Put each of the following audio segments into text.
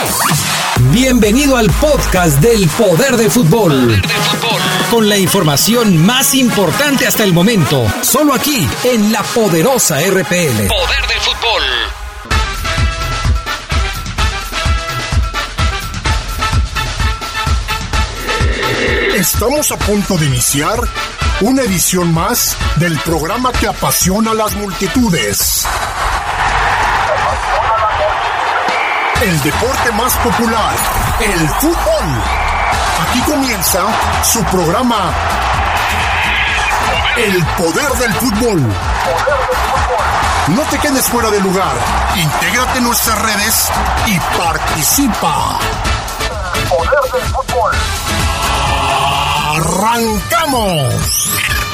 Bienvenido al podcast del Poder del Fútbol. Con la información más importante hasta el momento. Solo aquí, en la poderosa RPL. Poder del Fútbol. Estamos a punto de iniciar una edición más del programa que apasiona a las multitudes. El deporte más popular, el fútbol. Aquí comienza su programa, El Poder del Fútbol. No te quedes fuera de lugar. Intégrate en nuestras redes y participa. El Poder del Fútbol. ¡Arrancamos!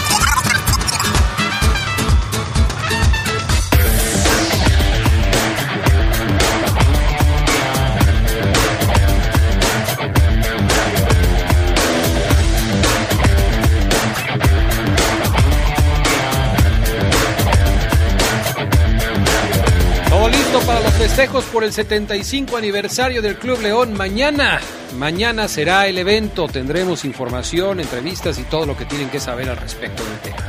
Todo listo para los festejos por el 75 aniversario del Club León. Mañana será el evento. Tendremos información, entrevistas y todo lo que tienen que saber al respecto del tema.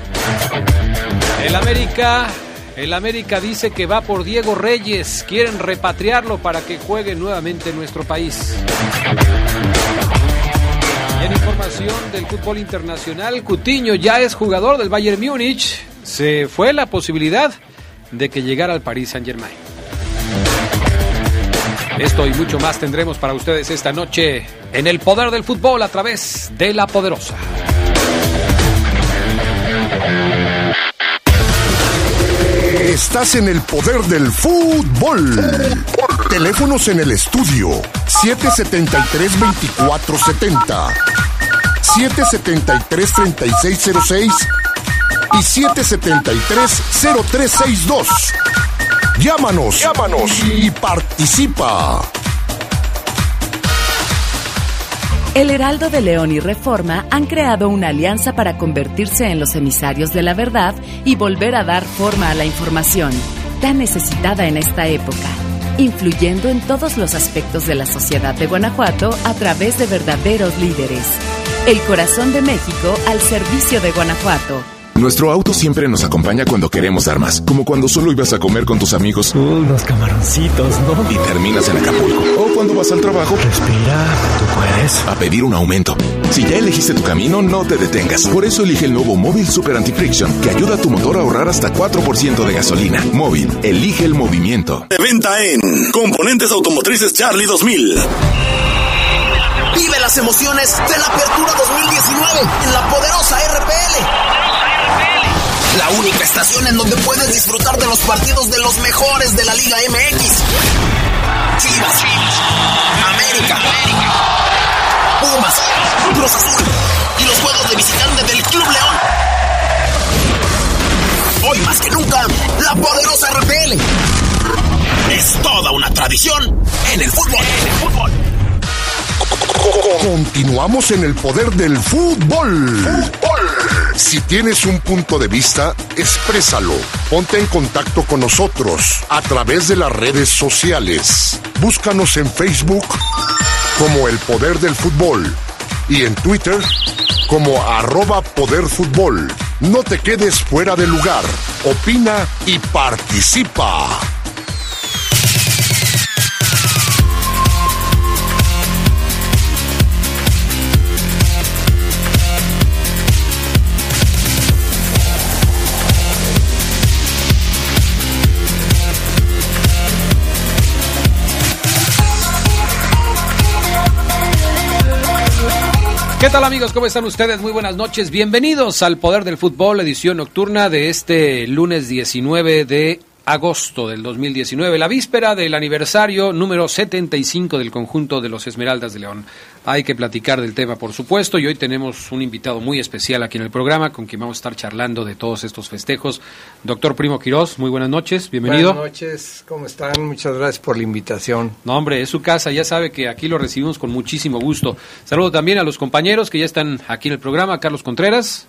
El América dice que va por Diego Reyes. Quieren repatriarlo para que juegue nuevamente en nuestro país. Y en información del fútbol internacional, Coutinho ya es jugador del Bayern Múnich. Se fue la posibilidad de que llegara al Paris Saint-Germain. Esto y mucho más tendremos para ustedes esta noche en El Poder del Fútbol a través de La Poderosa. Estás en El Poder del Fútbol. Teléfonos en el estudio 773-2470, 773-3606 y 773-0362. Llámanos y participa. El Heraldo de León y Reforma han creado una alianza para convertirse en los emisarios de la verdad y volver a dar forma a la información, tan necesitada en esta época, influyendo en todos los aspectos de la sociedad de Guanajuato a través de verdaderos líderes. El corazón de México al servicio de Guanajuato. Nuestro auto siempre nos acompaña cuando queremos dar más, como cuando solo ibas a comer con tus amigos. Unos camaroncitos, ¿no? Y terminas en Acapulco. O cuando vas al trabajo. Respira, tú puedes. A pedir un aumento. Si ya elegiste tu camino, no te detengas. Por eso elige el nuevo Móvil Super Anti-Friction, que ayuda a tu motor a ahorrar hasta 4% de gasolina. Móvil, elige el movimiento. De venta en Componentes Automotrices Charlie 2000. Vive las emociones de la Apertura 2019 en la poderosa RPL. La única estación en donde puedes disfrutar de los partidos de los mejores de la Liga MX. Chivas, América, Pumas, Cruz Azul y los juegos de visitante del Club León. Hoy más que nunca, la poderosa RPL es toda una tradición en el fútbol. Continuamos en El Poder del Fútbol. Si tienes un punto de vista, exprésalo. Ponte en contacto con nosotros a través de las redes sociales. Búscanos en Facebook como El Poder del Fútbol y en Twitter como @poderfutbol. No te quedes fuera de lugar. Opina y participa. ¿Qué tal, amigos? ¿Cómo están ustedes? Muy buenas noches. Bienvenidos al Poder del Fútbol, edición nocturna de este lunes 19 de agosto del 2019, la víspera del aniversario número 75 del conjunto de los Esmeraldas de León. Hay que platicar del tema, por supuesto, y hoy tenemos un invitado muy especial aquí en el programa con quien vamos a estar charlando de todos estos festejos. Doctor Primo Quirós, muy buenas noches, bienvenido. Buenas noches, ¿cómo están? Muchas gracias por la invitación. No, hombre, es su casa, ya sabe que aquí lo recibimos con muchísimo gusto. Saludo también a los compañeros que ya están aquí en el programa, Carlos Contreras.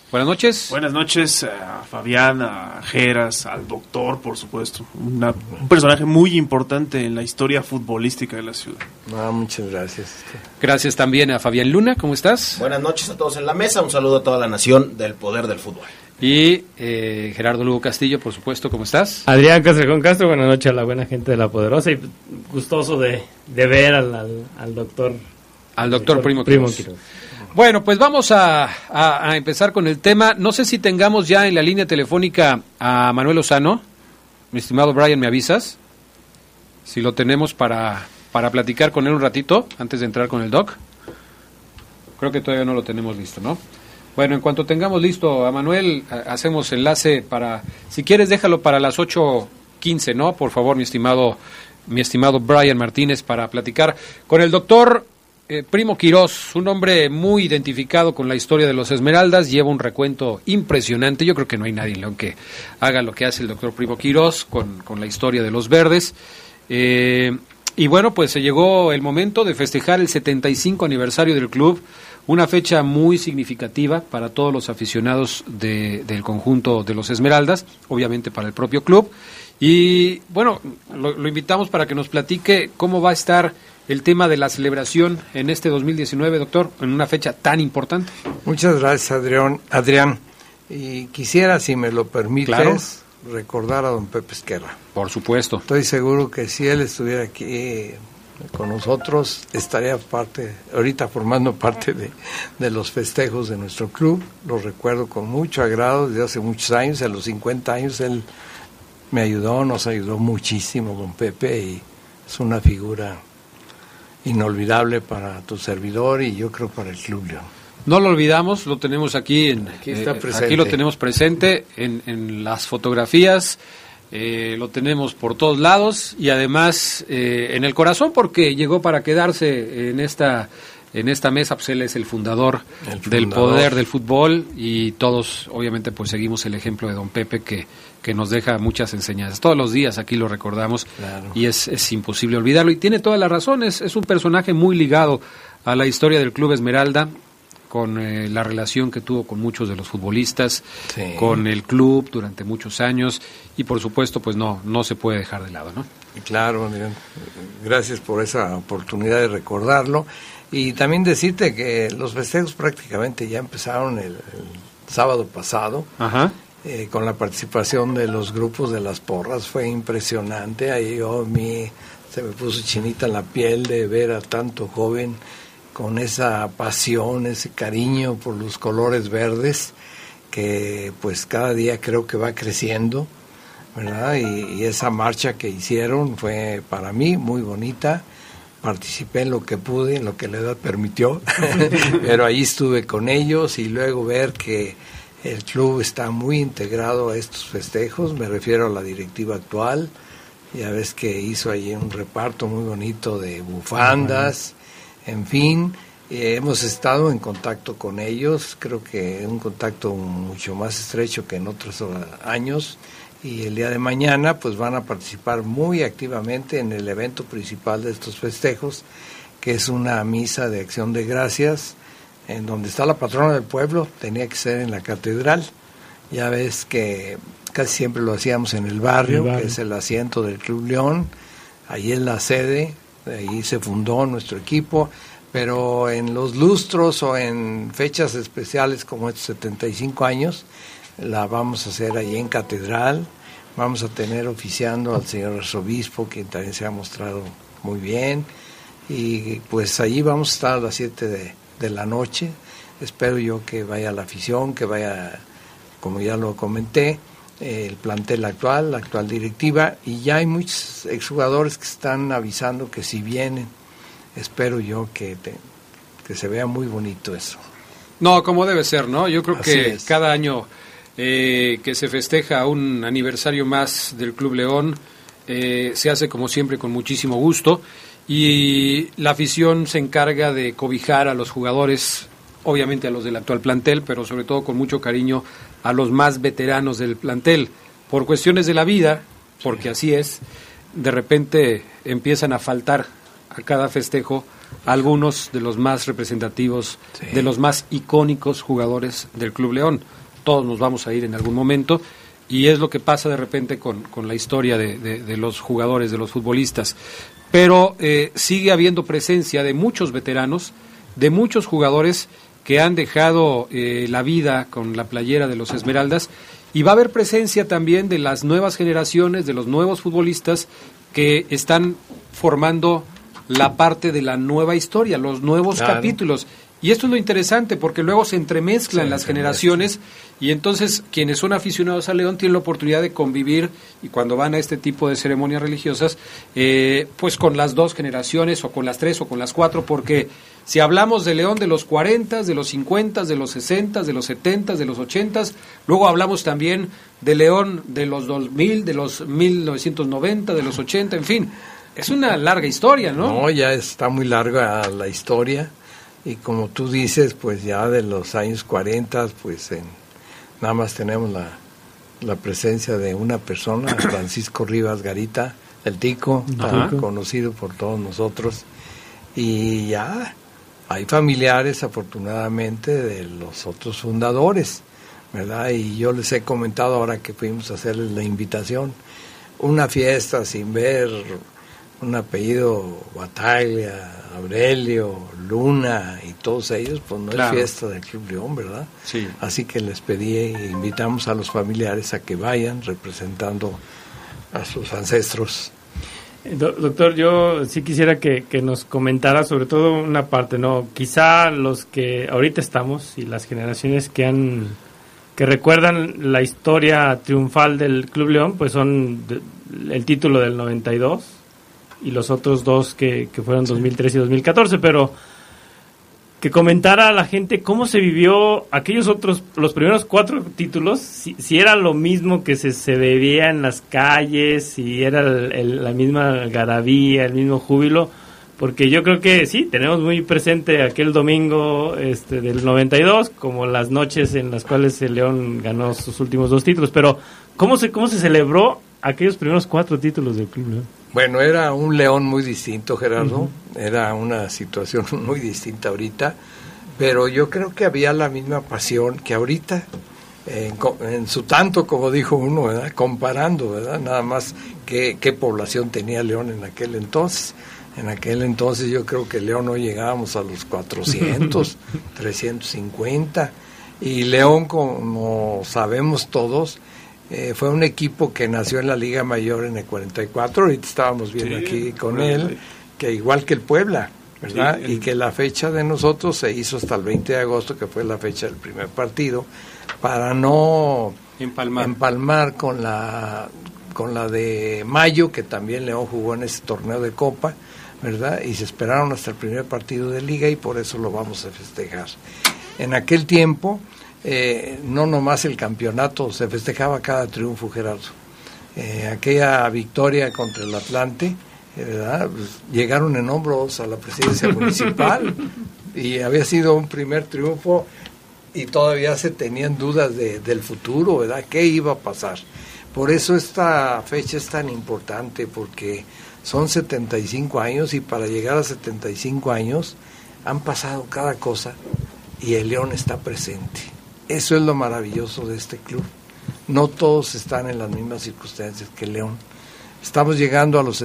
Buenas noches. Buenas noches a Fabián, a Geras, al doctor, por supuesto. Un personaje muy importante en la historia futbolística de la ciudad. Muchas gracias. Gracias también a Fabián Luna, ¿cómo estás? Buenas noches a todos en la mesa, un saludo a toda la nación del poder del fútbol. Y Gerardo Lugo Castillo, por supuesto, ¿cómo estás? Adrián Castrejón Castro, buenas noches a la buena gente de La Poderosa y gustoso de ver al doctor. Al doctor Primo Quiroz. Bueno, pues vamos a empezar con el tema. No sé si tengamos ya en la línea telefónica a Manuel Lozano. Mi estimado Brian, ¿me avisas? Si lo tenemos para platicar con él un ratito, antes de entrar con el doc. Creo que todavía no lo tenemos listo, ¿no? Bueno, en cuanto tengamos listo a Manuel, hacemos enlace para... Si quieres, déjalo para las 8:15, ¿no? Por favor, mi estimado Brian Martínez, para platicar con el doctor... Primo Quiroz, un hombre muy identificado con la historia de los Esmeraldas, lleva un recuento impresionante. Yo creo que no hay nadie en León que haga lo que hace el doctor Primo Quiroz con la historia de los verdes. Y bueno, pues se llegó el momento de festejar el 75 aniversario del club, una fecha muy significativa para todos los aficionados del conjunto de los Esmeraldas, obviamente para el propio club. Y bueno, lo invitamos para que nos platique cómo va a estar el tema de la celebración en este 2019, doctor, en una fecha tan importante. Muchas gracias, Adrián. Y quisiera, si me lo permites, claro, recordar a don Pepe Esquerra. Por supuesto. Estoy seguro que si él estuviera aquí con nosotros, estaría ahorita formando parte de los festejos de nuestro club. Lo recuerdo con mucho agrado desde hace muchos años. A los 50 años él nos ayudó muchísimo, don Pepe, y es una figura inolvidable para tu servidor y yo creo para el Club León. No lo olvidamos, lo tenemos aquí aquí lo tenemos presente en las fotografías, lo tenemos por todos lados y además en el corazón, porque llegó para quedarse en esta mesa. Pues él es el fundador del poder del fútbol y todos obviamente pues seguimos el ejemplo de don Pepe que nos deja muchas enseñanzas. Todos los días aquí lo recordamos, claro, y es imposible olvidarlo. Y tiene toda la razón, es un personaje muy ligado a la historia del Club Esmeralda, con la relación que tuvo con muchos de los futbolistas, sí, con el club durante muchos años y por supuesto pues no se puede dejar de lado, ¿no? Claro, gracias por esa oportunidad de recordarlo y también decirte que los festejos prácticamente ya empezaron el sábado pasado. Ajá. Con la participación de los grupos de las porras. Fue impresionante. Ahí se me puso chinita la piel de ver a tanto joven con esa pasión, ese cariño por los colores verdes, que pues cada día creo que va creciendo, ¿verdad? Y esa marcha que hicieron fue para mí muy bonita. Participé en lo que pude, en lo que la edad permitió, pero ahí estuve con ellos y luego ver que el club está muy integrado a estos festejos. Me refiero a la directiva actual. Ya ves que hizo ahí un reparto muy bonito de bufandas, en fin, hemos estado en contacto con ellos, creo que un contacto mucho más estrecho que en otros años, y el día de mañana pues van a participar muy activamente en el evento principal de estos festejos, que es una misa de acción de gracias, en donde está la patrona del pueblo. Tenía que ser en la catedral. Ya ves que casi siempre lo hacíamos en el barrio, que es el asiento del Club León. Ahí es la sede, ahí se fundó nuestro equipo, pero en los lustros o en fechas especiales como estos 75 años, la vamos a hacer ahí en catedral. Vamos a tener oficiando al señor arzobispo, quien también se ha mostrado muy bien, y pues allí vamos a estar a las 7 de la noche. Espero yo que vaya la afición, que vaya, como ya lo comenté, el plantel actual, la actual directiva, y ya hay muchos exjugadores que están avisando que si vienen, espero yo que se vea muy bonito eso. No, como debe ser, ¿no? Yo creo que cada año que se festeja un aniversario más del Club León, se hace como siempre con muchísimo gusto, y la afición se encarga de cobijar a los jugadores, obviamente a los del actual plantel, pero sobre todo con mucho cariño a los más veteranos del plantel. Por cuestiones de la vida, porque así es, de repente empiezan a faltar a cada festejo algunos de los más representativos, de los más icónicos jugadores del Club León. Todos nos vamos a ir en algún momento, y es lo que pasa de repente con la historia de los jugadores, de los futbolistas. Pero sigue habiendo presencia de muchos veteranos, de muchos jugadores que han dejado la vida con la playera de los Esmeraldas, y va a haber presencia también de las nuevas generaciones, de los nuevos futbolistas que están formando la parte de la nueva historia, los nuevos capítulos. Y esto es lo interesante, porque luego se entremezclan las generaciones, y entonces quienes son aficionados a León tienen la oportunidad de convivir, y cuando van a este tipo de ceremonias religiosas, pues con las dos generaciones, o con las tres, o con las cuatro, porque si hablamos de León de los 40, de los 50, de los 60, de los 70, de los 80, luego hablamos también de León de los 2000, de los 1990, de los 80, en fin, es una larga historia, ¿no? No, ya está muy larga la historia. Y como tú dices, pues ya de los años 40, pues nada más tenemos la presencia de una persona, Francisco Rivas Garita, el Tico, tan conocido por todos nosotros. Y ya hay familiares, afortunadamente, de los otros fundadores, ¿verdad? Y yo les he comentado ahora que fuimos a hacerles la invitación, una fiesta sin ver un apellido Bataglia, Aurelio, Luna y todos ellos, pues no es fiesta del Club León, ¿verdad? Sí. Así que les pedí e invitamos a los familiares a que vayan representando a sus ancestros. Doctor, yo sí quisiera que nos comentara sobre todo una parte, ¿no? Quizá los que ahorita estamos y las generaciones que recuerdan la historia triunfal del Club León, pues son el título del 92 y los otros dos que fueron 2013 y 2014, pero que comentara a la gente cómo se vivió aquellos otros, los primeros 4 títulos, si era lo mismo que se veía en las calles, si era la misma algarabía, el mismo júbilo, porque yo creo que sí, tenemos muy presente aquel domingo del 92, como las noches en las cuales el León ganó sus últimos 2 títulos, pero ¿cómo se celebró aquellos primeros 4 títulos del Club León? Bueno, era un León muy distinto, Gerardo, era una situación muy distinta ahorita, pero yo creo que había la misma pasión que ahorita, en su tanto, como dijo uno, ¿verdad? Comparando, ¿verdad? Nada más qué población tenía León en aquel entonces. En aquel entonces yo creo que León no llegábamos a los 400, 350, y León, como sabemos todos, fue un equipo que nació en la Liga Mayor en el 44, ahorita estábamos viendo aquí con él, que igual que el Puebla, ¿verdad? Y que la fecha de nosotros se hizo hasta el 20 de agosto, que fue la fecha del primer partido, para no empalmar con la de mayo, que también León jugó en ese torneo de Copa, ¿verdad? Y se esperaron hasta el primer partido de Liga, y por eso lo vamos a festejar. En aquel tiempo, no nomás el campeonato, se festejaba cada triunfo, Gerardo. Aquella victoria contra el Atlante, ¿verdad? Pues llegaron en hombros a la presidencia municipal, y había sido un primer triunfo, y todavía se tenían dudas del futuro, ¿verdad? ¿Qué iba a pasar? Por eso esta fecha es tan importante, porque son 75 años, y para llegar a 75 años han pasado cada cosa, y el León está presente. Eso es lo maravilloso de este club. No todos están en las mismas circunstancias que León. Estamos llegando a los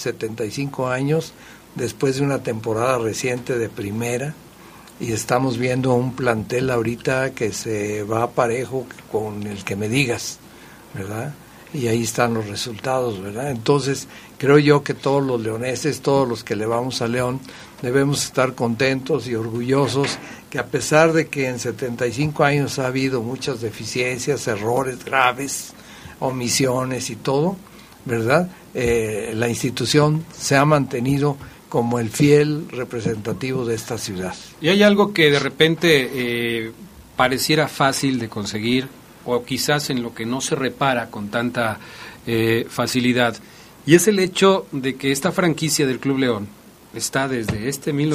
75 años después de una temporada reciente de primera, y estamos viendo un plantel ahorita que se va parejo con el que me digas, ¿verdad? Y ahí están los resultados, ¿verdad? Entonces, creo yo que todos los leoneses, todos los que le vamos a León, debemos estar contentos y orgullosos que, a pesar de que en 75 años ha habido muchas deficiencias, errores graves, omisiones y todo, ¿verdad? La institución se ha mantenido como el fiel representativo de esta ciudad. Y hay algo que de repente pareciera fácil de conseguir, o quizás en lo que no se repara con tanta facilidad, y es el hecho de que esta franquicia del Club León está desde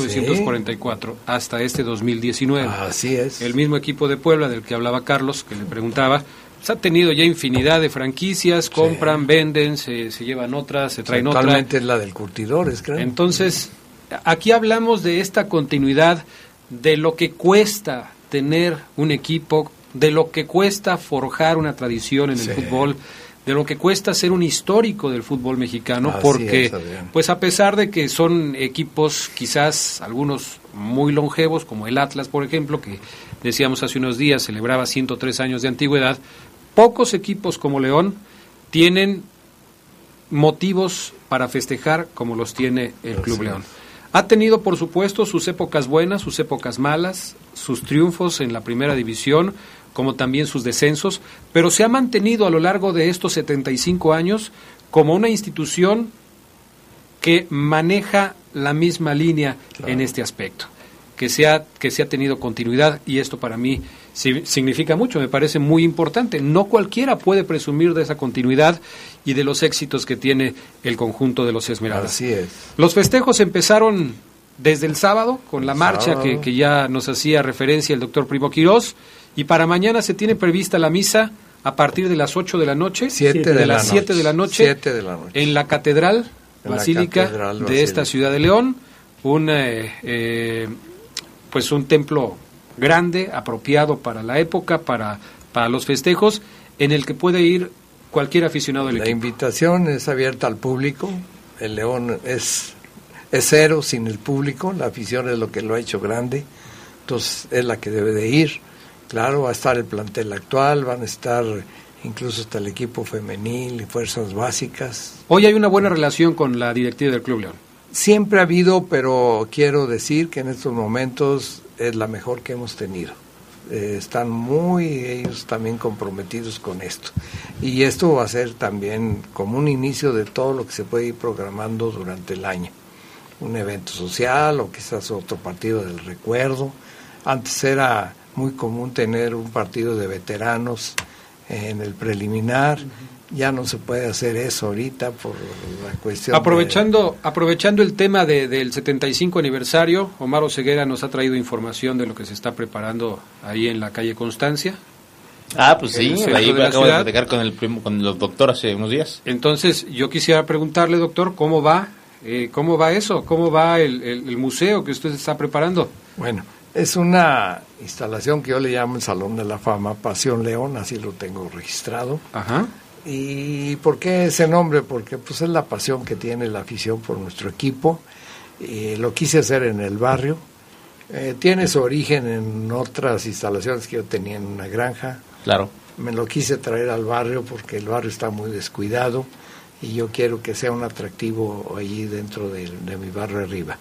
1944 hasta 2019. Así es. El mismo equipo de Puebla del que hablaba Carlos, que le preguntaba, pues ha tenido ya infinidad de franquicias, compran, venden, se llevan otras, se traen otras. Actualmente es la del Curtidores, creo. Entonces, aquí hablamos de esta continuidad, de lo que cuesta tener un equipo, de lo que cuesta forjar una tradición en el fútbol, de lo que cuesta ser un histórico del fútbol mexicano, porque pues a pesar de que son equipos quizás algunos muy longevos, como el Atlas, por ejemplo, que decíamos hace unos días celebraba 103 años de antigüedad, pocos equipos como León tienen motivos para festejar como los tiene el Club León. Ha tenido, por supuesto, sus épocas buenas, sus épocas malas, sus triunfos en la primera división, como también sus descensos, pero se ha mantenido a lo largo de estos 75 años como una institución que maneja la misma línea en este aspecto, que se ha tenido continuidad, y esto para mí significa mucho, me parece muy importante. No cualquiera puede presumir de esa continuidad y de los éxitos que tiene el conjunto de los Esmeraldas. Así es. Los festejos empezaron desde el sábado, con la marcha que ya nos hacía referencia el doctor Primo Quirós, y para mañana se tiene prevista la misa a partir de las 8 de la noche, 7 de la noche, en la Catedral Basílica de esta ciudad de León, pues un templo grande, apropiado para la época, para los festejos, en el que puede ir cualquier aficionado del equipo. La invitación es abierta al público. El León es cero sin el público. La afición es lo que lo ha hecho grande, entonces es la que debe de ir. Claro, va a estar el plantel actual, van a estar incluso hasta el equipo femenil y fuerzas básicas. Hoy hay una buena relación con la directiva del Club León. Siempre ha habido, pero quiero decir que en estos momentos es la mejor que hemos tenido. Están ellos también comprometidos con esto. Y esto va a ser también como un inicio de todo lo que se puede ir programando durante el año. Un evento social o quizás otro partido del recuerdo. Antes era muy común tener un partido de veteranos en el preliminar. Ya no se puede hacer eso ahorita por la cuestión. Aprovechando el tema del 75 aniversario, Omar Oseguera nos ha traído información de lo que se está preparando ahí en la calle Constancia. Pues sí, ahí acabo de platicar con el doctor hace unos días. Entonces, yo quisiera preguntarle, doctor, ¿cómo va eso? ¿Cómo va el museo que usted está preparando? Bueno, es una instalación que yo le llamo el Salón de la Fama Pasión León, así lo tengo registrado. Ajá. ¿Y por qué ese nombre? Porque pues es la pasión que tiene la afición por nuestro equipo. Lo quise hacer en el barrio. Tiene su origen en otras instalaciones que yo tenía en una granja. Claro. Me lo quise traer al barrio porque el barrio está muy descuidado y yo quiero que sea un atractivo allí dentro de mi barrio arriba.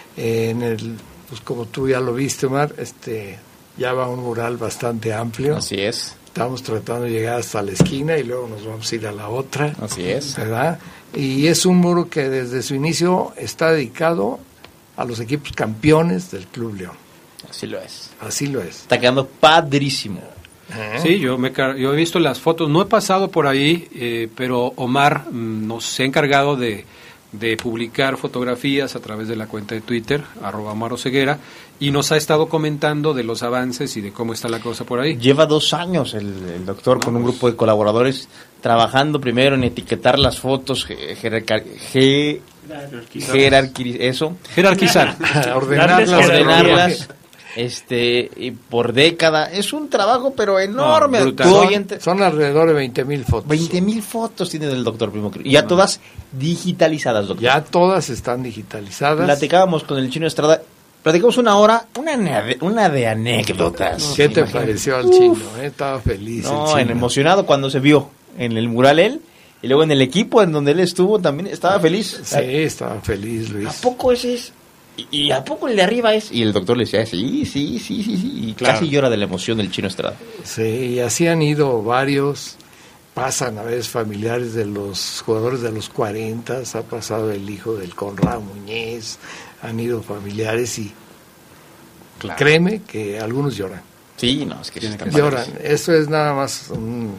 Pues como tú ya lo viste, Omar, ya va un mural bastante amplio. Así es. Estamos tratando de llegar hasta la esquina y luego nos vamos a ir a la otra. Así es. ¿Verdad? Y es un muro que desde su inicio está dedicado a los equipos campeones del Club León. Así lo es. Así lo es. Está quedando padrísimo. Sí, yo he visto las fotos, no he pasado por ahí, pero Omar nos ha encargado de publicar fotografías a través de la cuenta de Twitter, @OmarOseguera, y nos ha estado comentando de los avances y de cómo está la cosa por ahí. Lleva 2 años el doctor con un grupo de colaboradores trabajando primero en etiquetar las fotos, jerarquizar, ordenarlas, y por década. Es un trabajo pero enorme. Son alrededor de 20,000 fotos. 20,000 fotos tiene el doctor Primo Quirós. Y ya todas digitalizadas, doctor. Ya todas están digitalizadas. Platicábamos con el Chino Estrada. Platicamos una hora, una de anécdotas. ¿Qué te pareció al Chino? Estaba feliz. Emocionado cuando se vio en el mural él. Y luego en el equipo en donde él estuvo también estaba feliz. Sí, estaba feliz, Luis. ¿A poco ese es? ¿Y a poco el de arriba es? Y el doctor le decía, sí. Y claro, casi llora de la emoción del Chino Estrada. Sí, y así han ido varios. Pasan a veces familiares de los jugadores de los 40, ha pasado el hijo del Conrado Muñez, han ido familiares y créeme que algunos lloran. Sí, no, es que lloran. Eso es nada más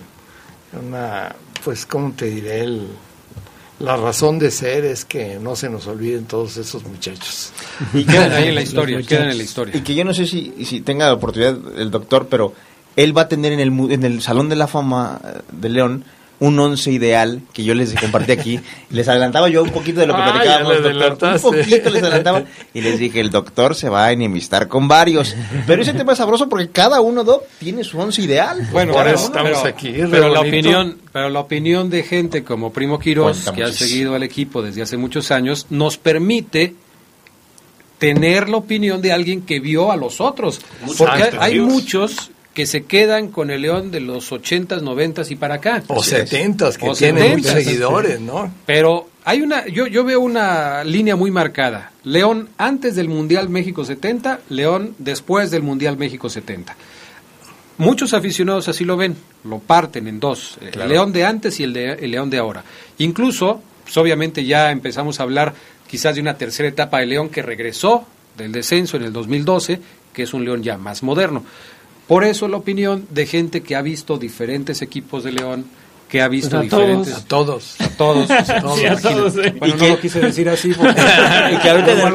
pues, ¿cómo te diré? La razón de ser es que no se nos olviden todos esos muchachos. Y quedan ahí en la historia, Y que yo no sé si tenga la oportunidad el doctor, pero él va a tener en el Salón de la Fama de León un 11 ideal que yo les compartí aquí. Les adelantaba yo un poquito de lo que platicábamos, doctor. Un poquito les adelantaba. Y les dije, el doctor se va a enemistar con varios. Pero ese tema es sabroso porque cada uno, Doc, tiene su 11 ideal. Bueno, por eso estamos aquí. Pero la opinión de gente como Primo Quirós, que ha seguido al equipo desde hace muchos años, nos permite tener la opinión de alguien que vio a los otros. Porque hay muchos que se quedan con el León de los 80s, 90s y para acá. O 70s, que tienen muchos seguidores, ¿no? Pero hay yo veo una línea muy marcada. León antes del Mundial México 70, León después del Mundial México 70. Muchos aficionados así lo ven, lo parten en dos, claro. El León de antes y el León de ahora. Incluso, pues obviamente ya empezamos a hablar quizás de una tercera etapa de León que regresó del descenso en el 2012, que es un León ya más moderno. Por eso la opinión de gente que ha visto diferentes equipos de León, que ha visto diferentes... A todos. Sí, bueno, no lo quise decir así porque... que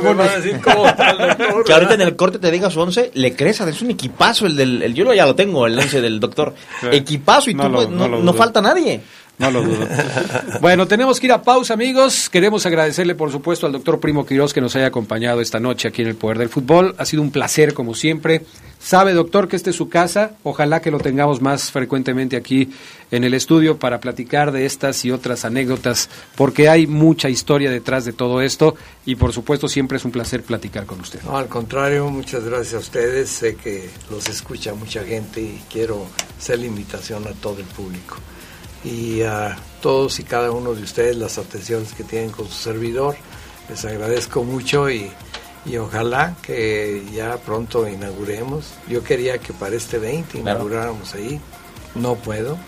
ahorita en el corte te diga su 11, le crees, es un equipazo yo ya lo tengo, el 11 del doctor. Sí. Equipazo y no falta nadie. No lo dudo. Bueno, tenemos que ir a pausa, amigos. Queremos agradecerle, por supuesto, al doctor Primo Quirós que nos haya acompañado esta noche aquí en el Poder del Fútbol. Ha sido un placer, como siempre. Sabe, doctor, que esta es su casa. Ojalá que lo tengamos más frecuentemente aquí en el estudio para platicar de estas y otras anécdotas, porque hay mucha historia detrás de todo esto y, por supuesto, siempre es un placer platicar con usted. No, al contrario, muchas gracias a ustedes. Sé que los escucha mucha gente y quiero hacer la invitación a todo el público. Y a todos y cada uno de ustedes las atenciones que tienen con su servidor, les agradezco mucho y ojalá que ya pronto inauguremos. Yo quería que para este 20 inauguráramos ahí, no puedo,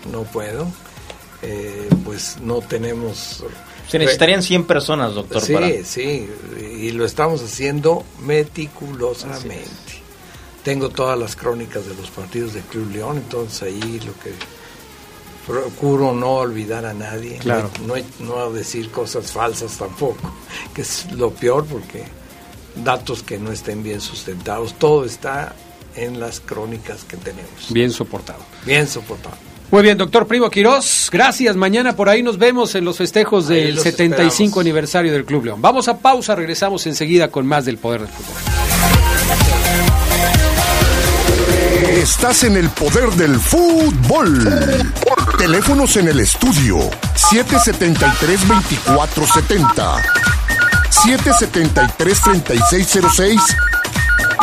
pues no tenemos... Se necesitarían 100 personas, doctor. Sí, y lo estamos haciendo meticulosamente. Tengo todas las crónicas de los partidos de Club León, entonces ahí lo que... Procuro no olvidar a nadie, claro. no decir cosas falsas tampoco, que es lo peor porque datos que no estén bien sustentados, todo está en las crónicas que tenemos. Bien soportado. Muy bien, doctor Primo Quirós, gracias. Mañana por ahí nos vemos en los festejos del 75 esperamos. Aniversario del Club León. Vamos a pausa, regresamos enseguida con más del Poder del Fútbol. Estás en el Poder del Fútbol. Teléfonos en el estudio 773-2470, 773-3606 y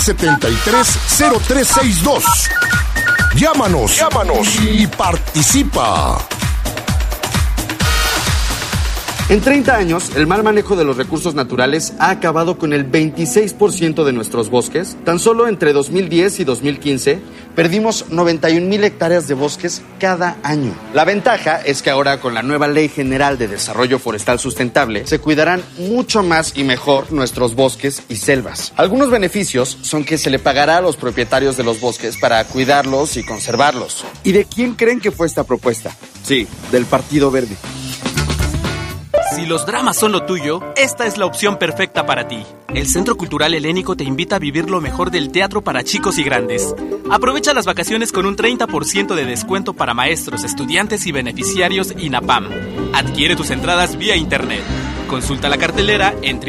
773-0362. Llámanos y participa. En 30 años, el mal manejo de los recursos naturales ha acabado con el 26% de nuestros bosques. Tan solo entre 2010 y 2015, perdimos 91,000 hectáreas de bosques cada año. La ventaja es que ahora, con la nueva Ley General de Desarrollo Forestal Sustentable, se cuidarán mucho más y mejor nuestros bosques y selvas. Algunos beneficios son que se le pagará a los propietarios de los bosques para cuidarlos y conservarlos. ¿Y de quién creen que fue esta propuesta? Sí, del Partido Verde. Si los dramas son lo tuyo, esta es la opción perfecta para ti. El Centro Cultural Helénico te invita a vivir lo mejor del teatro para chicos y grandes. Aprovecha las vacaciones con un 30% de descuento para maestros, estudiantes y beneficiarios INAPAM. Adquiere tus entradas vía internet. Consulta la cartelera en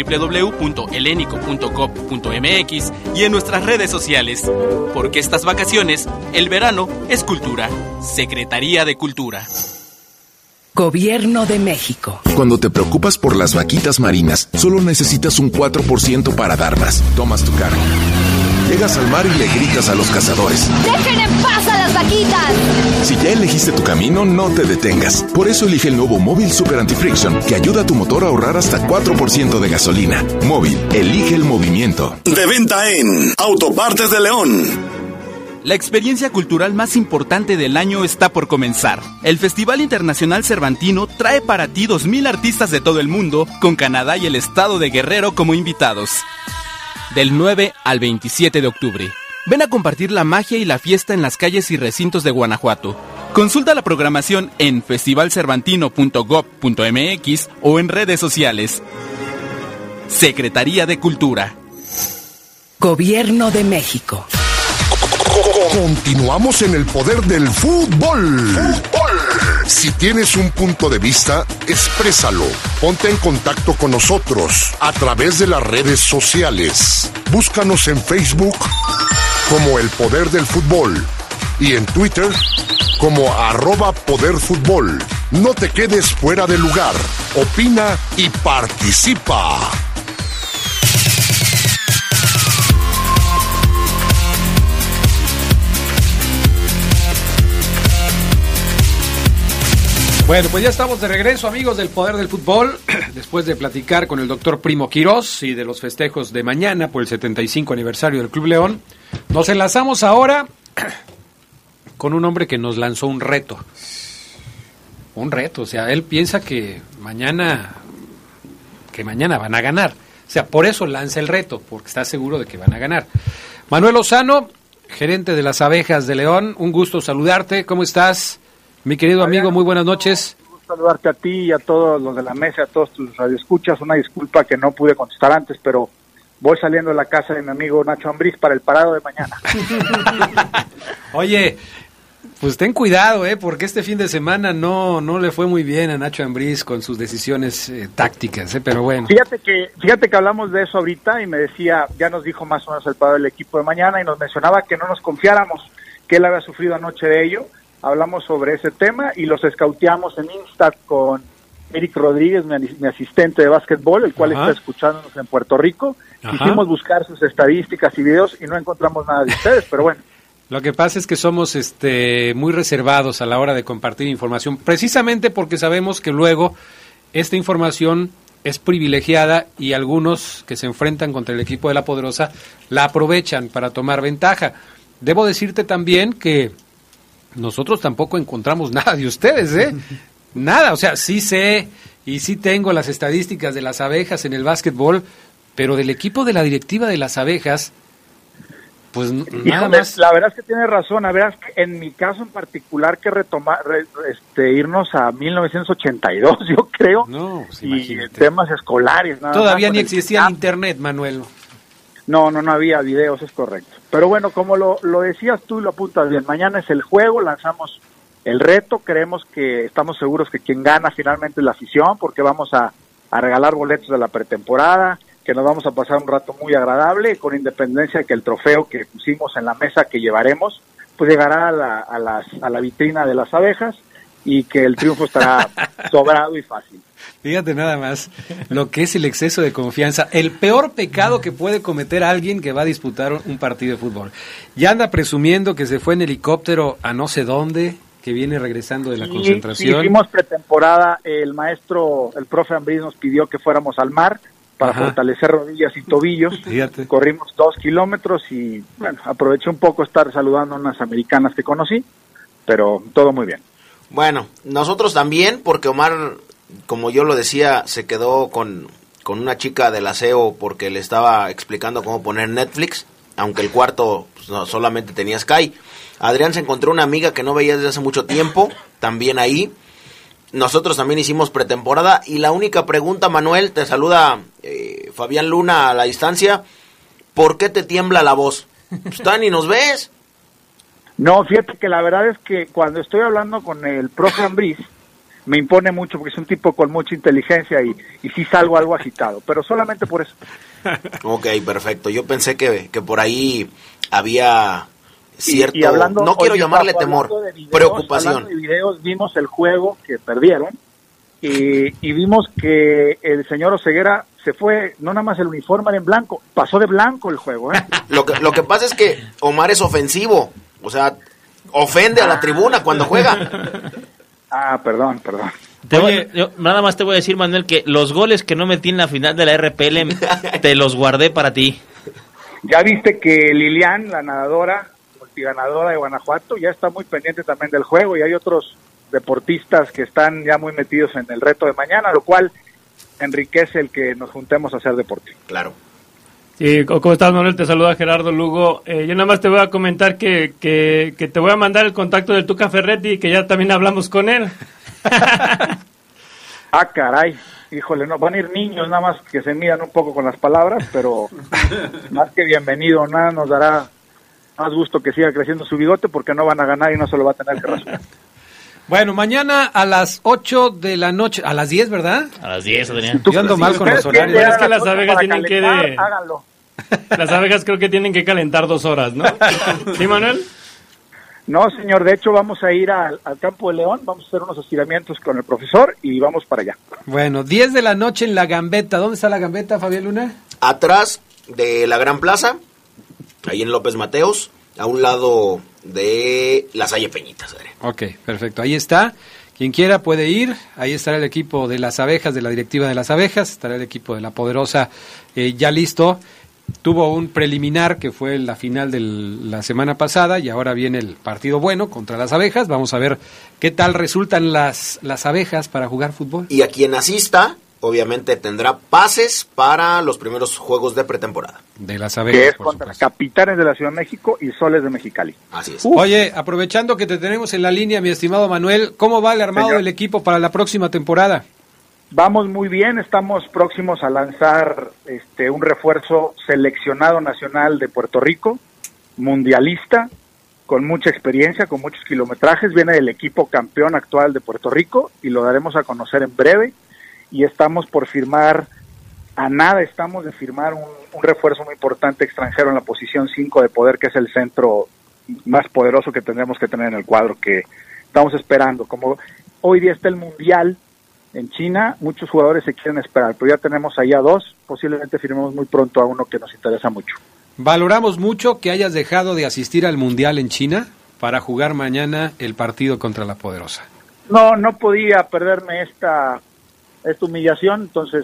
www.helenico.gov.mx y en nuestras redes sociales. Porque estas vacaciones, el verano es cultura. Secretaría de Cultura. Gobierno de México. Cuando te preocupas por las vaquitas marinas, solo necesitas un 4% para dar más. Tomas tu carga. Llegas al mar y le gritas a los cazadores: ¡dejen en paz a las vaquitas! Si ya elegiste tu camino, no te detengas. Por eso elige el nuevo Móvil Super Anti-Friction, que ayuda a tu motor a ahorrar hasta 4% de gasolina. Móvil, elige el movimiento. De venta en Autopartes de León. La experiencia cultural más importante del año está por comenzar. El Festival Internacional Cervantino trae para ti 2,000 artistas de todo el mundo, con Canadá y el estado de Guerrero como invitados. Del 9 al 27 de octubre. Ven a compartir la magia y la fiesta en las calles y recintos de Guanajuato. Consulta la programación en festivalcervantino.gov.mx o en redes sociales. Secretaría de Cultura. Gobierno de México. Continuamos en el Poder del Fútbol. Si tienes un punto de vista, exprésalo. Ponte en contacto con nosotros a través de las redes sociales. Búscanos en Facebook como El Poder del Fútbol y en Twitter como @poderfutbol. No te quedes fuera de lugar. Opina y participa. Bueno, pues ya estamos de regreso, amigos del Poder del Fútbol, después de platicar con el doctor Primo Quirós y de los festejos de mañana por el 75 aniversario del Club León. Nos enlazamos ahora con un hombre que nos lanzó un reto. Un reto, o sea, él piensa que mañana van a ganar. O sea, por eso lanza el reto, porque está seguro de que van a ganar. Manuel Lozano, gerente de las Abejas de León, un gusto saludarte. ¿Cómo estás? Mi querido amigo, muy buenas noches. Un gusto saludarte a ti y a todos los de la mesa, a todos tus radioescuchas. Una disculpa que no pude contestar antes, pero voy saliendo de la casa de mi amigo Nacho Ambriz para el parado de mañana. Oye, pues ten cuidado, porque este fin de semana no le fue muy bien a Nacho Ambriz con sus decisiones tácticas, pero bueno. Fíjate que hablamos de eso ahorita y me decía, ya nos dijo más o menos el parado del equipo de mañana y nos mencionaba que no nos confiáramos, que él había sufrido anoche de ello. Hablamos sobre ese tema y los escauteamos en Insta con Eric Rodríguez, mi asistente de básquetbol, el cual está escuchándonos en Puerto Rico. Quisimos buscar sus estadísticas y videos y no encontramos nada de ustedes, pero bueno. Lo que pasa es que somos muy reservados a la hora de compartir información, precisamente porque sabemos que luego esta información es privilegiada y algunos que se enfrentan contra el equipo de La Poderosa la aprovechan para tomar ventaja. Debo decirte también que nosotros tampoco encontramos nada de ustedes, Nada, o sea, sí sé y sí tengo las estadísticas de las Abejas en el básquetbol, pero del equipo de la directiva de las Abejas, pues nada más. La verdad es que tiene razón, la verdad es que en mi caso en particular que irnos a 1982, yo creo, pues y temas escolares. Nada Todavía más ni existía el internet, Manuel. No había videos, es correcto. Pero bueno, como lo decías tú y lo apuntas bien, mañana es el juego, lanzamos el reto, estamos seguros que quien gana finalmente es la afición, porque vamos a regalar boletos de la pretemporada, que nos vamos a pasar un rato muy agradable, con independencia de que el trofeo que pusimos en la mesa que llevaremos, pues llegará a la vitrina de las Abejas y que el triunfo estará sobrado y fácil. Fíjate nada más lo que es el exceso de confianza, el peor pecado que puede cometer alguien que va a disputar un partido de fútbol. Ya anda presumiendo que se fue en helicóptero a no sé dónde, que viene regresando de la concentración. Hicimos pretemporada, el profe Ambriz nos pidió que fuéramos al mar para fortalecer rodillas y tobillos. Fíjate. Corrimos 2 kilómetros y bueno, aproveché un poco estar saludando a unas americanas que conocí, pero todo muy bien. Bueno, nosotros también, porque Omar, como yo lo decía, se quedó con una chica del aseo porque le estaba explicando cómo poner Netflix, aunque el cuarto solamente tenía Sky. Adrián se encontró una amiga que no veía desde hace mucho tiempo, también ahí. Nosotros también hicimos pretemporada y la única pregunta, Manuel, te saluda Fabián Luna a la distancia, ¿por qué te tiembla la voz? Pues ni nos ves. No, fíjate que la verdad es que cuando estoy hablando con el profe Ambriz, me impone mucho porque es un tipo con mucha inteligencia y sí salgo algo agitado, pero solamente por eso. Ok, perfecto. Yo pensé que por ahí había cierto, y hablando, no quiero llamarle temor, preocupación. Hablando de videos, vimos el juego que perdieron y vimos que el señor Oseguera se fue, no nada más el uniforme era en blanco, pasó de blanco el juego. Lo que pasa es que Omar es ofensivo, o sea, ofende a la tribuna cuando juega. Perdón. Yo nada más te voy a decir, Manuel, que los goles que no metí en la final de la RPL te los guardé para ti. Ya viste que Lilian, la nadadora, multiganadora de Guanajuato, ya está muy pendiente también del juego y hay otros deportistas que están ya muy metidos en el reto de mañana, lo cual enriquece el que nos juntemos a hacer deporte. Claro. Sí, ¿cómo estás, Manuel? Te saluda Gerardo Lugo. Yo nada más te voy a comentar que te voy a mandar el contacto del Tuca Ferretti, que ya también hablamos con él. Caray. Híjole, no, van a ir niños, nada más que se midan un poco con las palabras, pero más que bienvenido, nada nos dará más gusto que siga creciendo su bigote porque no van a ganar y no se lo va a tener que rasurar. Bueno, mañana a las 8 de la noche, a las 10, ¿verdad? A las 10, Adrián. Yo ando mal con los horarios. Es que las abejas tienen que... Háganlo. Las abejas creo que tienen que calentar 2 horas, ¿no? ¿Sí, Manuel? No, señor, de hecho vamos a ir al Campo de León, vamos a hacer unos estiramientos con el profesor y vamos para allá. Bueno, 10 de la noche en La Gambeta. ¿Dónde está La Gambeta, Fabián Luna? Atrás de la Gran Plaza, ahí en López Mateos, a un lado de la Salle Peñitas. Ok, perfecto, ahí está. Quien quiera puede ir, ahí estará el equipo de las abejas, de la directiva de las abejas, estará el equipo de la Poderosa ya listo. Tuvo un preliminar que fue la final de la semana pasada y ahora viene el partido bueno contra las abejas. Vamos a ver qué tal resultan las abejas para jugar fútbol. Y a quien asista, obviamente tendrá pases para los primeros juegos de pretemporada. De las abejas, que es contra Capitanes de la Ciudad de México y Soles de Mexicali. Así es. Oye, aprovechando que te tenemos en la línea, mi estimado Manuel, ¿cómo va el armado del equipo para la próxima temporada? Vamos muy bien, estamos próximos a lanzar un refuerzo seleccionado nacional de Puerto Rico, mundialista, con mucha experiencia, con muchos kilometrajes, viene del equipo campeón actual de Puerto Rico y lo daremos a conocer en breve. Y estamos por firmar, estamos de firmar un refuerzo muy importante extranjero en la posición 5 de poder, que es el centro más poderoso que tendremos que tener en el cuadro, que estamos esperando. Como hoy día está el Mundial en China, muchos jugadores se quieren esperar, pero ya tenemos ahí a 2, posiblemente firmemos muy pronto a uno que nos interesa mucho. Valoramos mucho que hayas dejado de asistir al Mundial en China para jugar mañana el partido contra la Poderosa. No podía perderme esta humillación, entonces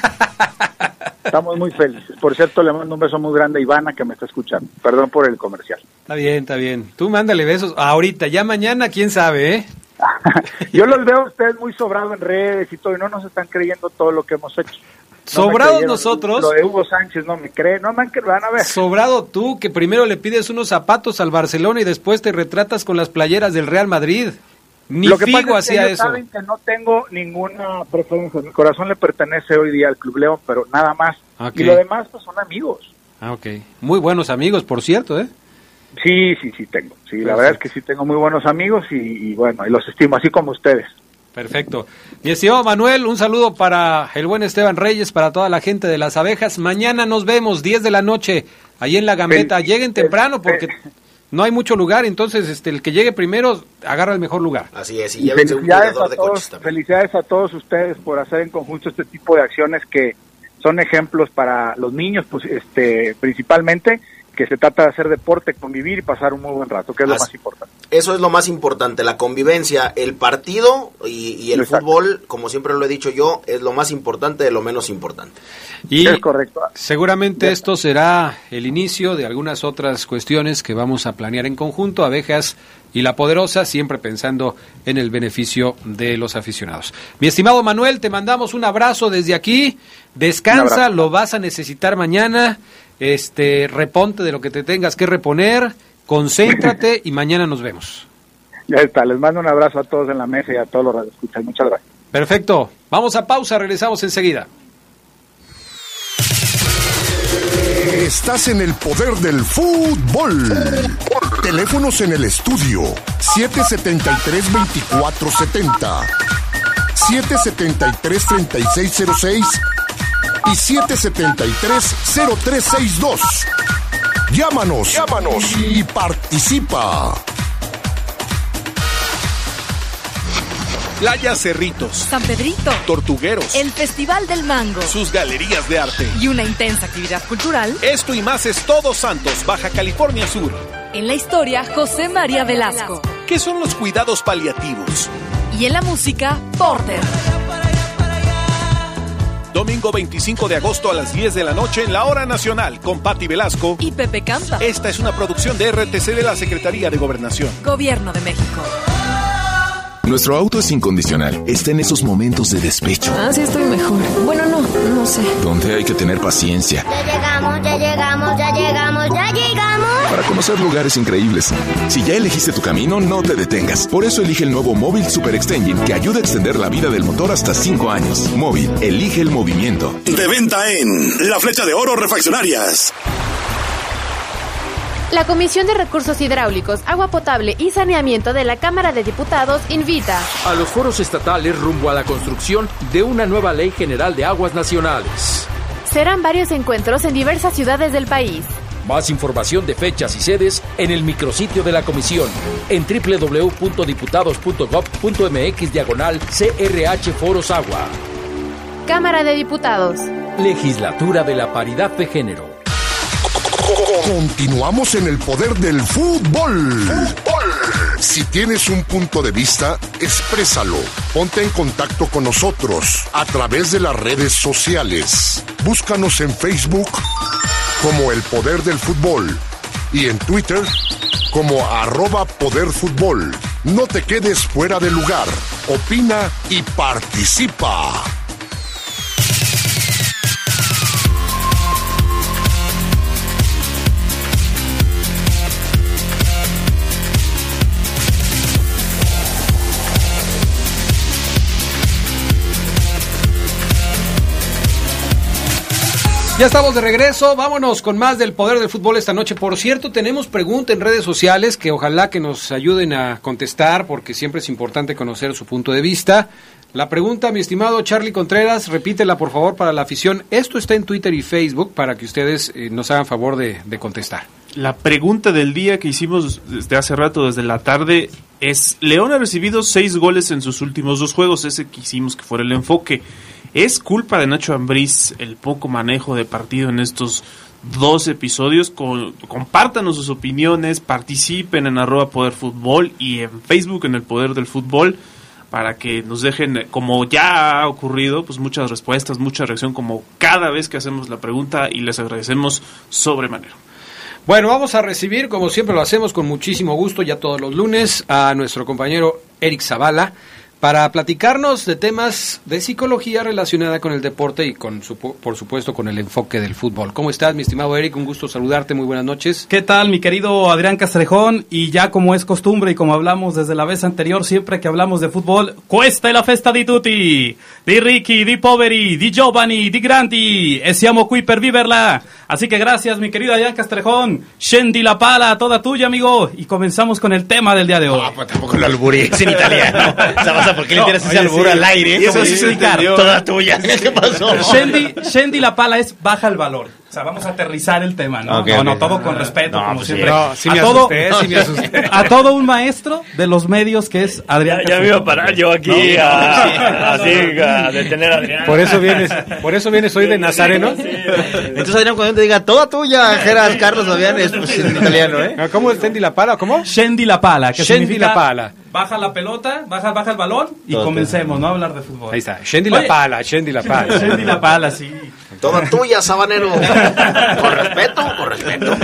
estamos muy felices. Por cierto, le mando un beso muy grande a Ivana, que me está escuchando. Perdón por el comercial. Está bien. Tú mándale besos ahorita, ya mañana, quién sabe, ¿eh? Yo los veo a ustedes muy sobrados en redes y todo, y no nos están creyendo todo lo que hemos hecho. Sobrados nosotros. Lo de Hugo Sánchez no me cree, no me van a ver. Sobrado tú, que primero le pides unos zapatos al Barcelona y después te retratas con las playeras del Real Madrid. Ni lo que Figo pasa es que hacía ellos eso. saben que no tengo ninguna preferencia. Mi corazón le pertenece hoy día al Club León, pero nada más. Okay. Y lo demás pues son amigos. Ok. Muy buenos amigos, por cierto, ¿eh? Sí, tengo. Sí, la verdad es que sí tengo muy buenos amigos y bueno, y los estimo, así como ustedes. Perfecto. Mi estimado Manuel, un saludo para el buen Esteban Reyes, para toda la gente de las abejas. Mañana nos vemos, 10 de la noche, ahí en La Gambeta. Lleguen temprano porque no hay mucho lugar, entonces el que llegue primero agarra el mejor lugar. Así es, y felicidades a todos ustedes por hacer en conjunto este tipo de acciones que son ejemplos para los niños, pues principalmente, que se trata de hacer deporte, convivir y pasar un muy buen rato, que es lo más importante. Eso es lo más importante, la convivencia, el partido y el fútbol, como siempre lo he dicho yo, es lo más importante de lo menos importante. Y es correcto. Seguramente esto será el inicio de algunas otras cuestiones que vamos a planear en conjunto, Abejas y La Poderosa, siempre pensando en el beneficio de los aficionados. Mi estimado Manuel, te mandamos un abrazo desde aquí, descansa, lo vas a necesitar mañana, reponte de lo que te tengas que reponer, concéntrate y mañana nos vemos. Ya está, les mando un abrazo a todos en la mesa y a todos los radioescuchas. Muchas gracias. Perfecto, vamos a pausa, regresamos enseguida. Estás en el poder del fútbol. Teléfonos en el estudio 773-2470, 773-3606 y 773-0362. Llámanos y participa. Playa Cerritos, San Pedrito, Tortugueros, el Festival del Mango, sus galerías de arte y una intensa actividad cultural. Esto y más es Todos Santos, Baja California Sur. En la historia, José María Velasco. ¿Qué son los cuidados paliativos? Y en la música, Porter. Domingo 25 de agosto a las 10 de la noche en la Hora Nacional con Patti Velasco y Pepe Campa. Esta es una producción de RTC de la Secretaría de Gobernación. Gobierno de México. Nuestro auto es incondicional. Está en esos momentos de despecho. Sí estoy mejor. Bueno, no sé. Donde hay que tener paciencia. Ya llegamos. Para conocer lugares increíbles. Si ya elegiste tu camino, no te detengas. Por eso elige el nuevo Móvil Super Extension, que ayuda a extender la vida del motor hasta 5 años. Móvil, elige el movimiento. De venta en La Flecha de Oro Refaccionarias. La Comisión de Recursos Hidráulicos, Agua Potable y Saneamiento de la Cámara de Diputados invita a los foros estatales rumbo a la construcción de una nueva Ley General de Aguas Nacionales. Serán varios encuentros en diversas ciudades del país. Más información de fechas y sedes en el micrositio de la comisión en www.diputados.gov.mx/CRH Foros Agua. Cámara de Diputados. Legislatura de la Paridad de Género. Continuamos en el poder del fútbol. Si tienes un punto de vista, exprésalo. Ponte en contacto con nosotros a través de las redes sociales. Búscanos en Facebook como El Poder del Fútbol y en Twitter como @poderfutbol. No te quedes fuera de lugar. Opina y participa. Ya estamos de regreso, vámonos con más del poder del fútbol esta noche. Por cierto, tenemos pregunta en redes sociales que ojalá que nos ayuden a contestar, porque siempre es importante conocer su punto de vista. La pregunta, mi estimado Charlie Contreras, repítela por favor para la afición. Esto está en Twitter y Facebook para que ustedes nos hagan favor de contestar. La pregunta del día que hicimos desde hace rato, desde la tarde, es: León ha recibido 6 goles en sus últimos 2 juegos, ese quisimos que fuera el enfoque. ¿Es culpa de Nacho Ambriz el poco manejo de partido en estos 2 episodios? Compártanos sus opiniones, participen en @poderfutbol y en Facebook en El Poder del Fútbol, para que nos dejen, como ya ha ocurrido, pues muchas respuestas, mucha reacción, como cada vez que hacemos la pregunta, y les agradecemos sobremanera. Bueno, vamos a recibir, como siempre lo hacemos con muchísimo gusto, ya todos los lunes, a nuestro compañero Eric Zavala, para platicarnos de temas de psicología relacionada con el deporte y por supuesto con el enfoque del fútbol. ¿Cómo estás, mi estimado Eric? Un gusto saludarte, muy buenas noches. ¿Qué tal, mi querido Adrián Castrejón? Y ya como es costumbre y como hablamos desde la vez anterior, siempre que hablamos de fútbol, questa è la festa di tutti, di ricchi, di poveri, di giovani, di grandi, e siamo qui per viverla. Así que gracias, mi querido Adrián Castrejón. Scendi la pala, toda tuya, amigo. Y comenzamos con el tema del día de hoy. No, pues tampoco lo alburees en italiano. ¿Por qué le tiras ese albur al aire? Y eso sí se entendió. Toda tuya. ¿Qué pasó? Scendi la pala es baja el valor. O sea, vamos a aterrizar el tema, ¿no? Okay, no, todo con respeto, como pues siempre. Sí me asusté. A todo un maestro de los medios que es Adrián. Ya me iba a parar yo aquí a detener a Adrián. Por eso vienes hoy de Nazareno. Sí. Entonces, Adrián, cuando te diga toda tuya, Geras Carlos Fabián, es pues, en italiano, ¿eh? ¿Cómo es Scendi la pala? ¿Cómo? Scendi la pala, que Scendi significa la pala. Baja la pelota, baja el balón y Todo comencemos, ¿no? A hablar de fútbol. Ahí está, Scendi la pala, Scendi la pala. Scendi la pala, sí. Toda tuya, sabanero. Con respeto.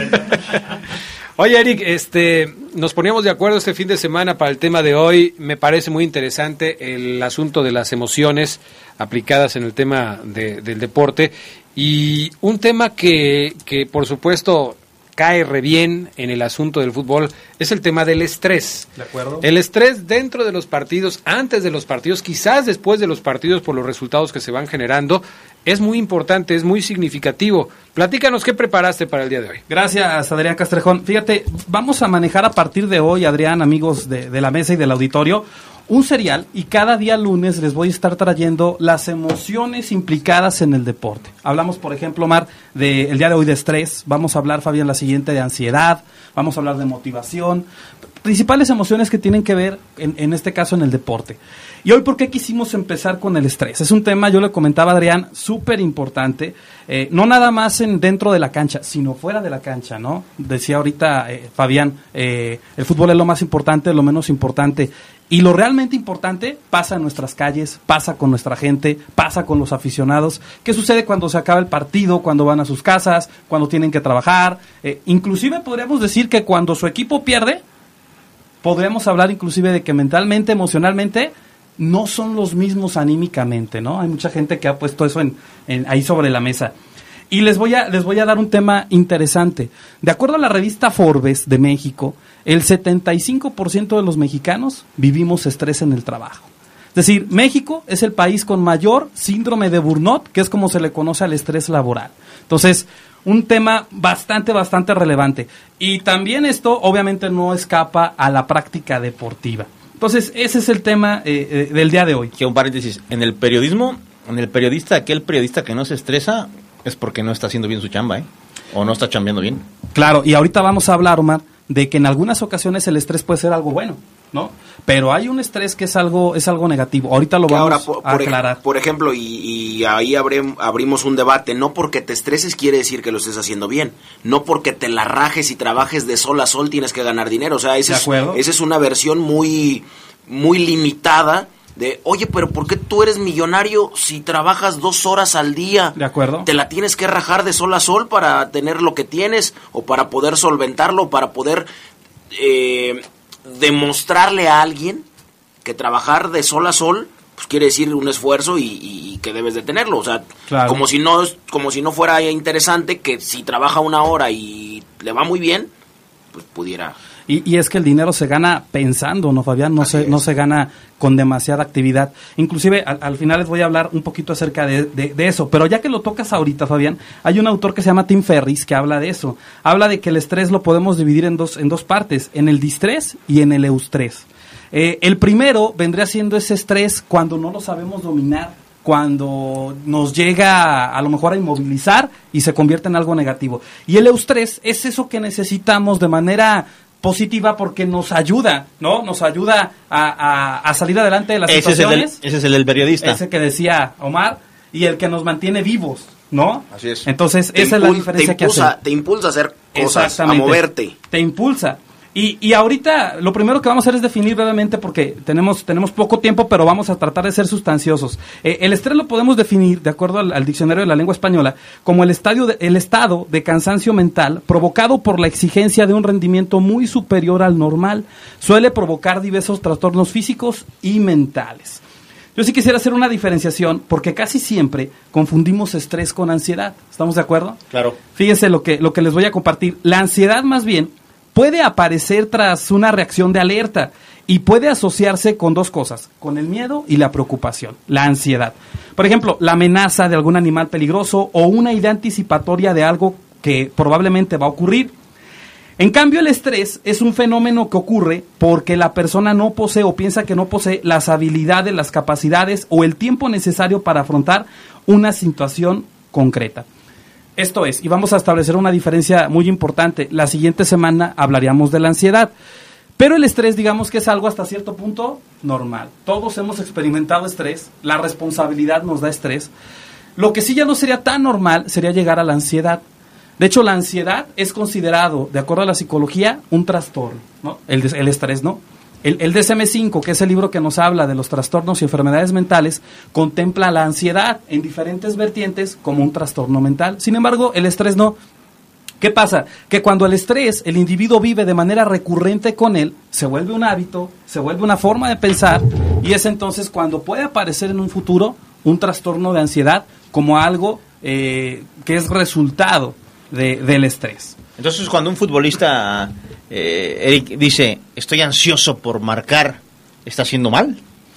Oye, Eric, nos poníamos de acuerdo este fin de semana para el tema de hoy. Me parece muy interesante el asunto de las emociones aplicadas en el tema del deporte. Y un tema que por supuesto cae re bien en el asunto del fútbol es el tema del estrés. ¿De acuerdo? El estrés dentro de los partidos, antes de los partidos, quizás después de los partidos por los resultados que se van generando, es muy importante, es muy significativo. Platícanos qué preparaste para el día de hoy. Gracias, Adrián Castrejón. Fíjate, vamos a manejar a partir de hoy, Adrián, amigos de la mesa y del auditorio, un serial, y cada día lunes les voy a estar trayendo las emociones implicadas en el deporte. Hablamos, por ejemplo, Omar, el día de hoy de estrés. Vamos a hablar, Fabián, la siguiente de ansiedad. Vamos a hablar de motivación. Principales emociones que tienen que ver, en este caso, en el deporte. Y hoy, ¿por qué quisimos empezar con el estrés? Es un tema, yo le comentaba a Adrián, súper importante. No nada más dentro de la cancha, sino fuera de la cancha, ¿no? Decía ahorita Fabián, el fútbol es lo más importante, lo menos importante. Y lo realmente importante pasa en nuestras calles, pasa con nuestra gente, pasa con los aficionados. ¿Qué sucede cuando se acaba el partido, cuando van a sus casas, cuando tienen que trabajar? Inclusive podríamos decir que cuando su equipo pierde, podríamos hablar inclusive de que mentalmente, emocionalmente, no son los mismos anímicamente, ¿no? Hay mucha gente que ha puesto eso ahí sobre la mesa. Y les voy a dar un tema interesante. De acuerdo a la revista Forbes de México, el 75% de los mexicanos vivimos estrés en el trabajo. Es decir, México es el país con mayor síndrome de burnout, que es como se le conoce al estrés laboral. Entonces, un tema bastante relevante. Y también esto obviamente no escapa a la práctica deportiva. Entonces, ese es el tema del día de hoy. Que un paréntesis, en el periodismo, aquel periodista que no se estresa es porque no está haciendo bien su chamba, o no está chambeando bien. Claro, y ahorita vamos a hablar, Omar, de que en algunas ocasiones el estrés puede ser algo bueno, ¿no? Pero hay un estrés que es algo negativo. Ahorita lo vamos a aclarar. Por ejemplo, y ahí abrimos un debate. No porque te estreses quiere decir que lo estés haciendo bien. No porque te la rajes y trabajes de sol a sol tienes que ganar dinero. O sea, esa es una versión muy, muy limitada de, oye, pero ¿por qué tú eres millonario si trabajas 2 horas al día? De acuerdo. Te la tienes que rajar de sol a sol para tener lo que tienes, o para poder solventarlo, o para poder demostrarle a alguien que trabajar de sol a sol pues quiere decir un esfuerzo y que debes de tenerlo. O sea, claro. como si no fuera interesante que si trabaja 1 hora y le va muy bien, pues pudiera... Y es que el dinero se gana pensando, ¿no, Fabián? No se gana con demasiada actividad. Inclusive, al final les voy a hablar un poquito acerca de eso. Pero ya que lo tocas ahorita, Fabián, hay un autor que se llama Tim Ferriss que habla de eso. Habla de que el estrés lo podemos dividir en dos partes, en el distrés y en el eustrés. El primero vendría siendo ese estrés cuando no lo sabemos dominar, cuando nos llega a lo mejor a inmovilizar y se convierte en algo negativo. Y el eustrés es eso que necesitamos de manera positiva porque nos ayuda, ¿no? Nos ayuda a salir adelante de las situaciones. Ese es el del periodista. Ese que decía Omar, y el que nos mantiene vivos, ¿no? Así es. Entonces, esa es la diferencia que hace. Te impulsa a hacer cosas, a moverte. Te impulsa. Y ahorita lo primero que vamos a hacer es definir brevemente, porque tenemos poco tiempo, pero vamos a tratar de ser sustanciosos. El estrés lo podemos definir, de acuerdo al diccionario de la lengua española, como el estado de cansancio mental provocado por la exigencia de un rendimiento muy superior al normal. Suele provocar diversos trastornos físicos y mentales. Yo sí quisiera hacer una diferenciación, porque casi siempre confundimos estrés con ansiedad. ¿Estamos de acuerdo? Claro. Fíjense lo que les voy a compartir. La ansiedad, más bien, puede aparecer tras una reacción de alerta y puede asociarse con 2 cosas, con el miedo y la preocupación, la ansiedad. Por ejemplo, la amenaza de algún animal peligroso o una idea anticipatoria de algo que probablemente va a ocurrir. En cambio, el estrés es un fenómeno que ocurre porque la persona no posee o piensa que no posee las habilidades, las capacidades o el tiempo necesario para afrontar una situación concreta. Esto es, y vamos a establecer una diferencia muy importante. La siguiente semana hablaríamos de la ansiedad. Pero el estrés, digamos que es algo hasta cierto punto normal. Todos hemos experimentado estrés, la responsabilidad nos da estrés. Lo que sí ya no sería tan normal sería llegar a la ansiedad. De hecho, la ansiedad es considerado, de acuerdo a la psicología, un trastorno, ¿no? El estrés, ¿no? El DSM-5, que es el libro que nos habla de los trastornos y enfermedades mentales, contempla la ansiedad en diferentes vertientes como un trastorno mental. Sin embargo, el estrés no. ¿Qué pasa? Que cuando el estrés, el individuo vive de manera recurrente con él, se vuelve un hábito, se vuelve una forma de pensar, y es entonces cuando puede aparecer en un futuro un trastorno de ansiedad como algo que es resultado del estrés. Entonces, cuando un futbolista, Eric, dice, estoy ansioso por marcar, ¿está haciendo mal?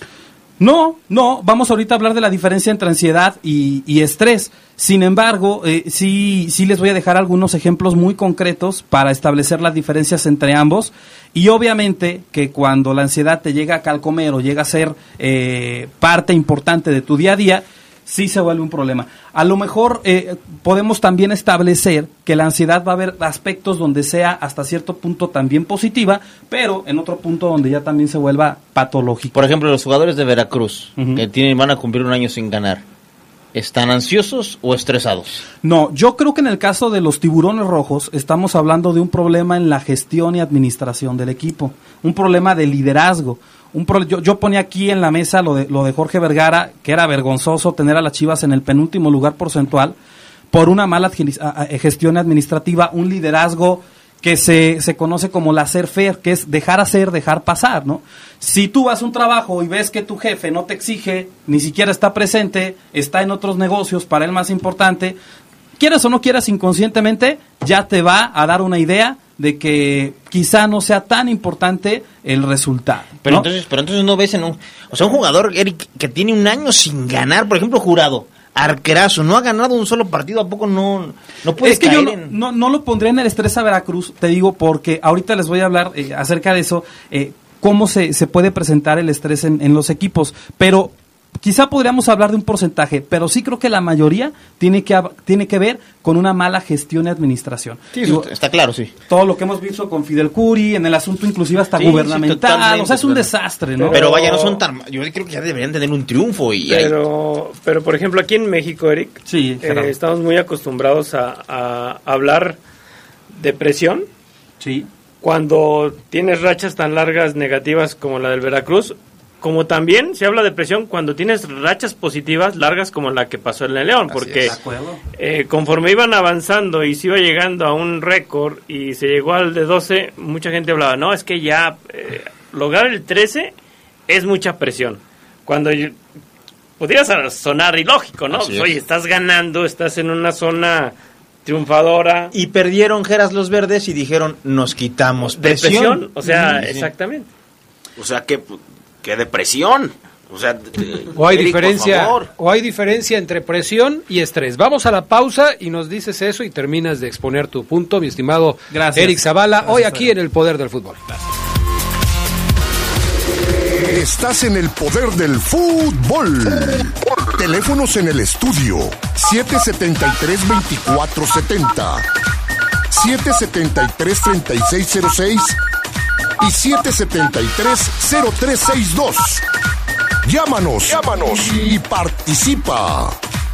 No, vamos ahorita a hablar de la diferencia entre ansiedad y estrés. Sin embargo, sí les voy a dejar algunos ejemplos muy concretos para establecer las diferencias entre ambos. Y obviamente que cuando la ansiedad te llega a calcomer o llega a ser parte importante de tu día a día, sí se vuelve un problema. A lo mejor podemos también establecer que la ansiedad va a haber aspectos donde sea hasta cierto punto también positiva, pero en otro punto donde ya también se vuelva patológico. Por ejemplo, los jugadores de Veracruz, que van a cumplir 1 año sin ganar, ¿están ansiosos o estresados? No, yo creo que en el caso de los Tiburones Rojos estamos hablando de un problema en la gestión y administración del equipo, un problema de liderazgo. Yo ponía aquí en la mesa lo de Jorge Vergara, que era vergonzoso tener a las Chivas en el penúltimo lugar porcentual por una mala gestión administrativa, un liderazgo que se conoce como laissez-faire, que es dejar hacer, dejar pasar, ¿no? Si tú vas a un trabajo y ves que tu jefe no te exige, ni siquiera está presente, está en otros negocios, para él más importante, quieras o no quieras, inconscientemente ya te va a dar una idea de que quizá no sea tan importante el resultado, ¿no? Pero entonces no ves un jugador, Eric, que tiene 1 año sin ganar, por ejemplo, Jurado. arquerazo, no ha ganado un solo partido, ¿a poco no puede es que caer yo no lo pondré en el estrés a Veracruz, te digo, porque ahorita les voy a hablar acerca de eso, cómo se puede presentar el estrés en los equipos, pero quizá podríamos hablar de un porcentaje, pero sí creo que la mayoría tiene que ver con una mala gestión y administración. Sí, digo, está claro, sí. Todo lo que hemos visto con Fidel Curi, en el asunto inclusive hasta gubernamental, o sea, es un desastre, ¿no? Pero vaya, no son tan... Yo creo que ya deberían tener un triunfo. Pero por ejemplo, aquí en México, Eric, sí, estamos muy acostumbrados a hablar de presión. Sí. Cuando tienes rachas tan largas negativas como la del Veracruz, como también se habla de presión cuando tienes rachas positivas largas como la que pasó en el León, porque conforme iban avanzando y se iba llegando a un récord y se llegó al de 12, mucha gente hablaba, no, es que ya lograr el 13 es mucha presión. Cuando podría sonar ilógico, ¿no? Pues, oye, estás ganando, estás en una zona triunfadora. Y perdieron Geras los Verdes y dijeron, nos quitamos presión. O sea, exactamente. O sea, que depresión. O sea, o hay diferencia entre presión y estrés. Vamos a la pausa y nos dices eso y terminas de exponer tu punto, mi estimado Eric Zavala, hoy aquí en El Poder del Fútbol. Estás en El Poder del Fútbol. Teléfonos en el estudio 773-2470, 773-3606 y 773-0362. Llámanos y participa.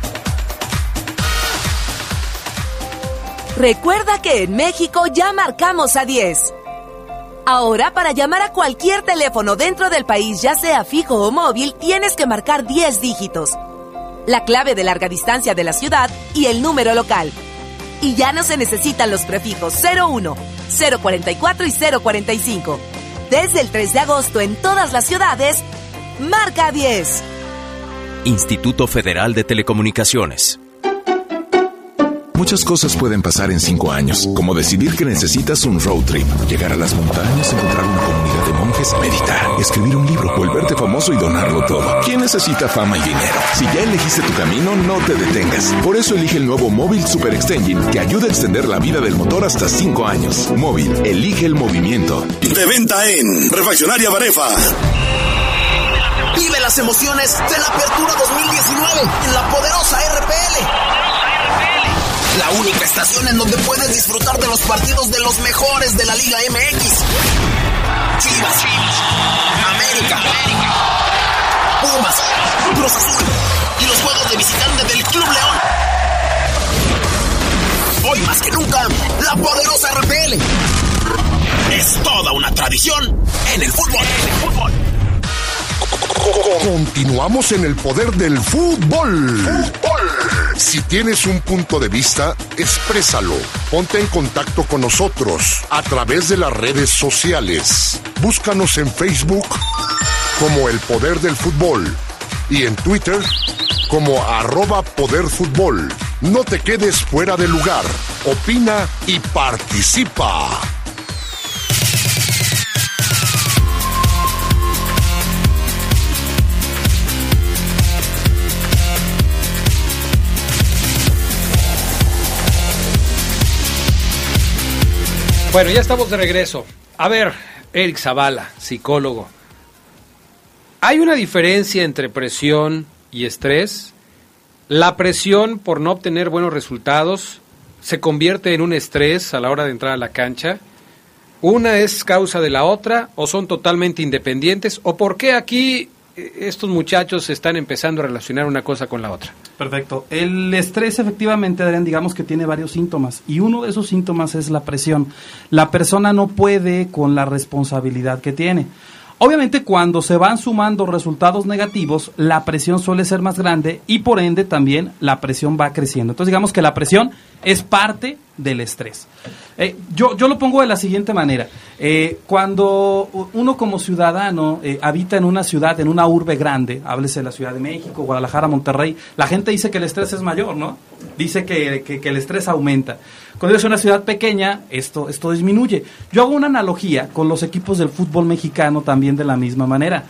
Recuerda que en México ya marcamos a 10. Ahora, para llamar a cualquier teléfono dentro del país, ya sea fijo o móvil, tienes que marcar 10 dígitos. La clave de larga distancia de la ciudad y el número local. Y ya no se necesitan los prefijos 01, 044 y 045. Desde el 3 de agosto en todas las ciudades, marca 10. Instituto Federal de Telecomunicaciones. Muchas cosas pueden pasar en 5 años, como decidir que necesitas un road trip, llegar a las montañas, encontrar una comunidad de monjes, meditar, escribir un libro, volverte famoso y donarlo todo. ¿Quién necesita fama y dinero? Si ya elegiste tu camino, no te detengas. Por eso elige el nuevo Móvil Super Extension, que ayuda a extender la vida del motor hasta 5 años. Móvil, elige el movimiento. De venta en Refaccionaria Barefa. Vive las emociones de la Apertura 2019 en la poderosa RPL. La única estación en donde puedes disfrutar de los partidos de los mejores de la Liga MX. Chivas, América, Pumas, Cruz Azul y los juegos de visitante del Club León. Hoy más que nunca, la poderosa RPL es toda una tradición en el fútbol. Continuamos en El Poder del Fútbol. Si tienes un punto de vista, exprésalo. Ponte en contacto con nosotros a través de las redes sociales. Búscanos en Facebook como El Poder del Fútbol y en Twitter como @poderfutbol. No te quedes fuera de lugar. Opina y participa. Bueno, ya estamos de regreso. A ver, Eric Zavala, psicólogo. ¿Hay una diferencia entre presión y estrés? ¿La presión por no obtener buenos resultados se convierte en un estrés a la hora de entrar a la cancha? ¿Una es causa de la otra o son totalmente independientes? ¿O por qué aquí estos muchachos están empezando a relacionar una cosa con la otra? Perfecto. El estrés, efectivamente, Adrián, digamos que tiene varios síntomas, y uno de esos síntomas es la presión. La persona no puede con la responsabilidad que tiene. Obviamente, cuando se van sumando resultados negativos, la presión suele ser más grande y, por ende, también la presión va creciendo. Entonces, digamos que la presión es parte del estrés. Yo lo pongo de la siguiente manera. Cuando uno como ciudadano habita en una ciudad, en una urbe grande, háblese de la Ciudad de México, Guadalajara, Monterrey, la gente dice que el estrés es mayor, ¿no? Dice que el estrés aumenta. Cuando es una ciudad pequeña, esto disminuye. Yo hago una analogía con los equipos del fútbol mexicano también de la misma manera.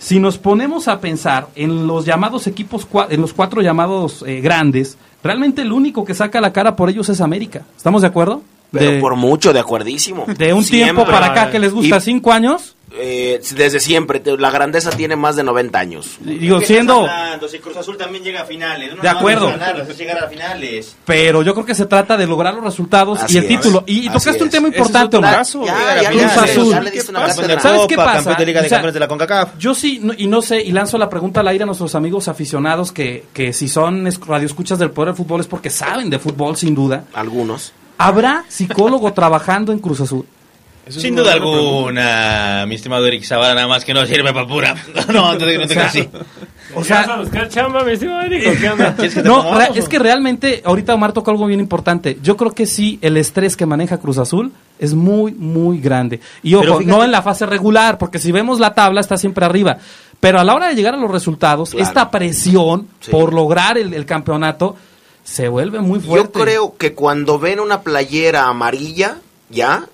si nos ponemos a pensar en los llamados equipos, en los 4 llamados grandes, realmente el único que saca la cara por ellos es América. ¿Estamos de acuerdo? Pero por mucho, de acuerdísimo. De un tiempo para acá que les gusta, 5 años. Desde siempre, la grandeza tiene más de 90 años. Digo, siendo... Si Cruz Azul también llega a finales. De acuerdo. Llegar a finales. Pero yo creo que se trata de lograr los resultados y el título. Y tocaste un tema importante, Omar. Cruz Azul. ¿Sabes qué pasa? Campeón de Liga de Campeones de la CONCACAF. Yo sí, no sé, y lanzo la pregunta al aire a nuestros amigos aficionados que si son radioescuchas del Poder del Fútbol es porque saben de fútbol, sin duda. Algunos. ¿Habrá psicólogo trabajando en Cruz Azul? Sin duda alguna, mi estimado Eric Zavala, nada más que no sirve para pura. No te así. O sea, ¿vas a buscar chamba, mi estimado Eric? ¿Qué onda? No, es que realmente, ahorita Omar tocó algo bien importante. Yo creo que sí, el estrés que maneja Cruz Azul es muy, muy grande. Y ojo, no en la fase regular, porque si vemos la tabla está siempre arriba. Pero a la hora de llegar a los resultados, esta presión por lograr el campeonato se vuelve muy fuerte. Yo creo que cuando ven una playera amarilla, ya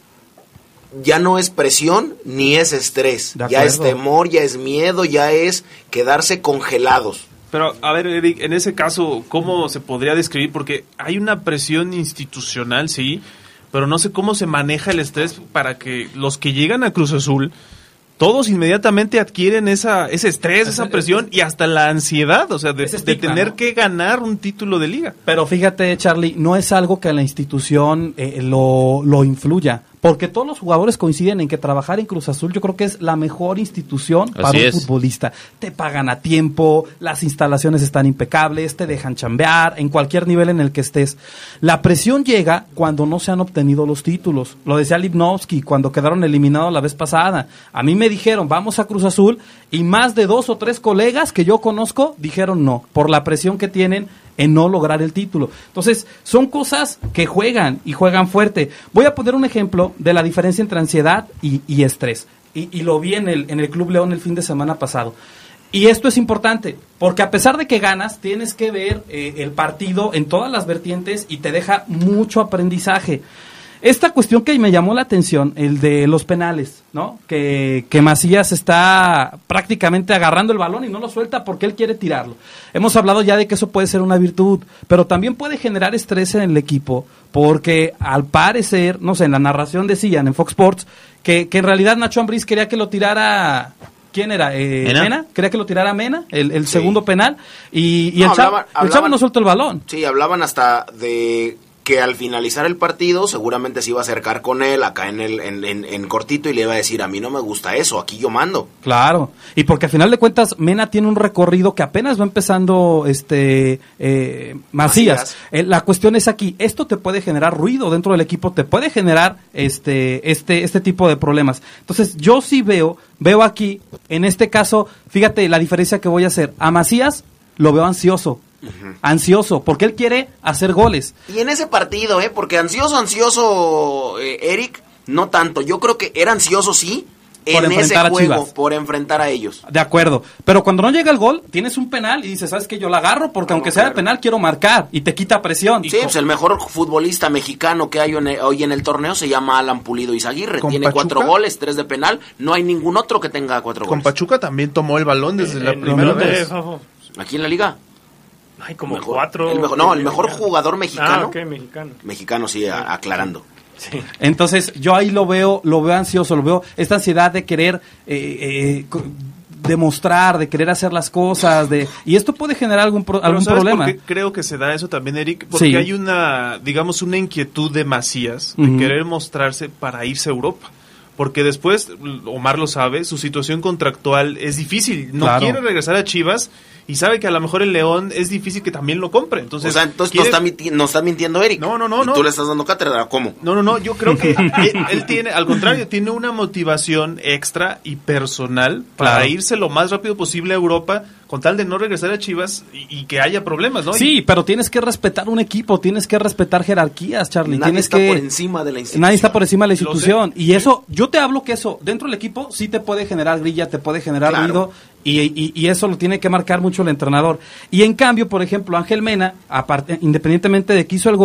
no es presión ni es estrés, ya es temor, ya es miedo, ya es quedarse congelados. Pero, a ver, Eric, en ese caso, ¿cómo se podría describir? Porque hay una presión institucional, sí, pero no sé cómo se maneja el estrés para que los que llegan a Cruz Azul, todos inmediatamente adquieren ese estrés, esa presión y hasta la ansiedad, o sea, de tener que ganar un título de liga. Pero fíjate, Charlie, no es algo que la institución lo influya. Porque todos los jugadores coinciden en que trabajar en Cruz Azul yo creo que es la mejor institución para un futbolista. Te pagan a tiempo, las instalaciones están impecables, te dejan chambear en cualquier nivel en el que estés. La presión llega cuando no se han obtenido los títulos. Lo decía Lipnowski cuando quedaron eliminados la vez pasada. A mí me dijeron, vamos a Cruz Azul, y más de 2 o 3 colegas que yo conozco dijeron no, por la presión que tienen en no lograr el título. Entonces, son cosas que juegan y juegan fuerte. Voy a poner un ejemplo de la diferencia entre ansiedad y estrés. Y lo vi en el Club León el fin de semana pasado. Y esto es importante, porque a pesar de que ganas, tienes que ver el partido en todas las vertientes y te deja mucho aprendizaje. Esta cuestión que me llamó la atención, el de los penales, ¿no? Que Macías está prácticamente agarrando el balón y no lo suelta porque él quiere tirarlo. Hemos hablado ya de que eso puede ser una virtud, pero también puede generar estrés en el equipo, porque al parecer, no sé, en la narración decían en Fox Sports que en realidad Nacho Ambriz quería que lo tirara... ¿Quién era? Mena. Quería que lo tirara Mena, el segundo penal, y el chavo no soltó el balón. Sí, hablaban hasta de que al finalizar el partido seguramente se iba a acercar con él acá en cortito y le iba a decir, a mí no me gusta eso, aquí yo mando. Claro, y porque al final de cuentas Mena tiene un recorrido que apenas va empezando Macías. La cuestión es aquí, esto te puede generar ruido dentro del equipo, te puede generar este tipo de problemas. Entonces yo sí veo aquí, en este caso, fíjate la diferencia que voy a hacer. A Macías lo veo ansioso. Ansioso, porque él quiere hacer goles. Y en ese partido, porque ansioso, Eric, no tanto. Yo creo que era ansioso, sí, en ese juego, por enfrentar a ellos. De acuerdo, pero cuando no llega el gol, tienes un penal y dices, ¿sabes qué? Yo la agarro porque aunque sea de penal, quiero marcar y te quita presión. Sí, pues el mejor futbolista mexicano que hay hoy en el torneo se llama Alan Pulido Izaguirre. Tiene 4 goles, 3 de penal. No hay ningún otro que tenga 4 goles. Con Pachuca también tomó el balón desde la primera vez. Aquí en la liga. Hay como 4. El mejor jugador mexicano. Mexicano, sí, aclarando. Sí. Entonces, yo ahí lo veo ansioso, lo veo esta ansiedad de querer demostrar, de querer hacer las cosas, y esto puede generar algún problema. ¿Por qué creo que se da eso también, Eric? Porque hay una inquietud de Macías de querer mostrarse para irse a Europa. Porque después, Omar lo sabe, su situación contractual es difícil. No quiere regresar a Chivas y sabe que a lo mejor el León es difícil que también lo compre. Entonces no está mintiendo Eric. No. ¿Y tú le estás dando cátedra? ¿Cómo? No, yo creo que él tiene, al contrario, tiene una motivación extra y personal para irse lo más rápido posible a Europa con tal de no regresar a Chivas y que haya problemas, ¿no? Sí, pero tienes que respetar un equipo, tienes que respetar jerarquías, Charlie. Nadie está por encima de la institución. Nadie está por encima de la institución. Y eso, yo te hablo que eso, dentro del equipo sí te puede generar grilla, te puede generar ruido, y eso lo tiene que marcar mucho el entrenador. Y en cambio, por ejemplo, Ángel Mena, independientemente de que hizo el gol,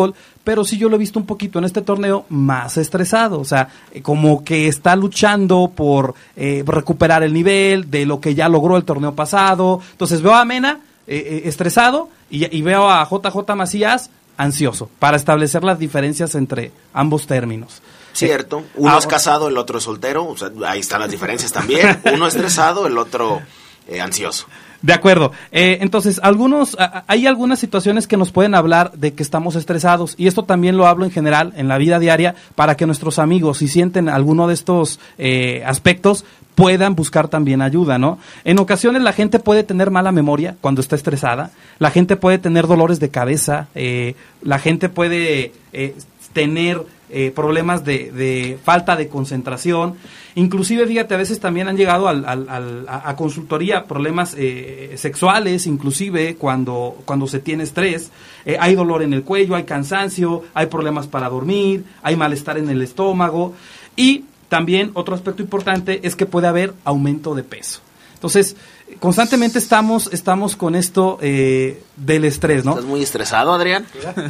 pero sí yo lo he visto un poquito en este torneo más estresado, o sea, como que está luchando por recuperar el nivel de lo que ya logró el torneo pasado. Entonces veo a Mena estresado y veo a JJ Macías ansioso para establecer las diferencias entre ambos términos. Cierto, uno es casado, el otro es soltero, o sea, ahí están las diferencias también, uno estresado, el otro ansioso. De acuerdo. Entonces, hay algunas situaciones que nos pueden hablar de que estamos estresados, y esto también lo hablo en general en la vida diaria para que nuestros amigos, si sienten alguno de estos aspectos, puedan buscar también ayuda, ¿no? En ocasiones la gente puede tener mala memoria cuando está estresada, la gente puede tener dolores de cabeza, la gente puede tener problemas de falta de concentración. Inclusive, fíjate, a veces también han llegado a consultoría problemas sexuales, inclusive cuando se tiene estrés. Hay dolor en el cuello, hay cansancio, hay problemas para dormir, hay malestar en el estómago. Y también otro aspecto importante es que puede haber aumento de peso. Entonces, constantemente estamos con esto del estrés, ¿no? ¿Estás muy estresado, Adrián?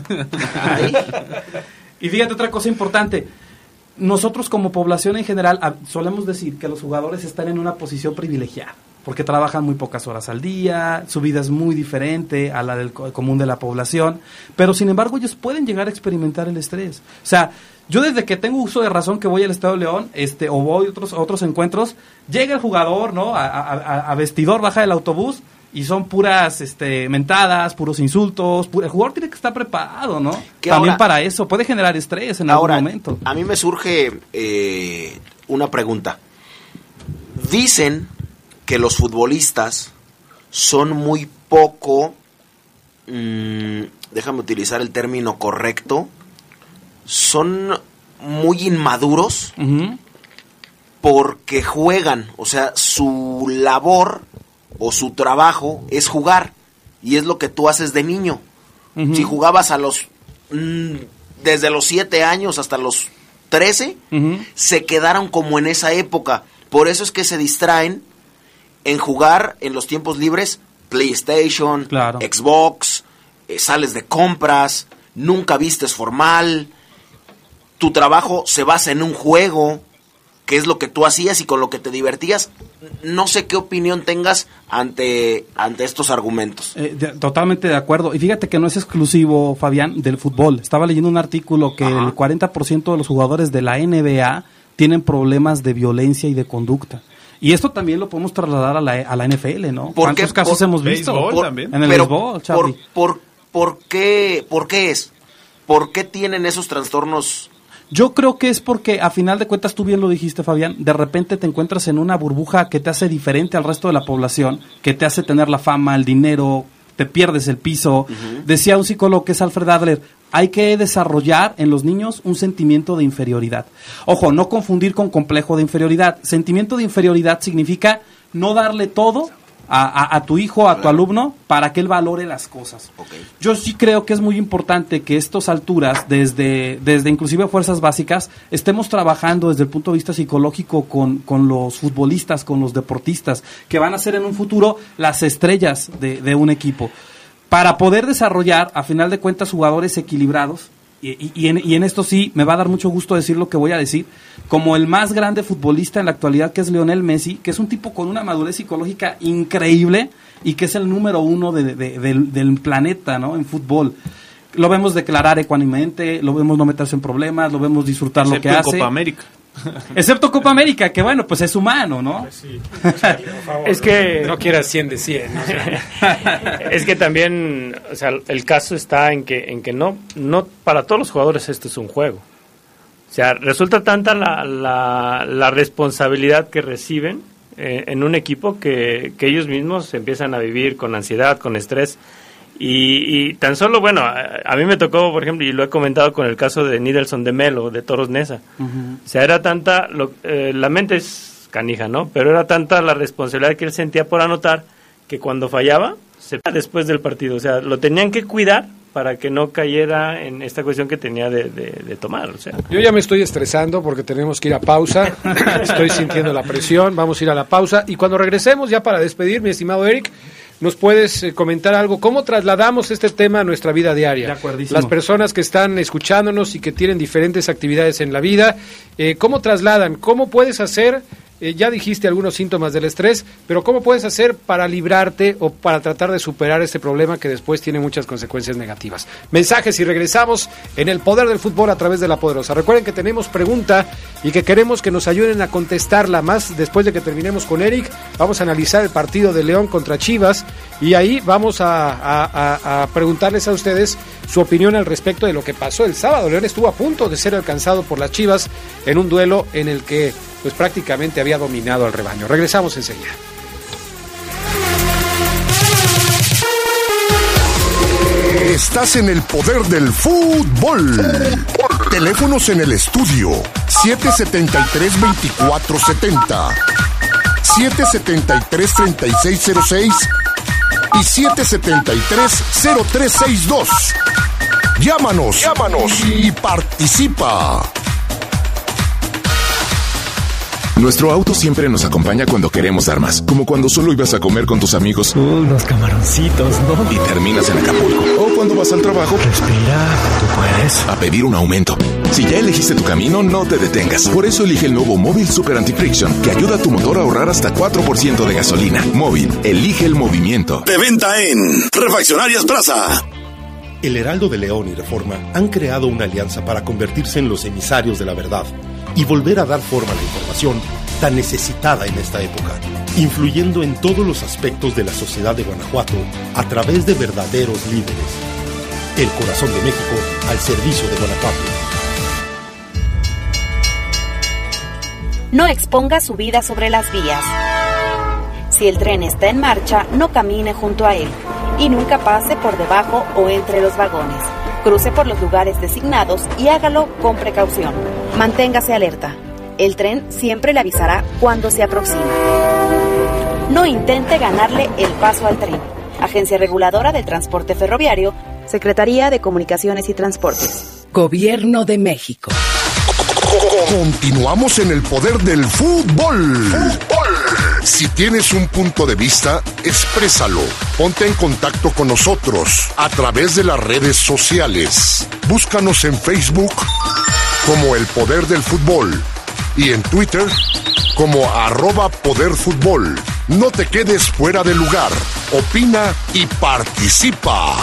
Y fíjate otra cosa importante. Nosotros como población en general solemos decir que los jugadores están en una posición privilegiada, porque trabajan muy pocas horas al día, su vida es muy diferente a la del común de la población, pero sin embargo ellos pueden llegar a experimentar el estrés. O sea, yo desde que tengo uso de razón que voy al Estadio León, o voy a otros encuentros, llega el jugador, ¿no? A vestidor, baja del autobús, y son puras mentadas, puros insultos. El jugador tiene que estar preparado, ¿no? También ahora, para eso. Puede generar estrés en algún momento. A mí me surge una pregunta. Dicen que los futbolistas son muy poco, déjame utilizar el término correcto, son muy inmaduros porque juegan, o sea, su labor o su trabajo es jugar, y es lo que tú haces de niño. Si jugabas desde los 7 años hasta los 13, se quedaron como en esa época. Por eso es que se distraen en jugar en los tiempos libres, PlayStation, claro, Xbox, sales de compras, nunca vistes formal, tu trabajo se basa en un juego, que es lo que tú hacías y con lo que te divertías. No sé qué opinión tengas ante estos argumentos. Totalmente de acuerdo. Y fíjate que no es exclusivo, Fabián, del fútbol. Estaba leyendo un artículo que el 40% de los jugadores de la NBA tienen problemas de violencia y de conducta. Y esto también lo podemos trasladar a la NFL, ¿no? ¿Cuántos casos hemos visto? En el béisbol, Charlie. ¿Por qué es? ¿Por qué tienen esos trastornos? Yo creo que es porque, a final de cuentas, tú bien lo dijiste, Fabián, de repente te encuentras en una burbuja que te hace diferente al resto de la población, que te hace tener la fama, el dinero, te pierdes el piso. Decía un psicólogo que es Alfred Adler, hay que desarrollar en los niños un sentimiento de inferioridad. Ojo, no confundir con complejo de inferioridad. Sentimiento de inferioridad significa no darle todo a tu hijo, a tu alumno, para que él valore las cosas. Yo sí creo que es muy importante que a estas alturas, desde inclusive fuerzas básicas, estemos trabajando desde el punto de vista psicológico con los futbolistas, con los deportistas, que van a ser en un futuro las estrellas de un equipo, para poder desarrollar, a final de cuentas, jugadores equilibrados. Y en esto sí, me va a dar mucho gusto decir lo que voy a decir, como el más grande futbolista en la actualidad, que es Lionel Messi, que es un tipo con una madurez psicológica increíble y que es el número 1 del planeta, ¿no? En fútbol. Lo vemos declarar ecuánimemente, lo vemos no meterse en problemas, lo vemos disfrutar lo que hace. Excepto Copa América. Excepto Copa América, que bueno, pues es humano, ¿no? Pues sí. Es que no quieras 100 de 100. Es que también, o sea, el caso está en que no para todos los jugadores esto es un juego. O sea, resulta tanta la responsabilidad que reciben en un equipo que ellos mismos empiezan a vivir con ansiedad, con estrés. Y tan solo, bueno, a mí me tocó, por ejemplo, y lo he comentado con el caso de Nidelson de Melo, de Toros Neza. O sea, era tanta, la mente es canija, ¿no? Pero era tanta la responsabilidad que él sentía por anotar, que cuando fallaba, se después del partido. O sea, lo tenían que cuidar para que no cayera en esta cuestión que tenía de tomar. O sea. Yo ya me estoy estresando porque tenemos que ir a pausa. Estoy sintiendo la presión. Vamos a ir a la pausa. Y cuando regresemos, ya para despedir, mi estimado Eric, nos puedes comentar algo. ¿Cómo trasladamos este tema a nuestra vida diaria? De acuerdísimo. Las personas que están escuchándonos y que tienen diferentes actividades en la vida, ¿cómo trasladan? ¿Cómo puedes hacer? Ya dijiste algunos síntomas del estrés, pero ¿cómo puedes hacer para librarte o para tratar de superar este problema que después tiene muchas consecuencias negativas? Mensajes y regresamos en el Poder del Fútbol a través de La Poderosa. Recuerden que tenemos pregunta y que queremos que nos ayuden a contestarla más después de que terminemos con Eric. Vamos a analizar el partido de León contra Chivas y ahí vamos a preguntarles a ustedes su opinión al respecto de lo que pasó el sábado. León estuvo a punto de ser alcanzado por las Chivas en un duelo en el que pues prácticamente había dominado al rebaño. Regresamos enseguida. Estás en el poder del fútbol. Teléfonos en el estudio 773-2470, 773-3606 y 773-0362. Llámanos y participa. Nuestro auto siempre nos acompaña cuando queremos dar más, como cuando solo ibas a comer con tus amigos. Unos camaroncitos, ¿no? Y terminas en Acapulco. O cuando vas al trabajo. Respira, tú puedes. A pedir un aumento. Si ya elegiste tu camino, no te detengas. Por eso elige el nuevo Móvil Super Anti-Friction, que ayuda a tu motor a ahorrar hasta 4% de gasolina. Móvil, elige el movimiento. De venta en Refaccionarias Plaza. El Heraldo de León y Reforma han creado una alianza para convertirse en los emisarios de la verdad y volver a dar forma a la información tan necesitada en esta época, influyendo en todos los aspectos de la sociedad de Guanajuato a través de verdaderos líderes. El corazón de México al servicio de Guanajuato. No exponga su vida sobre las vías. Si el tren está en marcha, no camine junto a él y nunca pase por debajo o entre los vagones. Cruce por los lugares designados y hágalo con precaución. Manténgase alerta. El tren siempre le avisará cuando se aproxima. No intente ganarle el paso al tren. Agencia Reguladora del Transporte Ferroviario, Secretaría de Comunicaciones y Transportes. Gobierno de México. Continuamos en el poder del fútbol. Si tienes un punto de vista, exprésalo. Ponte en contacto con nosotros a través de las redes sociales. Búscanos en Facebook como El Poder del Fútbol y en Twitter como @poderfutbol. No te quedes fuera de lugar. Opina y participa.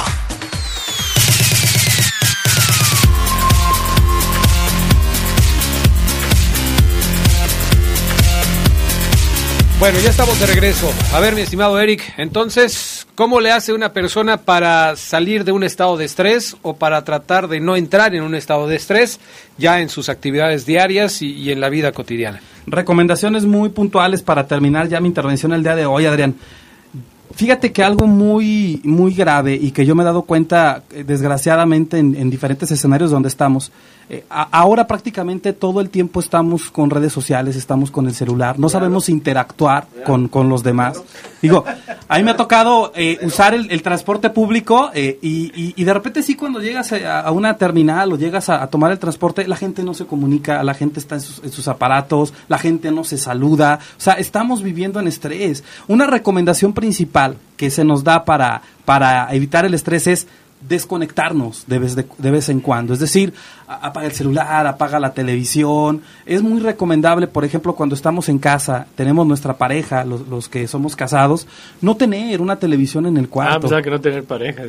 Bueno, ya estamos de regreso. A ver, mi estimado Eric, entonces, ¿cómo le hace una persona para salir de un estado de estrés o para tratar de no entrar en un estado de estrés ya en sus actividades diarias y en la vida cotidiana? Recomendaciones muy puntuales para terminar ya mi intervención el día de hoy, Adrián. Fíjate que algo muy, muy grave y que yo me he dado cuenta, desgraciadamente, en diferentes escenarios donde estamos, ahora prácticamente todo el tiempo estamos con redes sociales, estamos con el celular, no sabemos interactuar con los demás. Digo, a mí me ha tocado usar el transporte público y de repente sí, cuando llegas a una terminal o llegas a tomar el transporte, la gente no se comunica, la gente está en sus aparatos, la gente no se saluda, o sea, estamos viviendo en estrés. Una recomendación principal que se nos da para evitar el estrés es desconectarnos de vez en cuando, es decir, apaga el celular, apaga la televisión. Es muy recomendable, por ejemplo, cuando estamos en casa, tenemos nuestra pareja, los que somos casados, no tener una televisión en el cuarto. Pensaba que no tener pareja.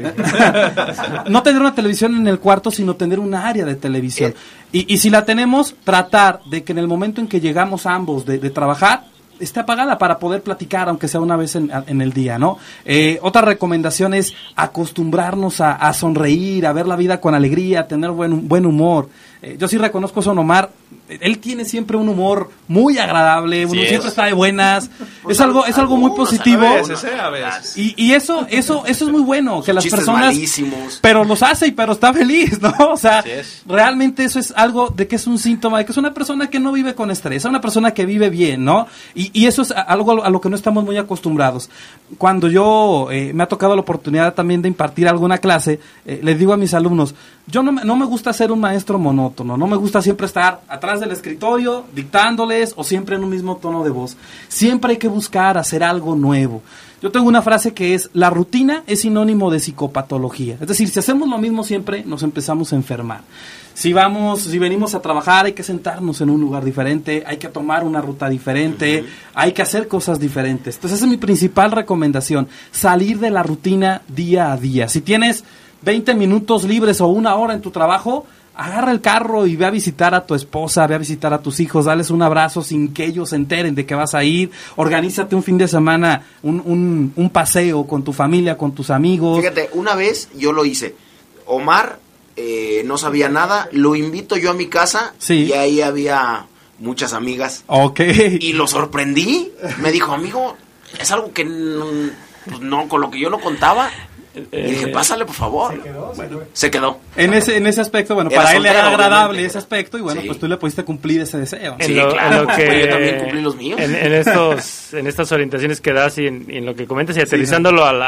No tener una televisión en el cuarto, sino tener un área de televisión. Y si la tenemos, tratar de que en el momento en que llegamos ambos de trabajar, esté apagada para poder platicar, aunque sea una vez en el día, ¿no? Otra recomendación es acostumbrarnos a sonreír, a ver la vida con alegría, a tener buen humor. Yo sí reconozco a Son Omar, él tiene siempre un humor muy agradable, uno siempre está de buenas, es algo muy positivo. A veces. Y eso es muy bueno, que las Chistes personas, malísimos. pero los hace pero está feliz, ¿no? O sea, realmente eso es algo de que es un síntoma de que es una persona que no vive con estrés, es una persona que vive bien, ¿no? Y eso es algo a lo que no estamos muy acostumbrados. Cuando yo me ha tocado la oportunidad también de impartir alguna clase, les digo a mis alumnos, yo no me gusta ser un maestro monótono. monótono. No me gusta siempre estar atrás del escritorio dictándoles o siempre en un mismo tono de voz. Siempre hay que buscar hacer algo nuevo. Yo tengo una frase que es: la rutina es sinónimo de psicopatología. Es decir, si hacemos lo mismo siempre, nos empezamos a enfermar. Si venimos a trabajar, hay que sentarnos en un lugar diferente, hay que tomar una ruta diferente, hay que hacer cosas diferentes. Entonces esa es mi principal recomendación: salir de la rutina día a día. Si tienes 20 minutos libres o una hora en tu trabajo, agarra el carro y ve a visitar a tu esposa, ve a visitar a tus hijos, dales un abrazo sin que ellos se enteren de que vas a ir. Organízate un fin de semana, un paseo con tu familia, con tus amigos. Fíjate, una vez yo lo hice. Omar no sabía nada, lo invito yo a mi casa, sí, y ahí había muchas amigas. Okay. Y lo sorprendí. Me dijo: amigo, es algo que no con lo que yo no contaba. Y dije: pásale, por favor. Se quedó. En ese aspecto, bueno, para él era agradable ese aspecto, y bueno, sí, pues tú le pudiste cumplir ese deseo. Sí, claro, que yo también cumplí los míos. En estas orientaciones que das y en lo que comentas, y aterrizándolo a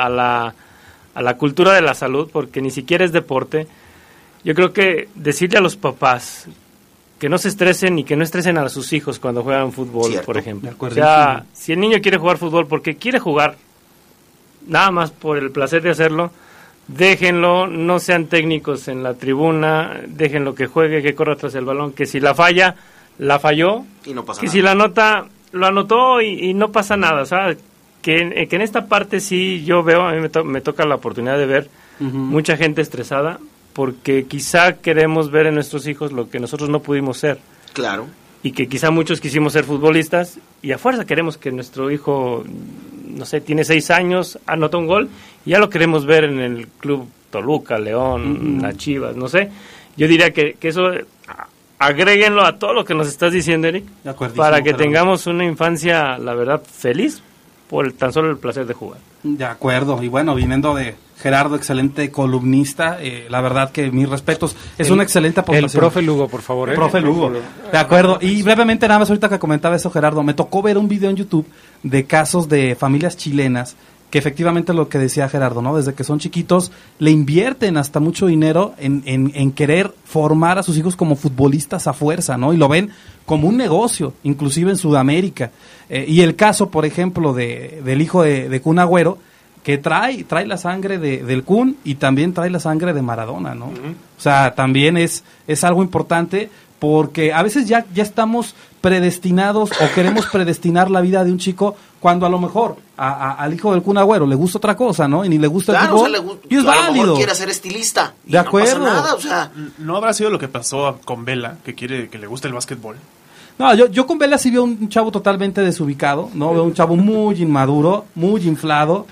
la cultura de la salud, porque ni siquiera es deporte. Yo creo que decirle a los papás que no se estresen y que no estresen a sus hijos cuando juegan fútbol, cierto, por ejemplo. O sea, si el niño quiere jugar fútbol porque quiere jugar, nada más por el placer de hacerlo, déjenlo, no sean técnicos en la tribuna, déjenlo que juegue, que corra tras el balón, que si la falla, la falló, y no pasa que nada. Si la anota, lo anotó y no pasa nada, ¿sabes? Que en esta parte sí yo veo, a mí me toca la oportunidad de ver mucha gente estresada, porque quizá queremos ver en nuestros hijos lo que nosotros no pudimos ser. Claro. Y que quizá muchos quisimos ser futbolistas y a fuerza queremos que nuestro hijo, no sé, tiene 6 años, anota un gol y ya lo queremos ver en el club Toluca, León, las Chivas, no sé. Yo diría que eso agréguenlo a todo lo que nos estás diciendo, Eric, para que tengamos una infancia, la verdad, feliz por tan solo el placer de jugar. De acuerdo, y bueno, viniendo de Gerardo, excelente columnista, la verdad que mis respetos, es una excelente aportación. El profe Lugo, por favor. El profe Lugo, de acuerdo. Y brevemente, nada más ahorita que comentaba eso, Gerardo, me tocó ver un video en YouTube de casos de familias chilenas que efectivamente lo que decía Gerardo, ¿no? Desde que son chiquitos le invierten hasta mucho dinero en querer formar a sus hijos como futbolistas a fuerza, ¿no? Y lo ven como un negocio, inclusive en Sudamérica. Y el caso, por ejemplo, del hijo de Kun Agüero, que trae la sangre del Kun y también trae la sangre de Maradona, ¿no? O sea, también es algo importante, porque a veces ya estamos predestinados o queremos predestinar la vida de un chico cuando a lo mejor al hijo del Kun Agüero le gusta otra cosa, ¿no? Y ni le gusta el fútbol, y es válido. A lo mejor quiere ser estilista y de acuerdo. No pasa nada, o sea, ¿no habrá sido lo que pasó con Vela, que le gusta el básquetbol? No, yo con Vela sí veo un chavo totalmente desubicado, ¿no? Veo un chavo muy inmaduro, muy inflado,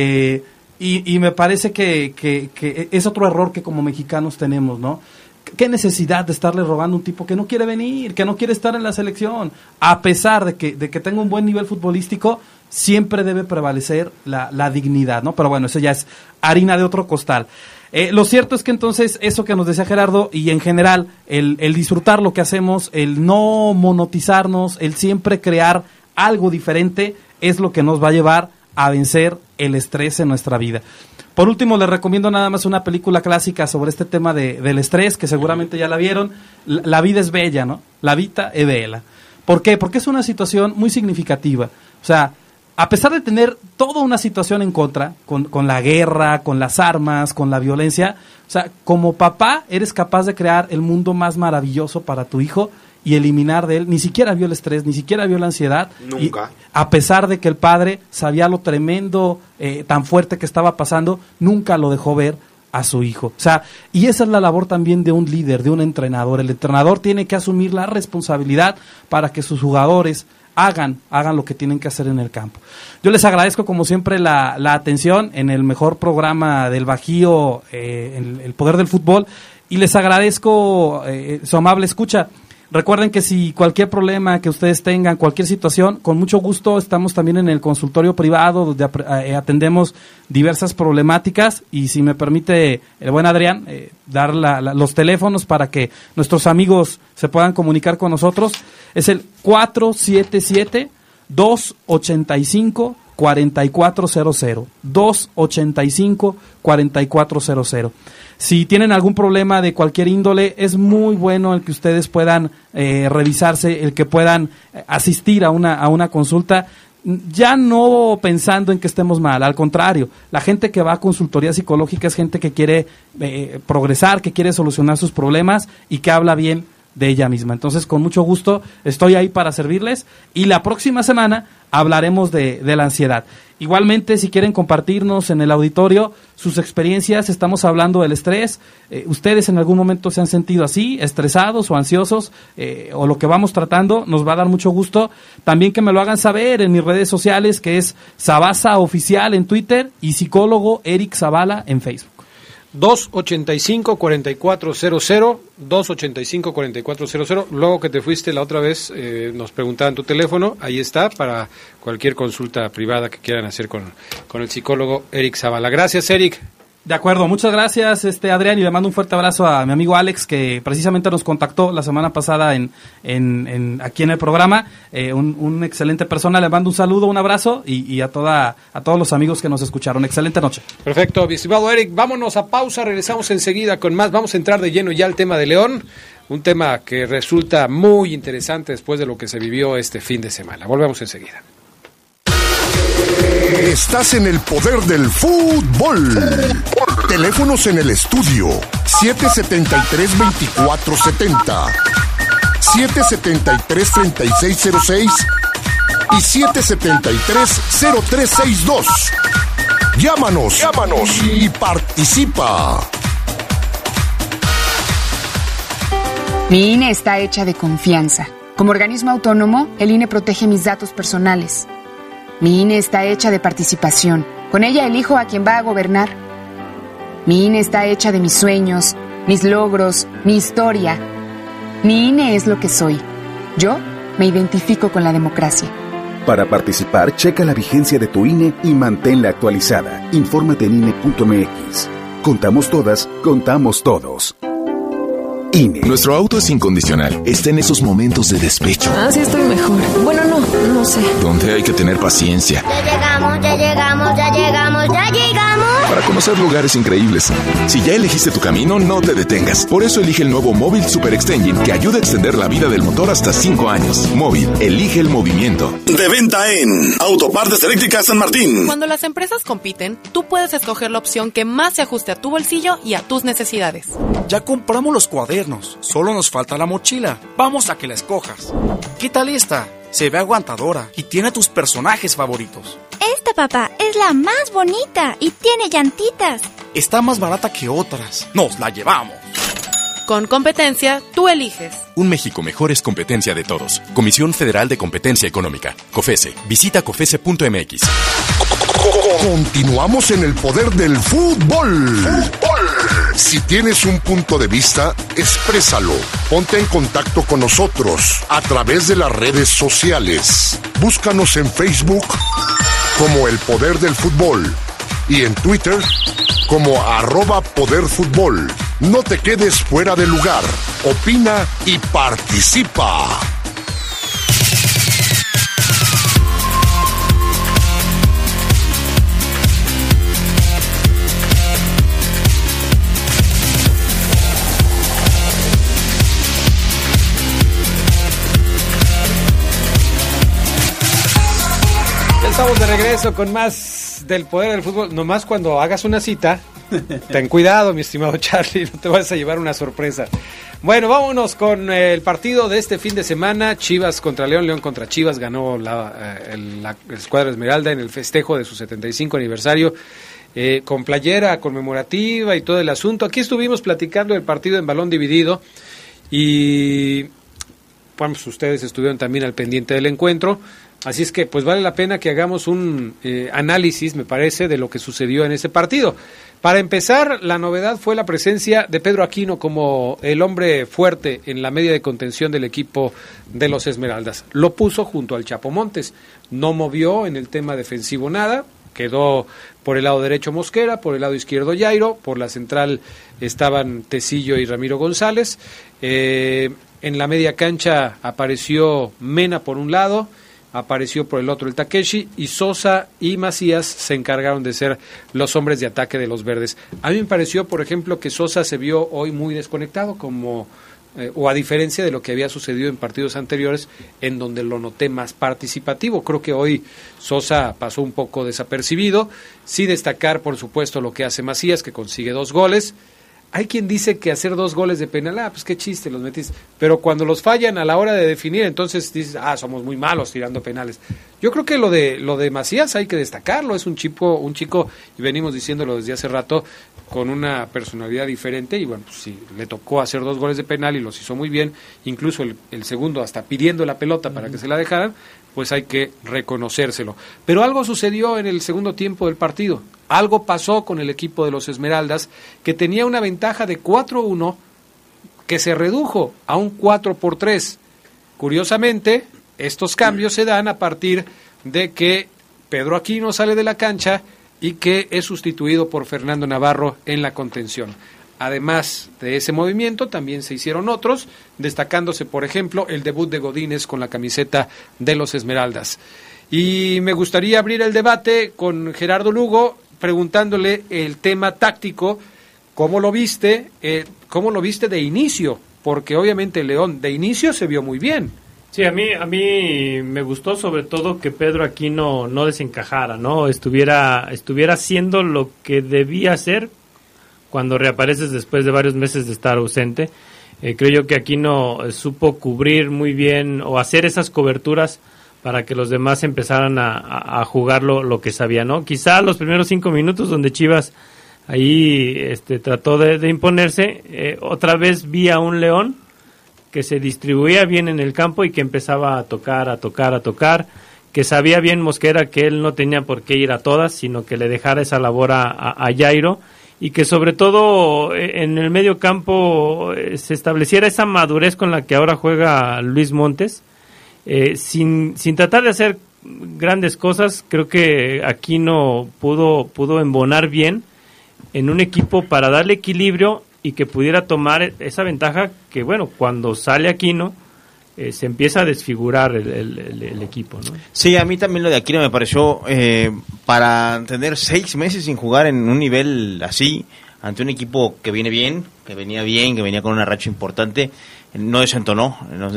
y me parece que es otro error que como mexicanos tenemos, ¿no? ¿Qué necesidad de estarle rogando a un tipo que no quiere venir, que no quiere estar en la selección? A pesar de que tenga un buen nivel futbolístico, siempre debe prevalecer la dignidad, ¿no? Pero bueno, eso ya es harina de otro costal. Lo cierto es que entonces, eso que nos decía Gerardo, y en general, el disfrutar lo que hacemos, el no monotizarnos, el siempre crear algo diferente, es lo que nos va a llevar a vencer el estrés en nuestra vida. Por último, les recomiendo nada más una película clásica sobre este tema del estrés, que seguramente ya la vieron. La vida es bella, ¿no? La vita è bella. ¿Por qué? Porque es una situación muy significativa. O sea, a pesar de tener toda una situación en contra, con la guerra, con las armas, con la violencia, o sea, como papá eres capaz de crear el mundo más maravilloso para tu hijo y eliminar de él, ni siquiera vio el estrés, ni siquiera vio la ansiedad. Nunca. Y a pesar de que el padre sabía lo tremendo, tan fuerte que estaba pasando, nunca lo dejó ver a su hijo. O sea, y esa es la labor también de un líder, de un entrenador. El entrenador tiene que asumir la responsabilidad para que sus jugadores hagan lo que tienen que hacer en el campo. Yo les agradezco como siempre la atención en el mejor programa del Bajío, el Poder del Fútbol, y les agradezco su amable escucha. Recuerden que si cualquier problema que ustedes tengan, cualquier situación, con mucho gusto estamos también en el consultorio privado donde atendemos diversas problemáticas, y si me permite el buen Adrián, dar los teléfonos para que nuestros amigos se puedan comunicar con nosotros. Es el 477-285-4000 4400, 285-4400. Si tienen algún problema de cualquier índole, es muy bueno el que ustedes puedan revisarse, el que puedan asistir a una consulta, ya no pensando en que estemos mal, al contrario, la gente que va a consultoría psicológica es gente que quiere progresar, que quiere solucionar sus problemas y que habla bien de ella misma. Entonces, con mucho gusto, estoy ahí para servirles y la próxima semana hablaremos de la ansiedad. Igualmente, si quieren compartirnos en el auditorio sus experiencias, estamos hablando del estrés. Ustedes en algún momento se han sentido así, estresados o ansiosos, o lo que vamos tratando, nos va a dar mucho gusto. También que me lo hagan saber en mis redes sociales, que es Sabasa Oficial en Twitter y psicólogo Eric Zavala en Facebook. 285-4400, 285-4400. Luego que te fuiste la otra vez, nos preguntaban tu teléfono, ahí está, para cualquier consulta privada que quieran hacer con el psicólogo Eric Zavala. Gracias, Eric. De acuerdo, muchas gracias, Adrián, y le mando un fuerte abrazo a mi amigo Alex, que precisamente nos contactó la semana pasada aquí en el programa. Un excelente persona, le mando un saludo, un abrazo y a todos los amigos que nos escucharon. Excelente noche. Perfecto, mi estimado Eric, vámonos a pausa, regresamos enseguida con más. Vamos a entrar de lleno ya al tema de León, un tema que resulta muy interesante después de lo que se vivió este fin de semana. Volvemos enseguida. Estás en el poder del fútbol. Teléfonos en el estudio 773-2470, 773-3606 y 773-0362. Llámanos y participa. Mi INE está hecha de confianza. Como organismo autónomo, el INE protege mis datos personales. Mi INE está hecha de participación. Con ella elijo a quien va a gobernar. Mi INE está hecha de mis sueños, mis logros, mi historia. Mi INE es lo que soy. Yo me identifico con la democracia. Para participar, checa la vigencia de tu INE y manténla actualizada. Infórmate en INE.mx. Contamos todas, contamos todos. INE. Nuestro auto es incondicional. Está en esos momentos de despecho. Sí estoy mejor. Bueno, no sé. Donde hay que tener paciencia. Ya llegamos. Para conocer lugares increíbles. Si ya elegiste tu camino, no te detengas. Por eso elige el nuevo Móvil Super Extension, que ayuda a extender la vida del motor hasta 5 años. Móvil, elige el movimiento. De venta en Autopartes Eléctricas San Martín. Cuando las empresas compiten, tú puedes escoger la opción que más se ajuste a tu bolsillo y a tus necesidades. Ya compramos los cuadernos, solo nos falta la mochila. Vamos a que la escojas. ¿Qué tal esta? Se ve aguantadora y tiene a tus personajes favoritos. Esta, papá, es la más bonita y tiene llantitas. Está más barata que otras. Nos la llevamos. Con competencia, tú eliges. Un México mejor es competencia de todos. Comisión Federal de Competencia Económica. COFESE. Visita COFESE.mx. Continuamos en el poder del fútbol. Si tienes un punto de vista, exprésalo. Ponte en contacto con nosotros a través de las redes sociales. Búscanos en Facebook como El Poder del Fútbol y en Twitter como @poderfutbol. No te quedes fuera de lugar. Opina y participa. Estamos de regreso con más del poder del fútbol. Nomás cuando hagas una cita, ten cuidado, mi estimado Charlie, no te vas a llevar una sorpresa. Bueno, vámonos con el partido de este fin de semana. Chivas contra León, León contra Chivas. Ganó la escuadra Esmeralda en el festejo de su 75 aniversario. Con playera conmemorativa y todo el asunto. Aquí estuvimos platicando del partido en balón dividido y bueno, pues ustedes estuvieron también al pendiente del encuentro. Así es que pues vale la pena que hagamos un análisis, me parece, de lo que sucedió en ese partido. Para empezar, la novedad fue la presencia de Pedro Aquino como el hombre fuerte en la media de contención del equipo de los Esmeraldas. Lo puso junto al Chapo Montes. No movió en el tema defensivo nada. Quedó por el lado derecho Mosquera, por el lado izquierdo Jairo, por la central estaban Tecillo y Ramiro González. En la media cancha apareció Mena por un lado, apareció por el otro el Takeshi, y Sosa y Macías se encargaron de ser los hombres de ataque de los verdes. A mí me pareció, por ejemplo, que Sosa se vio hoy muy desconectado, o a diferencia de lo que había sucedido en partidos anteriores, en donde lo noté más participativo. Creo que hoy Sosa pasó un poco desapercibido. Sí destacar, por supuesto, lo que hace Macías, que consigue 2 goles. Hay quien dice que hacer 2 goles de penal, pues qué chiste, los metiste. Pero cuando los fallan a la hora de definir, entonces dices, somos muy malos tirando penales. Yo creo que lo de Macías hay que destacarlo. Es un chico, y venimos diciéndolo desde hace rato, con una personalidad diferente. Y bueno, pues sí, le tocó hacer 2 goles de penal y los hizo muy bien. Incluso el segundo hasta pidiendo la pelota para que se la dejaran, pues hay que reconocérselo. Pero algo sucedió en el segundo tiempo del partido. Algo pasó con el equipo de los Esmeraldas, que tenía una ventaja de 4-1, que se redujo a un 4-3. Curiosamente, estos cambios se dan a partir de que Pedro Aquino sale de la cancha y que es sustituido por Fernando Navarro en la contención. Además de ese movimiento, también se hicieron otros, destacándose, por ejemplo, el debut de Godínez con la camiseta de los Esmeraldas. Y me gustaría abrir el debate con Gerardo Lugo, preguntándole el tema táctico, ¿cómo lo viste de inicio? Porque obviamente León de inicio se vio muy bien. Sí, a mí me gustó sobre todo que Pedro Aquino no desencajara, ¿no? Estuviera haciendo lo que debía hacer cuando reapareces después de varios meses de estar ausente. Creo yo que Aquino supo cubrir muy bien o hacer esas coberturas para que los demás empezaran a jugar lo que sabían, ¿no? Quizá los primeros 5 minutos donde Chivas ahí trató de imponerse, otra vez vi a un León que se distribuía bien en el campo y que empezaba a tocar, que sabía bien Mosquera que él no tenía por qué ir a todas, sino que le dejara esa labor a Jairo, y que sobre todo en el medio campo se estableciera esa madurez con la que ahora juega Luis Montes, sin tratar de hacer grandes cosas. Creo que Aquino pudo embonar bien en un equipo para darle equilibrio y que pudiera tomar esa ventaja que, bueno, cuando sale Aquino se empieza a desfigurar el equipo, ¿no? Sí, a mí también lo de Aquino me pareció, para tener 6 meses sin jugar en un nivel así, ante un equipo que viene bien, que venía con una racha importante, no desentonó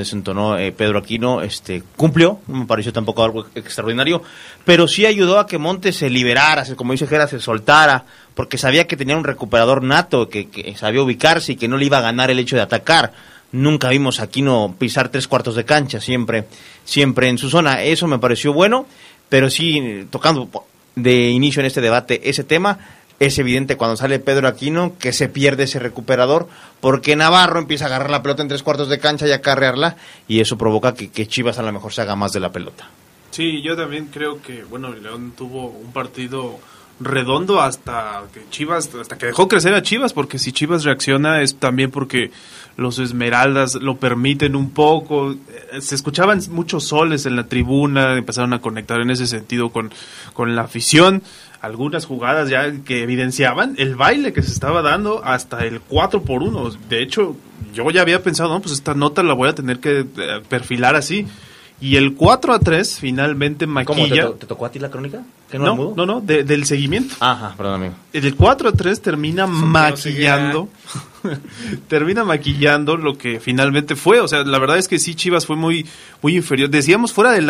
Pedro Aquino, cumplió, no me pareció tampoco algo extraordinario, pero sí ayudó a que Montes se liberara, como dice Gera, se soltara, porque sabía que tenía un recuperador nato, que sabía ubicarse y que no le iba a ganar el hecho de atacar. Nunca vimos a Aquino pisar 3/4 de cancha, siempre en su zona. Eso me pareció bueno, pero sí, tocando de inicio en este debate ese tema, es evidente cuando sale Pedro Aquino que se pierde ese recuperador, porque Navarro empieza a agarrar la pelota en 3/4 de cancha y a carrearla, y eso provoca que Chivas a lo mejor se haga más de la pelota. Sí, yo también creo que, bueno, León tuvo un partido redondo hasta que dejó crecer a Chivas, porque si Chivas reacciona es también porque los Esmeraldas lo permiten un poco. Se escuchaban muchos soles en la tribuna, empezaron a conectar en ese sentido con la afición. Algunas jugadas ya que evidenciaban el baile que se estaba dando hasta el 4-1. De hecho, yo ya había pensado, no, pues esta nota la voy a tener que perfilar así. Y el 4-3 finalmente maquilla. ¿Cómo te tocó a ti la crónica? ¿Que No, del seguimiento. Ajá, perdón, amigo. El 4-3 termina maquillando. Termina maquillando lo que finalmente fue. O sea, la verdad es que sí, Chivas fue muy inferior. Decíamos, fuera del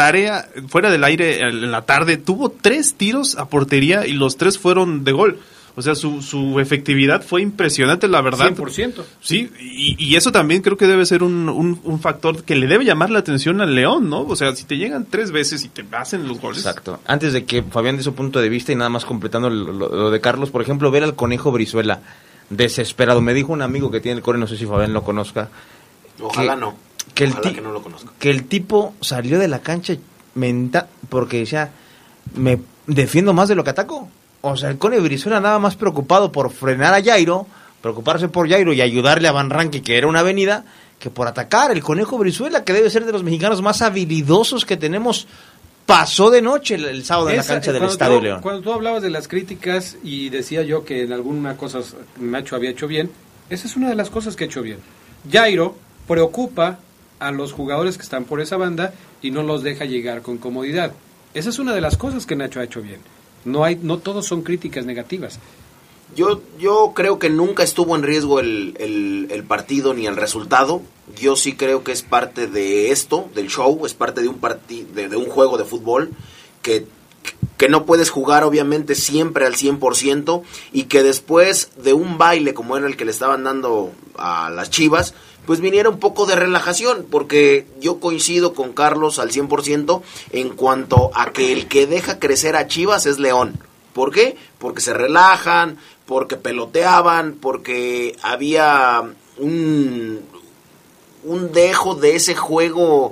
aire en la tarde, tuvo 3 tiros a portería y los 3 fueron de gol. O sea, su efectividad fue impresionante, la verdad. 100%. Sí, y eso también creo que debe ser un factor que le debe llamar la atención al León, ¿no? O sea, si te llegan 3 veces y te hacen los goles. Exacto. Antes de que Fabián dé su punto de vista y nada más completando lo de Carlos, por ejemplo, ver al Conejo Brizuela desesperado. Me dijo un amigo que tiene el Core, no sé si Fabián lo conozca. Ojalá que no lo conozca. Que el tipo salió de la cancha porque decía, me defiendo más de lo que ataco. O sea, el Cone Brizuela nada más preocupado por frenar a Jairo, preocuparse por Jairo y ayudarle a Van Rankin, que era una avenida, que por atacar. El Conejo Brizuela, que debe ser de los mexicanos más habilidosos que tenemos, pasó de noche el sábado en la cancha del Estadio León. Cuando tú hablabas de las críticas y decía yo que en alguna cosa Nacho había hecho bien, esa es una de las cosas que ha hecho bien. Jairo preocupa a los jugadores que están por esa banda y no los deja llegar con comodidad. Esa es una de las cosas que Nacho ha hecho bien. No todos son críticas negativas. Yo creo que nunca estuvo en riesgo el partido ni el resultado. Yo sí creo que es parte de esto, del show, es parte de un juego de fútbol que no puedes jugar obviamente siempre al 100% y que después de un baile como era el que le estaban dando a las Chivas, pues viniera un poco de relajación, porque yo coincido con Carlos al 100% en cuanto a que el que deja crecer a Chivas es León. ¿Por qué? Porque se relajan, porque peloteaban, porque había un dejo de ese juego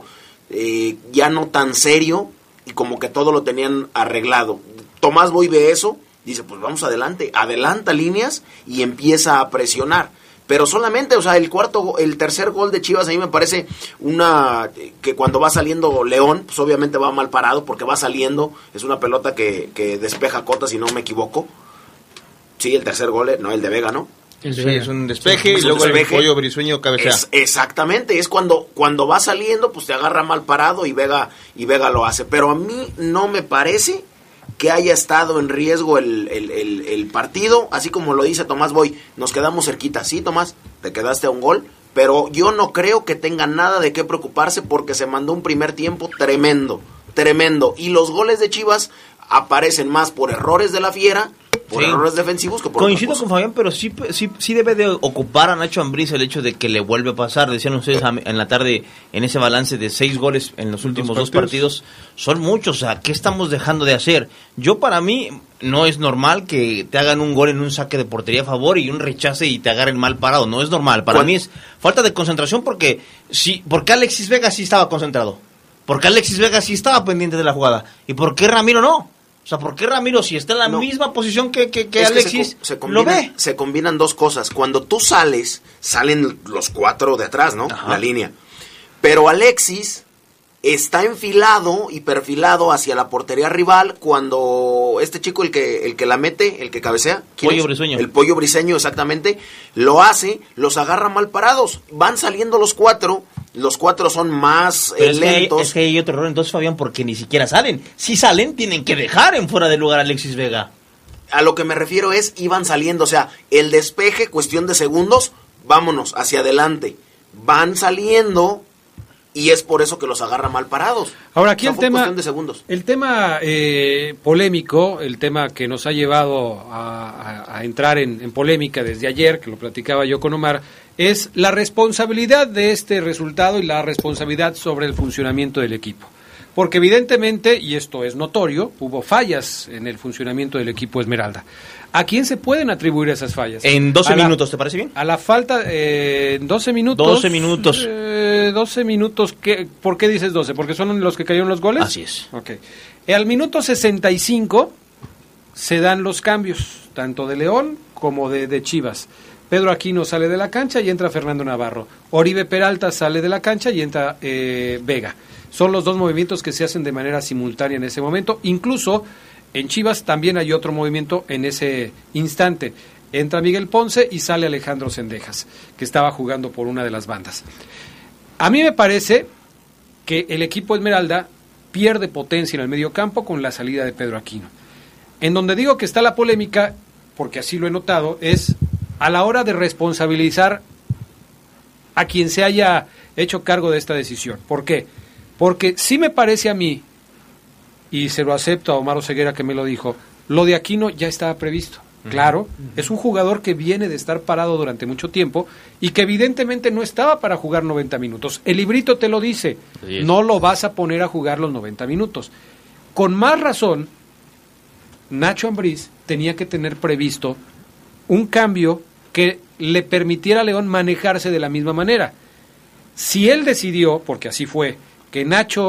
ya no tan serio y como que todo lo tenían arreglado. Tomás Boy ve eso, dice, pues vamos adelante, adelanta líneas y empieza a presionar. Pero solamente, o sea, el tercer gol de Chivas a mí me parece que cuando va saliendo León, pues obviamente va mal parado porque va saliendo, es una pelota que despeja Cota, si no me equivoco. Sí, el tercer gol, no, el de Vega, ¿no? Sí, es un despeje y luego el Pollo Brizueño cabecea. Exactamente, es cuando va saliendo, pues te agarra mal parado y Vega lo hace. Pero a mí no me parece que haya estado en riesgo el partido, así como lo dice Tomás Boy, nos quedamos cerquita. Sí, Tomás, te quedaste a un gol, pero yo no creo que tenga nada de qué preocuparse porque se mandó un primer tiempo tremendo. Y los goles de Chivas aparecen más por errores de la Fiera, por errores defensivos que por Coincido con Fabián, pero sí debe de ocupar a Nacho Ambriz el hecho de que le vuelve a pasar. Decían ustedes en la tarde, en ese balance de 6 goles en los últimos dos partidos, son muchos. O sea, ¿qué estamos dejando de hacer? Para mí, no es normal que te hagan un gol en un saque de portería a favor y un rechace y te agarren mal parado. No es normal. Para mí es falta de concentración porque Alexis Vega sí estaba concentrado. Porque Alexis Vega sí estaba pendiente de la jugada. ¿Y por qué Ramiro no? O sea, ¿por qué Ramiro, si está en la misma posición que Alexis, lo ve? Se combinan dos cosas. Cuando tú salen los 4 de atrás, ¿no? Ajá. La línea. Pero Alexis está enfilado y perfilado hacia la portería rival cuando este chico, el que la mete, el que cabecea. Pollo Brizueño. El Pollo Briseño, exactamente. Lo hace, los agarra mal parados. Van saliendo los 4. Los 4 son más lentos. Es que hay otro error entonces, Fabián, porque ni siquiera salen. Si salen, tienen que dejar en fuera de lugar a Alexis Vega. A lo que me refiero es, iban saliendo, o sea, el despeje, cuestión de segundos, vámonos, hacia adelante. Van saliendo y es por eso que los agarra mal parados. Ahora aquí el tema polémico, el tema que nos ha llevado a entrar en polémica desde ayer, que lo platicaba yo con Omar, es la responsabilidad de este resultado y la responsabilidad sobre el funcionamiento del equipo. Porque evidentemente, y esto es notorio, hubo fallas en el funcionamiento del equipo Esmeralda. ¿A quién se pueden atribuir esas fallas? En 12 minutos, ¿te parece bien? A la falta, 12 minutos. 12 minutos. 12 minutos, ¿por qué dices 12? ¿Porque son los que cayeron los goles? Así es. Okay. Al minuto 65 se dan los cambios, tanto de León como de Chivas. Pedro Aquino sale de la cancha y entra Fernando Navarro. Oribe Peralta sale de la cancha y entra Vega. Son los dos movimientos que se hacen de manera simultánea en ese momento. Incluso en Chivas también hay otro movimiento en ese instante. Entra Miguel Ponce y sale Alejandro Cendejas, que estaba jugando por una de las bandas. A mí me parece que el equipo Esmeralda pierde potencia en el mediocampo con la salida de Pedro Aquino. En donde digo que está la polémica, porque así lo he notado, es a la hora de responsabilizar a quien se haya hecho cargo de esta decisión. ¿Por qué? Porque sí me parece a mí, y se lo acepto a Omar Oseguera que me lo dijo, lo de Aquino ya estaba previsto. Claro, es un jugador que viene de estar parado durante mucho tiempo y que evidentemente no estaba para jugar 90 minutos. El librito te lo dice, no lo vas a poner a jugar los 90 minutos. Con más razón, Nacho Ambriz tenía que tener previsto un cambio que le permitiera a León manejarse de la misma manera. Si él decidió, porque así fue, que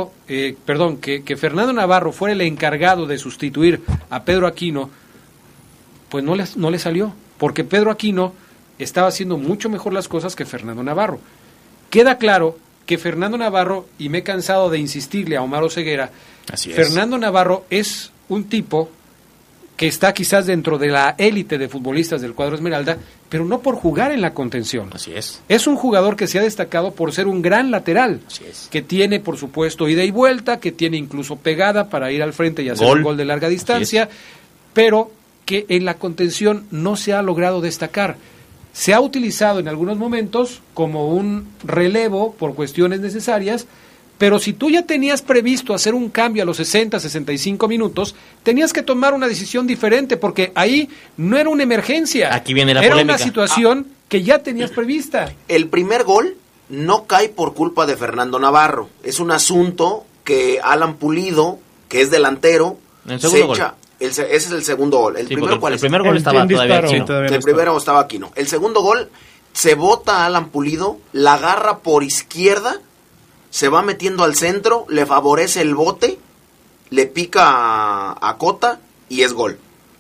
que Fernando Navarro fuera el encargado de sustituir a Pedro Aquino, pues no le salió, porque Pedro Aquino estaba haciendo mucho mejor las cosas que Fernando Navarro. Queda claro que Fernando Navarro, y me he cansado de insistirle a Omar Oseguera, Fernando Navarro es un tipo que está quizás dentro de la élite de futbolistas del cuadro Esmeralda, pero no por jugar en la contención. Así es. Es un jugador que se ha destacado por ser un gran lateral, que tiene, por supuesto, ida y vuelta, que tiene incluso pegada para ir al frente y hacer un gol de larga distancia, pero que en la contención no se ha logrado destacar. Se ha utilizado en algunos momentos como un relevo por cuestiones necesarias, pero si tú ya tenías previsto hacer un cambio a los 60, 65 minutos, tenías que tomar una decisión diferente, porque ahí no era una emergencia. Aquí viene la era polémica. Una situación que ya tenías prevista. El primer gol no cae por culpa de Fernando Navarro. Es un asunto que Alan Pulido, que es delantero, se echa... Ese es el segundo gol. El primero, ¿cuál es? El primer gol estaba todavía Aquino. El primero estaba Aquino. El segundo gol, se bota a Alan Pulido, la agarra por izquierda, se va metiendo al centro, le favorece el bote, le pica a Cota y es gol.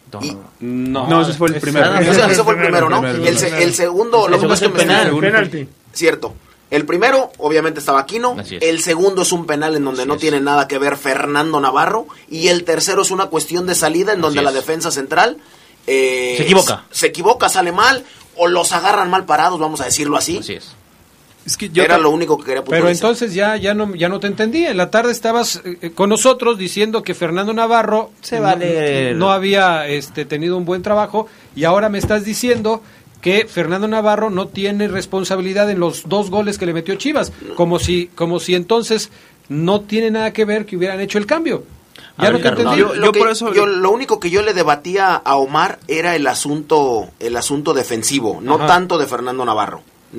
No, ese fue el primero. Ese fue el primero, ¿no? El segundo, lo que pasa es que penalti. Cierto. El primero, obviamente, estaba Aquino. El segundo es un penal en donde no tiene nada que ver Fernando Navarro. Y el tercero es una cuestión de salida en donde la defensa central se equivoca, sale mal, o los agarran mal parados, vamos a decirlo así. Así es. Es que era lo único que quería puntualizar. Pero entonces ya no te entendí. En la tarde estabas con nosotros diciendo que Fernando Navarro no había tenido un buen trabajo, y ahora me estás diciendo que Fernando Navarro no tiene responsabilidad en los 2 goles que le metió Chivas, como si entonces no tiene nada que ver que hubieran hecho el cambio. Ya no te entendí. Lo único que yo le debatía a Omar era el asunto defensivo, no tanto de Fernando Navarro.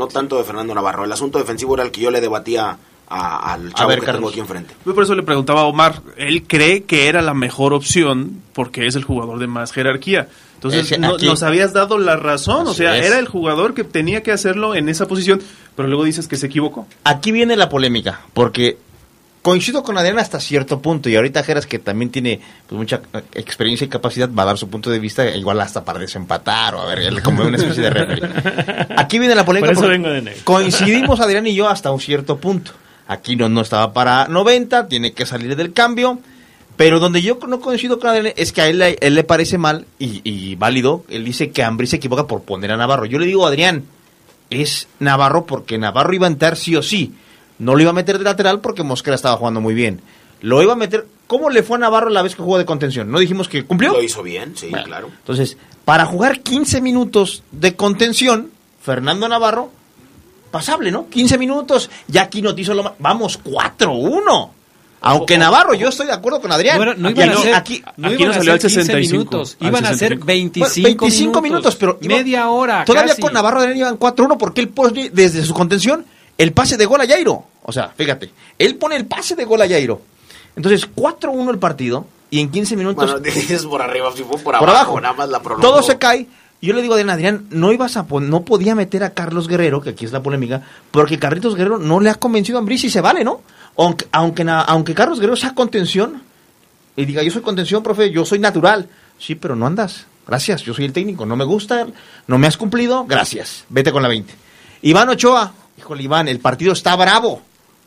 El asunto defensivo era el que yo le debatía al chavo que tengo aquí enfrente. Yo por eso le preguntaba a Omar, él cree que era la mejor opción porque es el jugador de más jerarquía. Entonces nos habías dado la razón, era el jugador que tenía que hacerlo en esa posición, pero luego dices que se equivocó. Aquí viene la polémica, porque coincido con Adrián hasta cierto punto, y ahorita Geras, que también tiene mucha experiencia y capacidad, va a dar su punto de vista, igual hasta para desempatar o a ver, como una especie de referee. Aquí viene la polémica, por eso vengo de negro. Coincidimos Adrián y yo hasta un cierto punto. Aquí no estaba para 90, tiene que salir del cambio, pero donde yo no coincido con Adrián es que a él le parece mal y válido. Él dice que Ambriz se equivoca por poner a Navarro. Yo le digo, Adrián, es Navarro porque Navarro iba a entrar sí o sí. No lo iba a meter de lateral porque Mosquera estaba jugando muy bien. Lo iba a meter... ¿Cómo le fue a Navarro la vez que jugó de contención? ¿No dijimos que cumplió? Lo hizo bien, sí, bueno, claro. Entonces, para jugar 15 minutos de contención, Fernando Navarro, pasable, ¿no? 15 minutos, ya aquí no te hizo lo más... Vamos, 4-1. Aunque Navarro, yo estoy de acuerdo con Adrián. No iban a ser, aquí no salió al 65 minutos, iban a ser 25 minutos, pero media hora. Todavía casi. Con Navarro Adrián iban 4-1 porque él pone desde su contención el pase de gol a Jairo. O sea, fíjate, él pone el pase de gol a Jairo. Entonces, 4-1 el partido y en 15 minutos... Bueno, dices por arriba, si fue por abajo, nada más la prolongó. Todo se cae. Yo le digo a Adrián, no podía meter a Carlos Guerrero, que aquí es la polémica, porque Carlitos Guerrero no le ha convencido a Ambriz y se vale, ¿no? Aunque Carlos Guerrero sea contención y diga, yo soy contención, profe, yo soy natural. Sí, pero no andas. Gracias, yo soy el técnico, no me gusta, no me has cumplido, gracias, vete con la 20. Iván Ochoa, híjole Iván, el partido está bravo,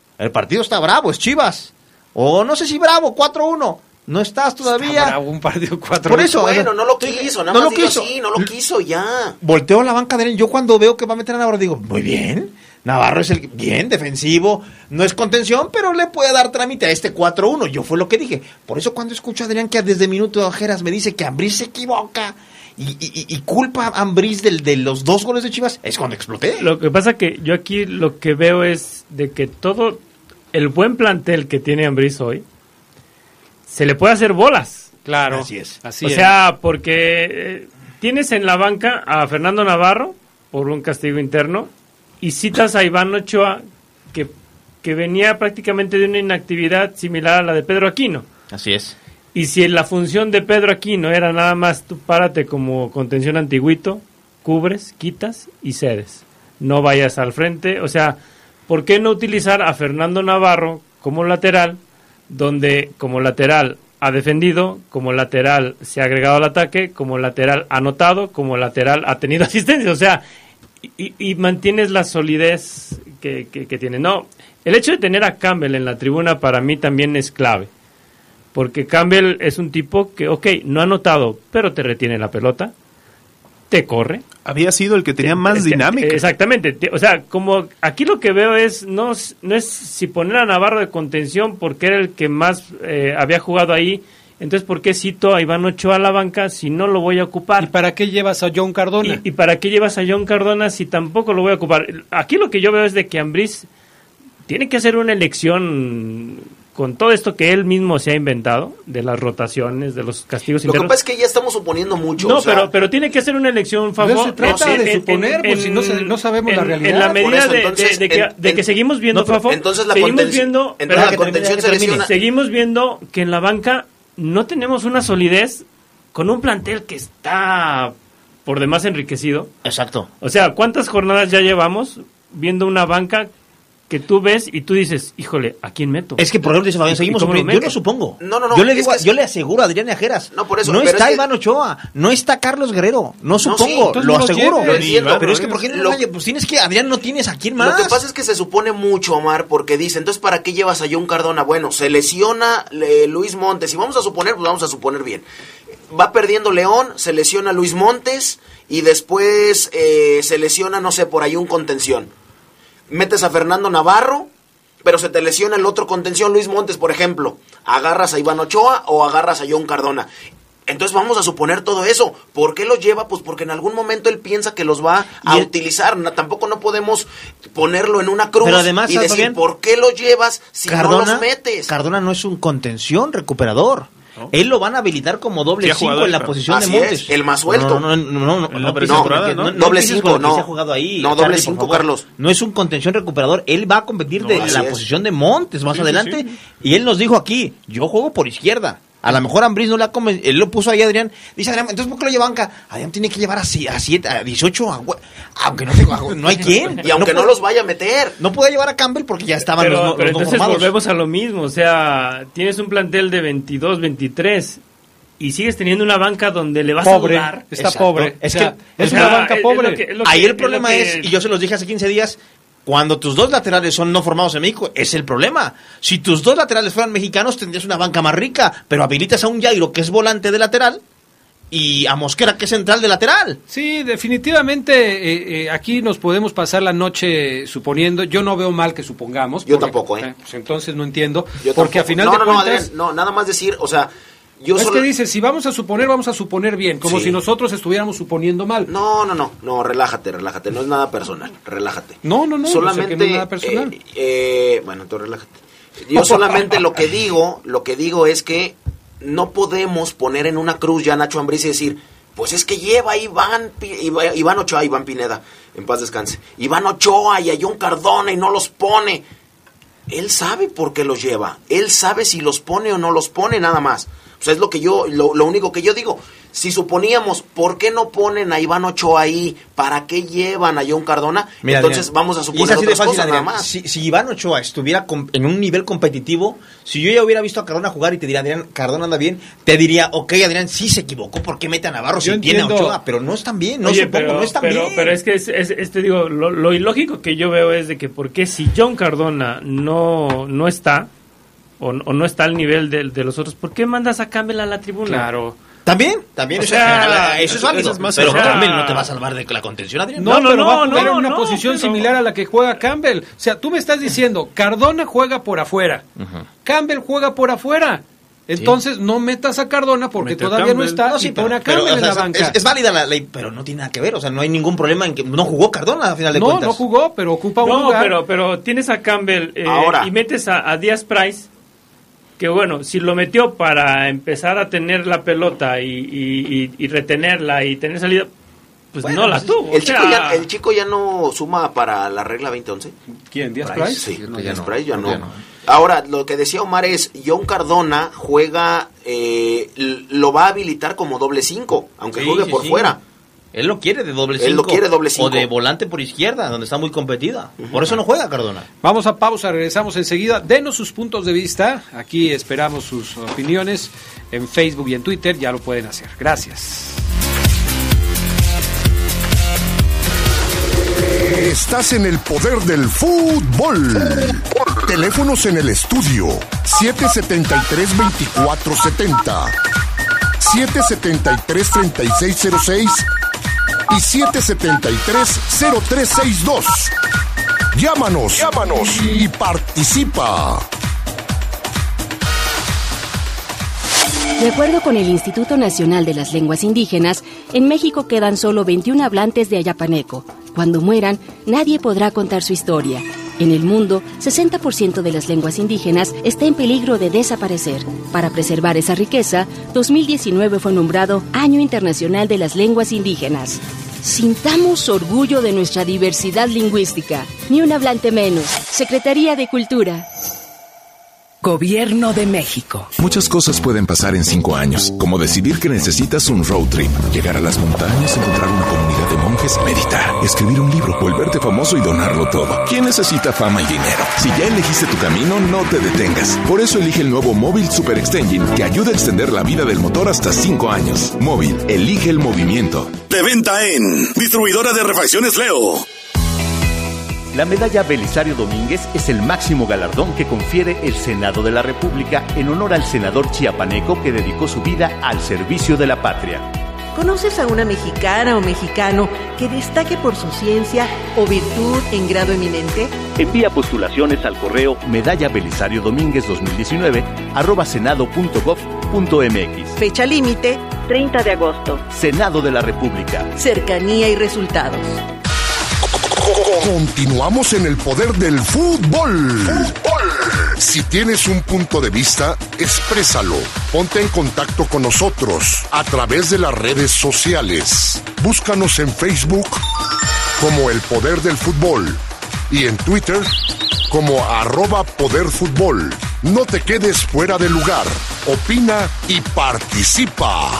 es Chivas. O no sé si bravo, 4-1. No estás todavía. Está bravo, un partido 4-1. Por eso. Bueno, no lo quiso, nada más digo así, no lo quiso ya. Volteo la banca de él. Yo cuando veo que va a meter a Navarro digo, muy bien. Navarro es el bien defensivo, no es contención, pero le puede dar trámite a este 4-1. Yo fue lo que dije. Por eso cuando escucho a Adrián que desde minuto de ojeras me dice que Ambriz se equivoca y culpa a Ambriz de los 2 goles de Chivas, es cuando exploté. Lo que pasa que yo aquí lo que veo es de que todo el buen plantel que tiene Ambriz hoy se le puede hacer bolas. Claro. Así es. Así o sea, porque tienes en la banca a Fernando Navarro por un castigo interno y citas a Iván Ochoa que venía prácticamente de una inactividad similar a la de Pedro Aquino. Así es. Y si la función de Pedro Aquino era nada más tú párate como contención antiguito, cubres, quitas y cedes. No vayas al frente. O sea, ¿por qué no utilizar a Fernando Navarro como lateral, donde como lateral ha defendido, como lateral se ha agregado al ataque, como lateral ha anotado, como lateral ha tenido asistencia? O sea, y mantienes la solidez que tiene. No, el hecho de tener a Campbell en la tribuna para mí también es clave. Porque Campbell es un tipo que, no ha anotado, pero te retiene la pelota, te corre. había sido el que tenía más dinámica. Exactamente. O sea, como aquí lo que veo es no es si poner a Navarro de contención porque era el que más había jugado ahí. Entonces, ¿por qué cito a Iván Ochoa a la banca si no lo voy a ocupar? ¿Y para qué llevas a John Cardona? ¿Y para qué llevas a John Cardona si tampoco lo voy a ocupar? Aquí lo que yo veo es de que Ambriz tiene que hacer una elección con todo esto que él mismo se ha inventado, de las rotaciones, de los castigos internos. Lo que pasa es que ya estamos suponiendo mucho. No, pero tiene que hacer una elección, favor. No se trata de suponer, pues si no sabemos la realidad. En la medida de que seguimos viendo, Fafo, entonces la contención se lesiona. Seguimos viendo que en la banca no tenemos una solidez con un plantel que está por demás enriquecido. Exacto. O sea, ¿cuántas jornadas ya llevamos viendo una banca que tú ves y tú dices, híjole, ¿a quién meto? Es que, por ejemplo, dice Fabián, seguimos suponiendo. Yo lo supongo. No. Yo le aseguro a Adrián Ajeras. No, por eso. No está Iván Ochoa, no está Carlos Guerrero. No supongo, lo aseguro. Lo entiendo. Pero es que, ¿por qué no pues tienes que, Adrián, no tienes a quién más? Lo que pasa es que se supone mucho, Omar, porque dice, entonces, ¿para qué llevas a John Cardona? Bueno, se lesiona Luis Montes. Y vamos a suponer, pues vamos a suponer bien. Va perdiendo León, se lesiona Luis Montes y después se lesiona, no sé, por ahí un contención. Metes a Fernando Navarro, pero se te lesiona el otro contención, Luis Montes, por ejemplo. ¿Agarras a Iván Ochoa o agarras a John Cardona? Entonces vamos a suponer todo eso. ¿Por qué los lleva? Pues porque en algún momento él piensa que los va a utilizar. Tampoco no podemos ponerlo en una cruz. Pero además, y decir, bien, ¿por qué los llevas si no los metes? Cardona no es un contención recuperador. Él lo van a habilitar como doble 5 en la posición de Montes. El más suelto. No, doble 5, no. Se ha jugado ahí. No, doble 5, Carlos. No es un contención recuperador. Él va a competir de la posición de Montes más adelante. Y él nos dijo aquí, yo juego por izquierda. A lo mejor Ambriz no le ha convencido. Él lo puso ahí, Adrián. Dice Adrián, entonces ¿por qué lo lleva banca? Adrián tiene que llevar a 7, a 18, aunque no hay quien. Y aunque no los vaya a meter. No puede llevar a Campbell porque ya estaban los entonces formados. Volvemos a lo mismo. O sea, tienes un plantel de 22, 23 y sigues teniendo una banca donde le vas a dudar. Está pobre. Es que es una banca pobre. Ahí el problema es, y yo se los dije hace 15 días, cuando tus dos laterales son no formados en México, es el problema. Si tus dos laterales fueran mexicanos, tendrías una banca más rica, pero habilitas a un Jairo que es volante de lateral y a Mosquera que es central de lateral. Sí, definitivamente aquí nos podemos pasar la noche suponiendo. Yo no veo mal que supongamos. Yo tampoco, pues entonces no entiendo. Yo porque tampoco. A final de cuentas... Adrián, no, nada más decir, o sea... que dice, si vamos a suponer bien, como si nosotros estuviéramos suponiendo mal. No, relájate, no es nada personal, relájate. No, solamente no es nada personal. Bueno, entonces relájate. Yo solamente lo que digo es que no podemos poner en una cruz ya a Nacho Ambriz y decir, pues es que lleva a Iván Ochoa, Iván Pineda, en paz descanse, Iván Ochoa y a John Cardona y no los pone. Él sabe por qué los lleva, él sabe si los pone o no los pone, nada más. O sea, es lo único que yo digo. Si suponíamos, ¿por qué no ponen a Iván Ochoa ahí? ¿Para qué llevan a John Cardona? Mira, entonces Adrián, vamos a suponer otras cosas, nada más. Si Iván Ochoa estuviera en un nivel competitivo, si yo ya hubiera visto a Cardona jugar y te diría, Adrián, Cardona anda bien, te diría, ok, Adrián, sí se equivocó, ¿por qué mete a Navarro si tiene a Ochoa? Pero no están bien, no están bien. Pero es que, te digo, lo ilógico que yo veo es de que, ¿por qué si John Cardona no está... O no está al nivel de los otros, ¿por qué mandas a Campbell a la tribuna? Claro. También, o sea, eso es válido. Pero Campbell no te va a salvar de la contención, Adrián. No, va a jugar en una posición similar a la que juega Campbell. O sea, tú me estás diciendo, Cardona juega por afuera, Campbell juega por afuera. Entonces no metas a Cardona porque todavía no está y pone a Campbell en la banca. Es válida la ley, pero no tiene nada que ver. O sea, no hay ningún problema en que no jugó Cardona a final de cuentas. No jugó, pero ocupa un lugar. Pero tienes a Campbell y metes a Díaz Price, que bueno, si lo metió para empezar a tener la pelota y retenerla y tener salida, pues bueno, no la tuvo. El chico ya no suma para la regla 2011. ¿Quién? ¿Díaz Price? Sí, Díaz Price ya no. Ahora, lo que decía Omar es, John Cardona juega, lo va a habilitar como doble 5, aunque juegue por fuera. Él lo quiere de doble 5. Él lo quiere doble 5. O de volante por izquierda, donde está muy competida. Por eso no juega Cardona. Vamos a pausa, regresamos enseguida. Denos sus puntos de vista. Aquí esperamos sus opiniones en Facebook y en Twitter. Ya lo pueden hacer. Gracias. Estás en el poder del fútbol. Teléfonos en el estudio 773-2470, 773-3606 y 773-0362. Llámanos y participa. De acuerdo con el Instituto Nacional de las Lenguas Indígenas, en México quedan solo 21 hablantes de ayapaneco. Cuando mueran, nadie podrá contar su historia. En el mundo, 60% de las lenguas indígenas está en peligro de desaparecer. Para preservar esa riqueza, 2019 fue nombrado Año Internacional de las Lenguas Indígenas. Sintamos orgullo de nuestra diversidad lingüística. Ni un hablante menos. Secretaría de Cultura. Gobierno de México. Muchas cosas pueden pasar en 5 años, como decidir que necesitas un road trip, llegar a las montañas, encontrar una comunidad de monjes, meditar, escribir un libro, volverte famoso y donarlo todo. ¿Quién necesita fama y dinero? Si ya elegiste tu camino, no te detengas. Por eso elige el nuevo Móvil Super Extension, que ayuda a extender la vida del motor hasta 5 años. Móvil, elige el movimiento. De venta en Distribuidora de Refacciones Leo. La medalla Belisario Domínguez es el máximo galardón que confiere el Senado de la República en honor al senador chiapaneco que dedicó su vida al servicio de la patria. ¿Conoces a una mexicana o mexicano que destaque por su ciencia o virtud en grado eminente? Envía postulaciones al correo medalla Belisario Domínguez 2019 @senado.gov.mx. Fecha límite 30 de agosto. Senado de la República. Cercanía y resultados. Continuamos en el poder del fútbol. Si tienes un punto de vista, exprésalo. Ponte en contacto con nosotros a través de las redes sociales. Búscanos en Facebook como El Poder del Fútbol y en Twitter como @poderfutbol. No te quedes fuera de lugar. Opina y participa.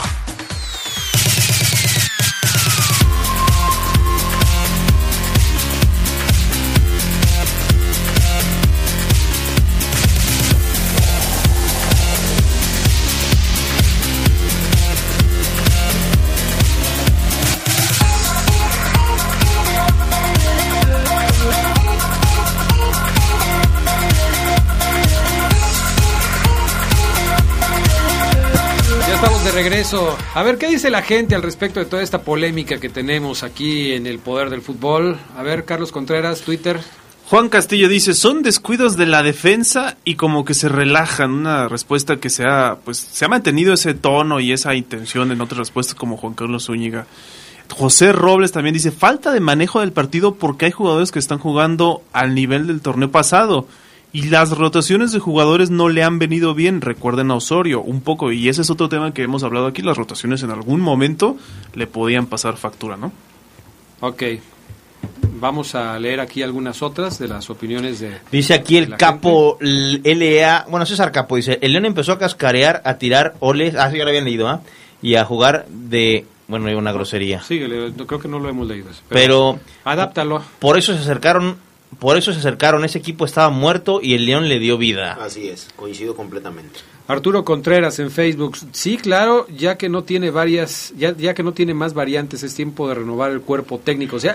De regreso. A ver, ¿qué dice la gente al respecto de toda esta polémica que tenemos aquí en el poder del fútbol? A ver, Carlos Contreras, Twitter. Juan Castillo dice, son descuidos de la defensa y como que se relajan. Una respuesta que se ha mantenido ese tono y esa intención en otras respuestas como Juan Carlos Zúñiga. José Robles también dice, falta de manejo del partido porque hay jugadores que están jugando al nivel del torneo pasado. Y las rotaciones de jugadores no le han venido bien, recuerden a Osorio un poco, y ese es otro tema que hemos hablado aquí, las rotaciones en algún momento le podían pasar factura, ¿no? Ok, vamos a leer aquí algunas otras de las opiniones de... Dice aquí el capo LEA, bueno, César Capo dice, el León empezó a cascarear, a tirar oles, sí, ya lo habían leído, y a jugar de... Bueno, hay una grosería. Sí, creo que no lo hemos leído. Pero adáptalo. Por eso se acercaron, ese equipo estaba muerto y el León le dio vida. Así es, coincido completamente. Arturo Contreras en Facebook, sí, claro, ya que no tiene ya que no tiene más variantes, es tiempo de renovar el cuerpo técnico. O sea,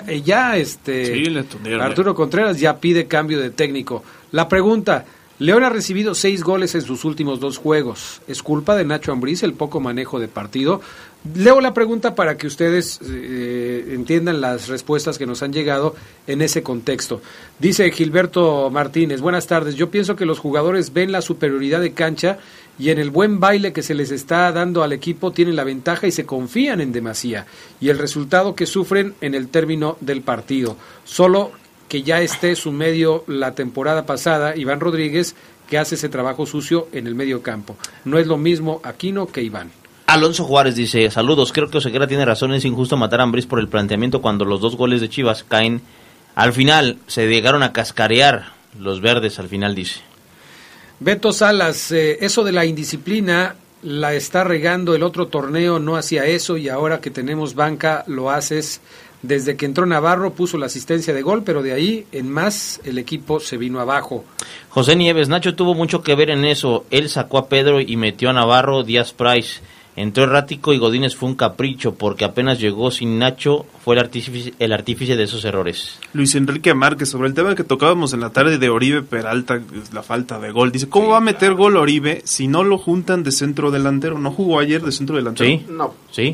Arturo Contreras ya pide cambio de técnico. La pregunta, León ha recibido 6 goles en sus últimos 2 juegos. ¿Es culpa de Nacho Ambriz el poco manejo de partido? Leo la pregunta para que ustedes entiendan las respuestas que nos han llegado en ese contexto. Dice Gilberto Martínez, buenas tardes, yo pienso que los jugadores ven la superioridad de cancha y en el buen baile que se les está dando al equipo tienen la ventaja y se confían en demasía. Y el resultado que sufren en el término del partido. Solo que ya esté su medio la temporada pasada, Iván Rodríguez, que hace ese trabajo sucio en el medio campo. No es lo mismo Aquino que Iván. Alonso Juárez dice, saludos, creo que Oseguera tiene razón, es injusto matar a Ambriz por el planteamiento cuando los 2 goles de Chivas caen al final, se llegaron a cascarear los verdes al final, dice. Beto Salas, eso de la indisciplina la está regando, el otro torneo no hacía eso y ahora que tenemos banca lo haces. Desde que entró Navarro puso la asistencia de gol, pero de ahí en más el equipo se vino abajo. José Nieves, Nacho tuvo mucho que ver en eso, él sacó a Pedro y metió a Navarro, Díaz Price. Entró errático y Godínez fue un capricho porque apenas llegó sin Nacho, fue el artífice de esos errores. Luis Enrique Márquez, sobre el tema que tocábamos en la tarde de Oribe Peralta, la falta de gol, dice, ¿cómo va a meter gol Oribe si no lo juntan de centro delantero? ¿No jugó ayer de centro delantero? Sí, no. Sí.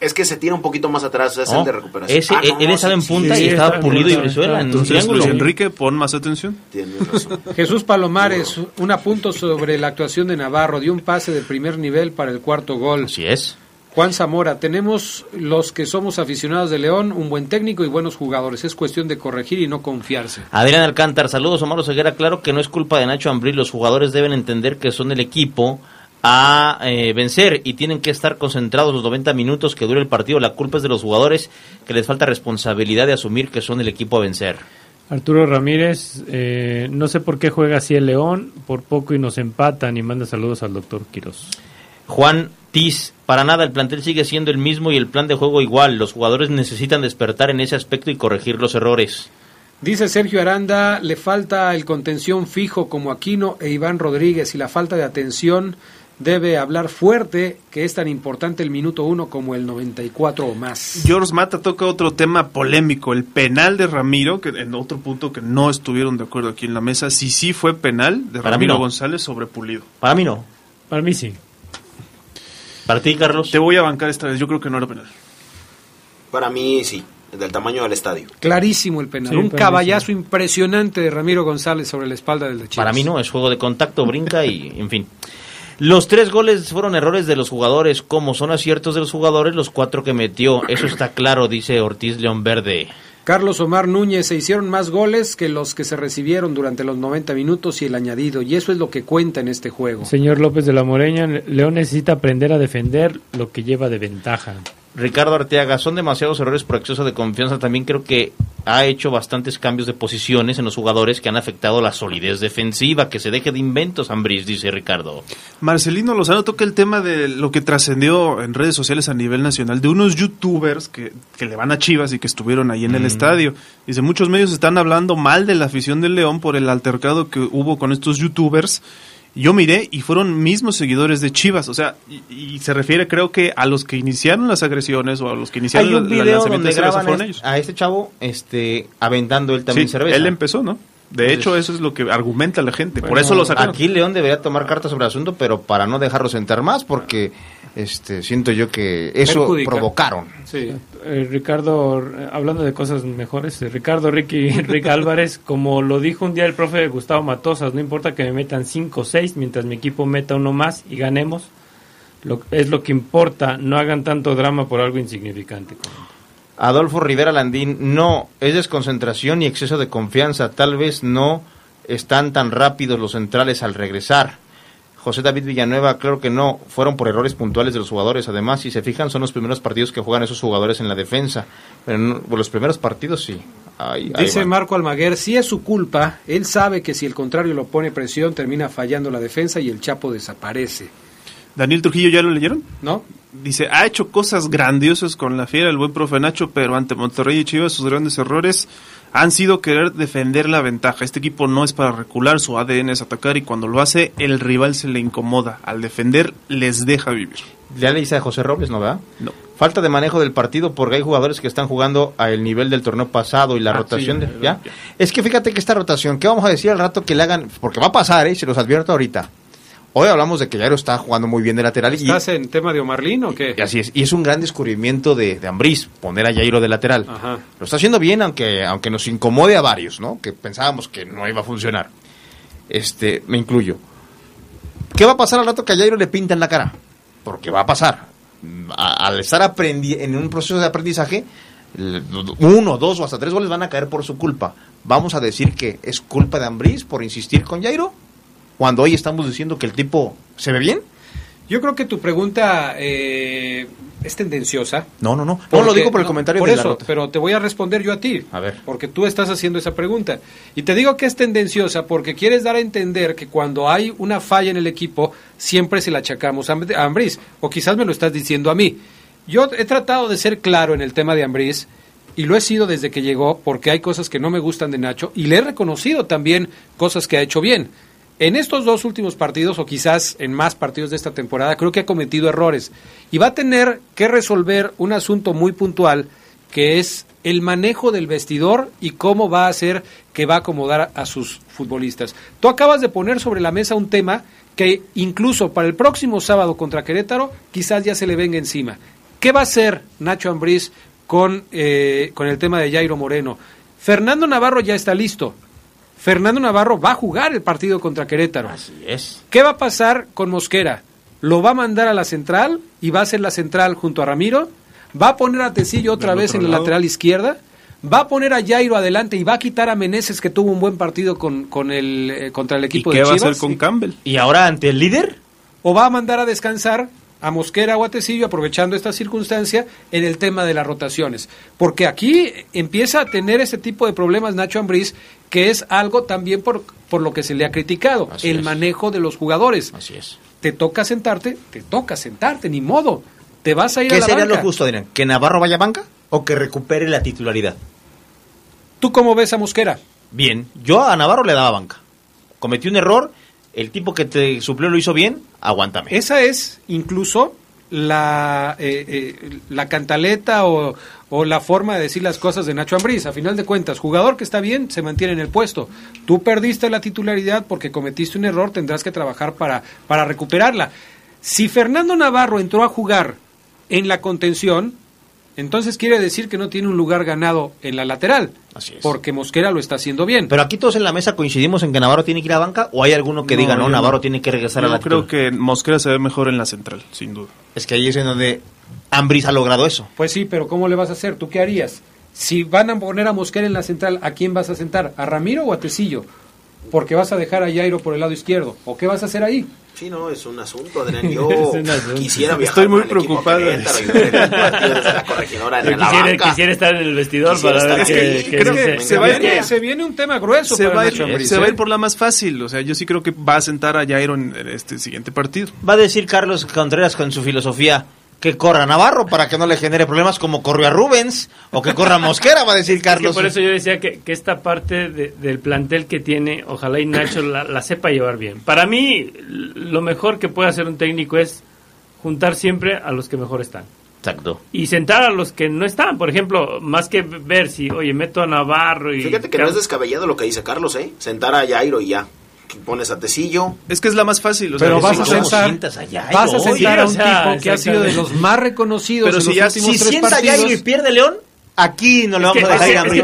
Es que se tira un poquito más atrás, es el de recuperación. Él estaba en punta y estaba Pulido y Brizuela en un triángulo. Luis Enrique, pon más atención. Tienes razón. Jesús Palomares, un apunto sobre la actuación de Navarro. Dio un pase de primer nivel para el cuarto gol. Así es. Juan Zamora, tenemos los que somos aficionados de León, un buen técnico y buenos jugadores. Es cuestión de corregir y no confiarse. Adrián Alcántar, saludos. Omar Oseguera, claro que no es culpa de Nacho Ambriz. Los jugadores deben entender que son el equipo a vencer y tienen que estar concentrados los 90 minutos que dure el partido. La culpa es de los jugadores, que les falta responsabilidad de asumir que son el equipo a vencer. Arturo Ramírez, no sé por qué juega así el León, por poco y nos empatan, y manda saludos al doctor Quirós. Juan Tiz, para nada, el plantel sigue siendo el mismo y el plan de juego igual. Los jugadores necesitan despertar en ese aspecto y corregir los errores. Dice Sergio Aranda, le falta el contención fijo como Aquino e Iván Rodríguez, y la falta de atención debe hablar fuerte, que es tan importante el minuto 1 como el 94 o más. George Mata toca otro tema polémico, el penal de Ramiro, que en otro punto que no estuvieron de acuerdo aquí en la mesa, sí fue penal de Para Ramiro mí no. González sobre Pulido. Para mí no. Para mí sí. ¿Para ti, Carlos? Te voy a bancar esta vez, yo creo que no era penal. Para mí sí, del tamaño del estadio. Clarísimo el penal, Sí, un para mí caballazo impresionante de Ramiro González sobre la espalda del de Chivas. Para mí no, es juego de contacto, brinca y en fin. Los 3 goles fueron errores de los jugadores, como son aciertos de los jugadores los 4 que metió. Eso está claro, dice Ortiz León Verde. Carlos Omar Núñez, se hicieron más goles que los que se recibieron durante los 90 minutos y el añadido, y eso es lo que cuenta en este juego. Señor López de la Moreña, León necesita aprender a defender lo que lleva de ventaja. Ricardo Arteaga, son demasiados errores por exceso de confianza. También creo que ha hecho bastantes cambios de posiciones en los jugadores que han afectado la solidez defensiva. Que se deje de inventos, Ambriz, dice Ricardo. Marcelino Lozano toca el tema de lo que trascendió en redes sociales a nivel nacional, de unos youtubers que le van a Chivas y que estuvieron ahí en el estadio. Dice, muchos medios están hablando mal de la afición del León por el altercado que hubo con estos youtubers. Yo miré y fueron mismos seguidores de Chivas, o sea, y se refiere creo que a los que iniciaron las agresiones o a los que iniciaron Hay un video donde graban fueron ellos. a este chavo aventando él también cerveza. Él empezó, ¿no? De hecho, eso es lo que argumenta la gente, por eso lo sacaron. Aquí León debería tomar cartas sobre el asunto, pero para no dejarlos entrar más, porque siento yo que eso provocaron. Sí. Ricardo, hablando de cosas mejores, Ricardo Rick Álvarez, como lo dijo un día el profe Gustavo Matosas, no importa que me metan 5 o 6, mientras mi equipo meta uno más y ganemos, es lo que importa, no hagan tanto drama por algo insignificante. Adolfo Rivera Landín, no, es desconcentración y exceso de confianza, tal vez no están tan rápidos los centrales al regresar. José David Villanueva, claro que no, fueron por errores puntuales de los jugadores, además, si se fijan, son los primeros partidos que juegan esos jugadores en la defensa, pero no, los primeros partidos sí. Dice Marco Almaguer, sí es su culpa, él sabe que si el contrario lo pone presión, termina fallando la defensa y el Chapo desaparece. Daniel Trujillo, ¿ya lo leyeron? No. Dice, ha hecho cosas grandiosas con la Fiera, el buen profe Nacho, pero ante Monterrey y Chivas sus grandes errores han sido querer defender la ventaja. Este equipo no es para recular, su ADN es atacar y cuando lo hace, el rival se le incomoda. Al defender, les deja vivir. Ya le dice a José Robles, ¿no, verdad? No. Falta de manejo del partido porque hay jugadores que están jugando al nivel del torneo pasado y la rotación. Sí, ¿ya? Es que fíjate que esta rotación, ¿qué vamos a decir al rato que le hagan? Porque va a pasar, se los advierto ahorita. Hoy hablamos de que Jairo está jugando muy bien de lateral. ¿Estás en tema de Omarlín o qué? Y así es. Y es un gran descubrimiento de Ambriz, poner a Jairo de lateral. Ajá. Lo está haciendo bien, aunque nos incomode a varios, ¿no? Que pensábamos que no iba a funcionar. Me incluyo. ¿Qué va a pasar al rato que a Jairo le pintan la cara? Porque va a pasar. Al estar en un proceso de aprendizaje, 1, 2 o hasta 3 goles van a caer por su culpa. ¿Vamos a decir que es culpa de Ambriz por insistir con Jairo? Cuando hoy estamos diciendo que el tipo se ve bien. Yo creo que tu pregunta es tendenciosa. No lo digo por el comentario de la nota. Pero te voy a responder yo a ti. A ver. Porque tú estás haciendo esa pregunta. Y te digo que es tendenciosa porque quieres dar a entender que cuando hay una falla en el equipo, siempre se la achacamos a Ambriz. O quizás me lo estás diciendo a mí. Yo he tratado de ser claro en el tema de Ambriz, y lo he sido desde que llegó, porque hay cosas que no me gustan de Nacho, y le he reconocido también cosas que ha hecho bien. En estos 2 últimos partidos, o quizás en más partidos de esta temporada, creo que ha cometido errores. Y va a tener que resolver un asunto muy puntual, que es el manejo del vestidor y cómo va a hacer que va a acomodar a sus futbolistas. Tú acabas de poner sobre la mesa un tema que incluso para el próximo sábado contra Querétaro, quizás ya se le venga encima. ¿Qué va a hacer Nacho Ambriz con el tema de Jairo Moreno? Fernando Navarro ya está listo. Fernando Navarro va a jugar el partido contra Querétaro. Así es. ¿Qué va a pasar con Mosquera? ¿Lo va a mandar a la central y va a ser la central junto a Ramiro? ¿Va a poner a Tecillo otra vez en la lateral izquierda? ¿Va a poner a Jairo adelante y va a quitar a Meneses, que tuvo un buen partido contra el equipo de Chivas? ¿Y qué va a hacer con Campbell? ¿Y ahora ante el líder? ¿O va a mandar a descansar a Mosquera o a Tecillo, aprovechando esta circunstancia, en el tema de las rotaciones? Porque aquí empieza a tener ese tipo de problemas Nacho Ambriz, que es algo también por lo que se le ha criticado, el manejo de los jugadores. Así es. Te toca sentarte, ni modo. Te vas a ir a la banca. ¿Qué sería lo justo, Adrián? ¿Que Navarro vaya a banca o que recupere la titularidad? ¿Tú cómo ves a Mosquera? Bien, yo a Navarro le daba banca. Cometió un error, el tipo que te suplió lo hizo bien, aguántame. Esa es incluso la cantaleta o la forma de decir las cosas de Nacho Ambriz. A final de cuentas, jugador que está bien se mantiene en el puesto. Tú perdiste la titularidad porque cometiste un error, tendrás que trabajar para recuperarla. Si Fernando Navarro entró a jugar en la contención, entonces quiere decir que no tiene un lugar ganado en la lateral. Así es. Porque Mosquera lo está haciendo bien. Pero aquí todos en la mesa coincidimos en que Navarro tiene que ir a banca, o hay alguno que diga, Navarro tiene que regresar a la lateral. Yo creo que Mosquera se ve mejor en la central, sin duda. Es que ahí es en donde Ambriz ha logrado eso. Pues sí, pero ¿cómo le vas a hacer? ¿Tú qué harías? Si van a poner a Mosquera en la central, ¿a quién vas a sentar? ¿A Ramiro o a Tecillo? Porque vas a dejar a Jairo por el lado izquierdo. ¿O qué vas a hacer ahí? Sí, no, es un asunto, Adrián. Yo quisiera viajar. Estoy muy preocupado. Quisiera estar en el vestidor para ver que se viene un tema grueso. Se va a ir por la más fácil. O sea, yo sí creo que va a sentar a Jairo en este siguiente partido. Va a decir Carlos Contreras con su filosofía que corra Navarro para que no le genere problemas como corrió a Rubens, o que corra Mosquera, va a decir Carlos. Es que por eso yo decía que esta parte del plantel que tiene, ojalá y Nacho la sepa llevar bien. Para mí, lo mejor que puede hacer un técnico es juntar siempre a los que mejor están. Exacto. Y sentar a los que no están, por ejemplo, más que ver si, oye, meto a Navarro y... Fíjate que no es descabellado lo que dice Carlos, sentar a Jairo y ya. Pones a Tecillo. Es que es la más fácil. Pero vas a sentar a un tipo que ha sido de los más reconocidos. Pero si sienta a Jairo y pierde León, aquí no le vamos a dejar ir a Ambriz.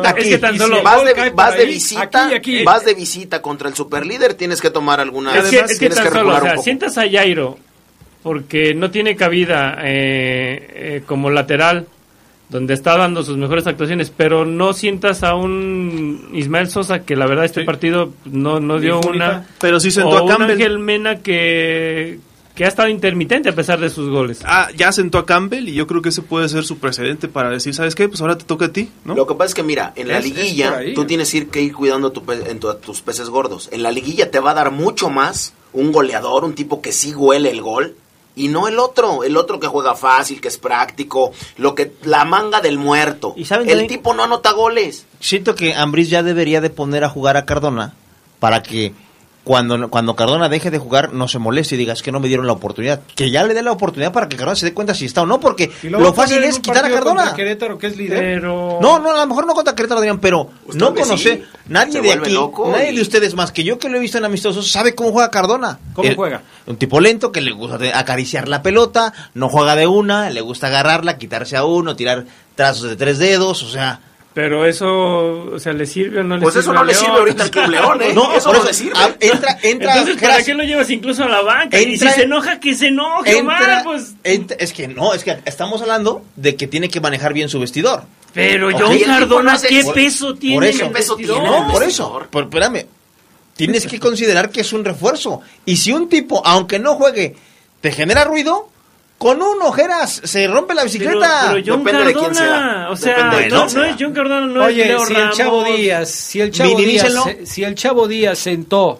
Vas de visita contra el superlíder, tienes que tomar alguna... Tienes que regular un poco. Sientas a Jairo porque no tiene cabida como lateral, donde está dando sus mejores actuaciones, pero no sientas a un Ismael Sosa que la verdad este partido no dio una, pero sí sentó a Campbell. Ángel Mena que ha estado intermitente a pesar de sus goles. Ya sentó a Campbell y yo creo que ese puede ser su precedente para decir, ¿sabes qué? Pues ahora te toca a ti, ¿no? Lo que pasa es que mira, en la liguilla tú tienes que ir cuidando tus peces gordos. En la liguilla te va a dar mucho más un goleador, un tipo que sí huele el gol. Y no el otro que juega fácil, que es práctico, la manga del muerto. ¿Y saben el tipo no anota goles. Siento que Ambriz ya debería de poner a jugar a Cardona para que cuando Cardona deje de jugar no se moleste y diga, es que no me dieron la oportunidad. Que ya le dé la oportunidad para que Cardona se dé cuenta si está o no, porque lo fácil es quitar a Cardona. Querétaro, que es líder. Pero... No, a lo mejor no contra Querétaro, Adrián, pero no conoce nadie de aquí, nadie de ustedes más que yo que lo he visto en amistosos, sabe cómo juega Cardona. ¿Cómo juega? Un tipo lento que le gusta acariciar la pelota, no juega de una, le gusta agarrarla, quitarse a uno, tirar trazos de 3 dedos, o sea... Pero eso, o sea, ¿le sirve o no le pues sirve? Pues eso no le sirve ahorita al Club León, No, eso no le sirve. Entra. Entonces, ¿para qué lo llevas incluso a la banca? Y si se enoja, que se enoje, Omar, pues... Es que estamos hablando de que tiene que manejar bien su vestidor. Pero John Cardona, ¿qué peso tiene? ¿Qué peso tiene? No, por eso. Espérame. Tienes que considerar que es un refuerzo. Y si un tipo, aunque no juegue, te genera ruido... Con un ojeras se rompe la bicicleta. Pero John Depende Cardona, de quién sea. O sea, no es John Cardona, no es Leo Ramos. Si el Chavo Díaz sentó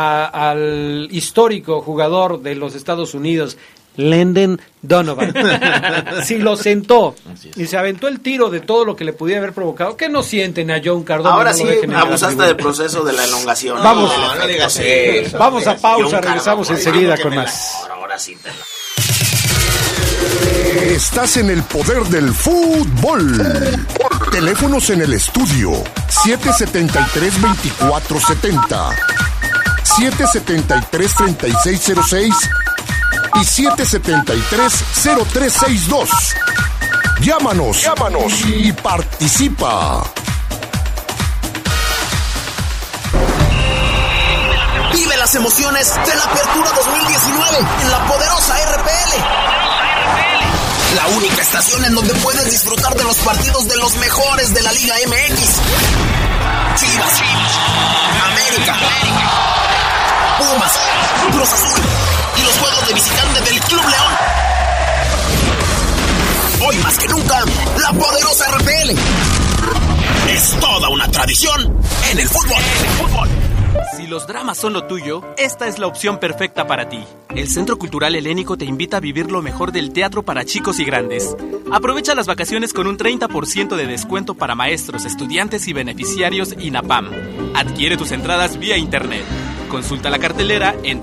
al histórico jugador de los Estados Unidos, Landon Donovan, si lo sentó y se aventó el tiro de todo lo que le pudiera haber provocado, que no sienten a John Cardona. Ahora sí abusaste del proceso de la elongación. Vamos a pausa, regresamos enseguida con más. Ahora sí Estás en el poder del fútbol. Teléfonos en el estudio 773-2470, 773-3606 y 773-0362. Llámanos y participa. Vive las emociones de la Apertura 2019 en la poderosa RPL. La única estación en donde puedes disfrutar de los partidos de los mejores de la Liga MX. Chivas, América, Pumas, Cruz Azul y los juegos de visitante del Club León. Hoy más que nunca, la poderosa RPL es toda una tradición en el fútbol. Si los dramas son lo tuyo, esta es la opción perfecta para ti. El Centro Cultural Helénico te invita a vivir lo mejor del teatro para chicos y grandes. Aprovecha las vacaciones con un 30% de descuento para maestros, estudiantes y beneficiarios INAPAM. Adquiere tus entradas vía internet. Consulta la cartelera en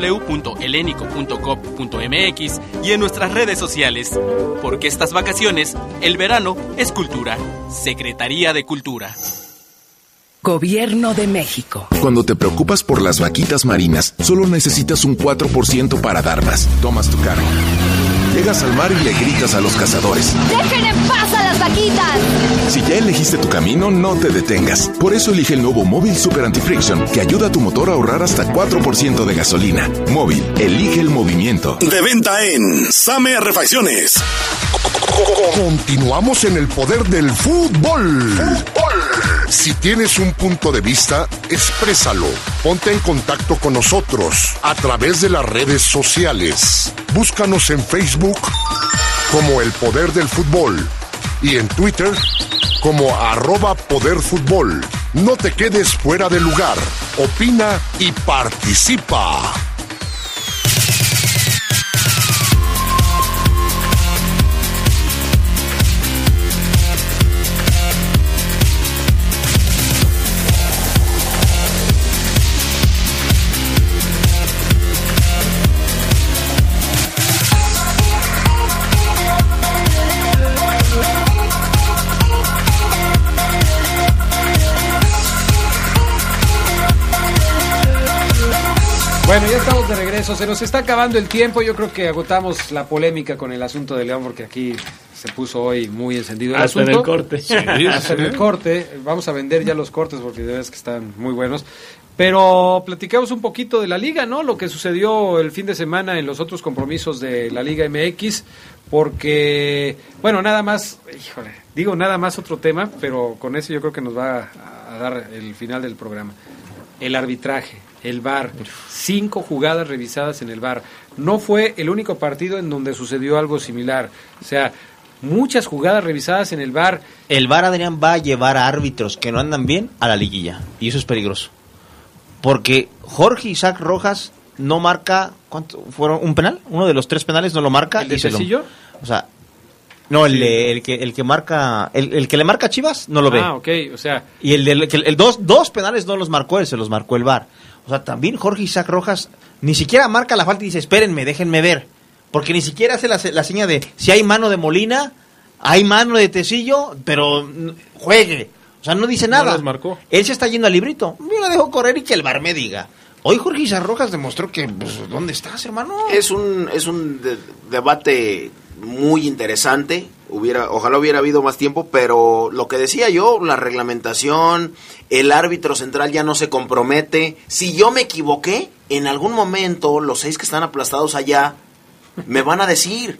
www.helenico.gov.mx y en nuestras redes sociales. Porque estas vacaciones, el verano es cultura. Secretaría de Cultura. Gobierno de México. Cuando te preocupas por las vaquitas marinas, solo necesitas un 4% para dar más. Tomas tu carro. Llegas al mar y le gritas a los cazadores: ¡dejen en paz a las vaquitas! Si ya elegiste tu camino, no te detengas. Por eso elige el nuevo Móvil Super Anti-Friction, que ayuda a tu motor a ahorrar hasta 4% de gasolina. Móvil, elige el movimiento. De venta en Same Refacciones. Continuamos en el poder del fútbol. Si tienes un punto de vista, exprésalo. Ponte en contacto con nosotros a través de las redes sociales. Búscanos en Facebook como El Poder del Fútbol y en Twitter como @poderfutbol. No te quedes fuera de lugar. Opina y participa. Bueno, ya estamos de regreso, se nos está acabando el tiempo, yo creo que agotamos la polémica con el asunto de León porque aquí se puso hoy muy encendido el hasta asunto. En el corte. Sí, hasta en el corte, vamos a vender ya los cortes porque de verdad que están muy buenos. Pero platicamos un poquito de la Liga, ¿no? Lo que sucedió el fin de semana en los otros compromisos de la Liga MX, porque, bueno, nada más, nada más otro tema, pero con eso yo creo que nos va a dar el final del programa. El arbitraje. El VAR, 5 jugadas revisadas en el VAR. No fue el único partido en donde sucedió algo similar. O sea, muchas jugadas revisadas en el VAR. El VAR, Adrián, va a llevar a árbitros que no andan bien a la liguilla. Y eso es peligroso. Porque Jorge Isaac Rojas no marca, ¿cuánto fueron? ¿Un penal? Uno de los 3 penales no lo marca. ¿El de Tecillo? O sea, no, el que marca, el que le marca a Chivas no lo ve. Ah, ok, o sea. Y el dos penales no los marcó él, se los marcó el VAR. O sea, también Jorge Isaac Rojas ni siquiera marca la falta y dice, espérenme, déjenme ver. Porque ni siquiera hace la seña de, si hay mano de Molina, hay mano de Tecillo, pero juegue. O sea, no dice nada. No los marcó. Él se está yendo al librito. Yo lo dejo correr y que el VAR me diga. Hoy Jorge Isaac Rojas demostró que, pues, ¿dónde estás, hermano? Es un debate muy interesante. Ojalá hubiera habido más tiempo, pero lo que decía yo, la reglamentación, el árbitro central ya no se compromete. Si yo me equivoqué, en algún momento los 6 que están aplastados allá me van a decir,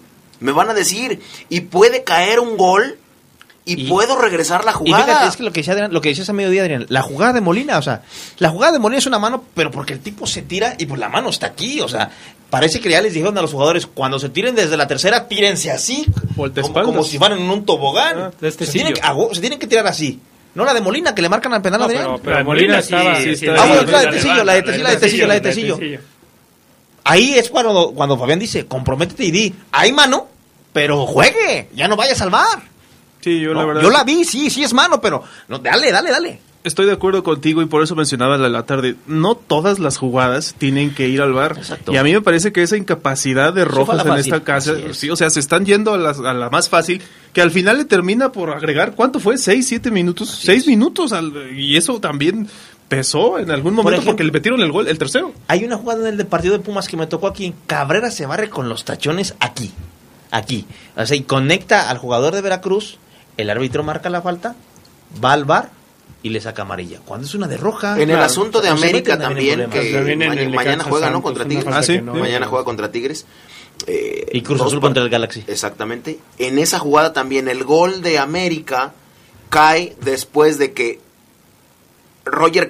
y puede caer un gol y puedo regresar la jugada. Y fíjate, es que lo que decías a mediodía, Adrián, la jugada de Molina, o sea, la jugada de Molina es una mano, pero porque el tipo se tira y pues la mano está aquí, o sea, parece que ya les dijeron a los jugadores, cuando se tiren desde la tercera, tírense así, como si fueran en un tobogán. Se tienen que tirar así. No la de Molina, que le marcan al penal a Adrián. Pero Molina estaba... bueno, la de Tecillo. Ahí es cuando Fabián dice, comprométete y di, hay mano, pero juegue, ya no vaya a salvar. Sí, la verdad. Yo la vi, sí es mano, pero no, dale. Estoy de acuerdo contigo y por eso mencionaba la tarde, no todas las jugadas tienen que ir al VAR. Exacto. Y a mí me parece que esa incapacidad de Rojas en esta casa, sí, o sea, se están yendo a la más fácil, que al final le termina por agregar, ¿cuánto fue? 6, 7 minutos, 6 minutos, y eso también pesó en algún momento porque le metieron el gol, el tercero. Hay una jugada en el partido de Pumas que me tocó aquí. Cabrera se barre con los tachones aquí. O sea, y conecta al jugador de Veracruz, el árbitro marca la falta, va al VAR y le saca amarilla. Cuando es una de roja. En el asunto de América también, que mañana juega, ¿no? Contra Tigres. Mañana juega contra Tigres. Y Cruz Azul contra el Galaxy. Exactamente. En esa jugada también el gol de América cae después de que Roger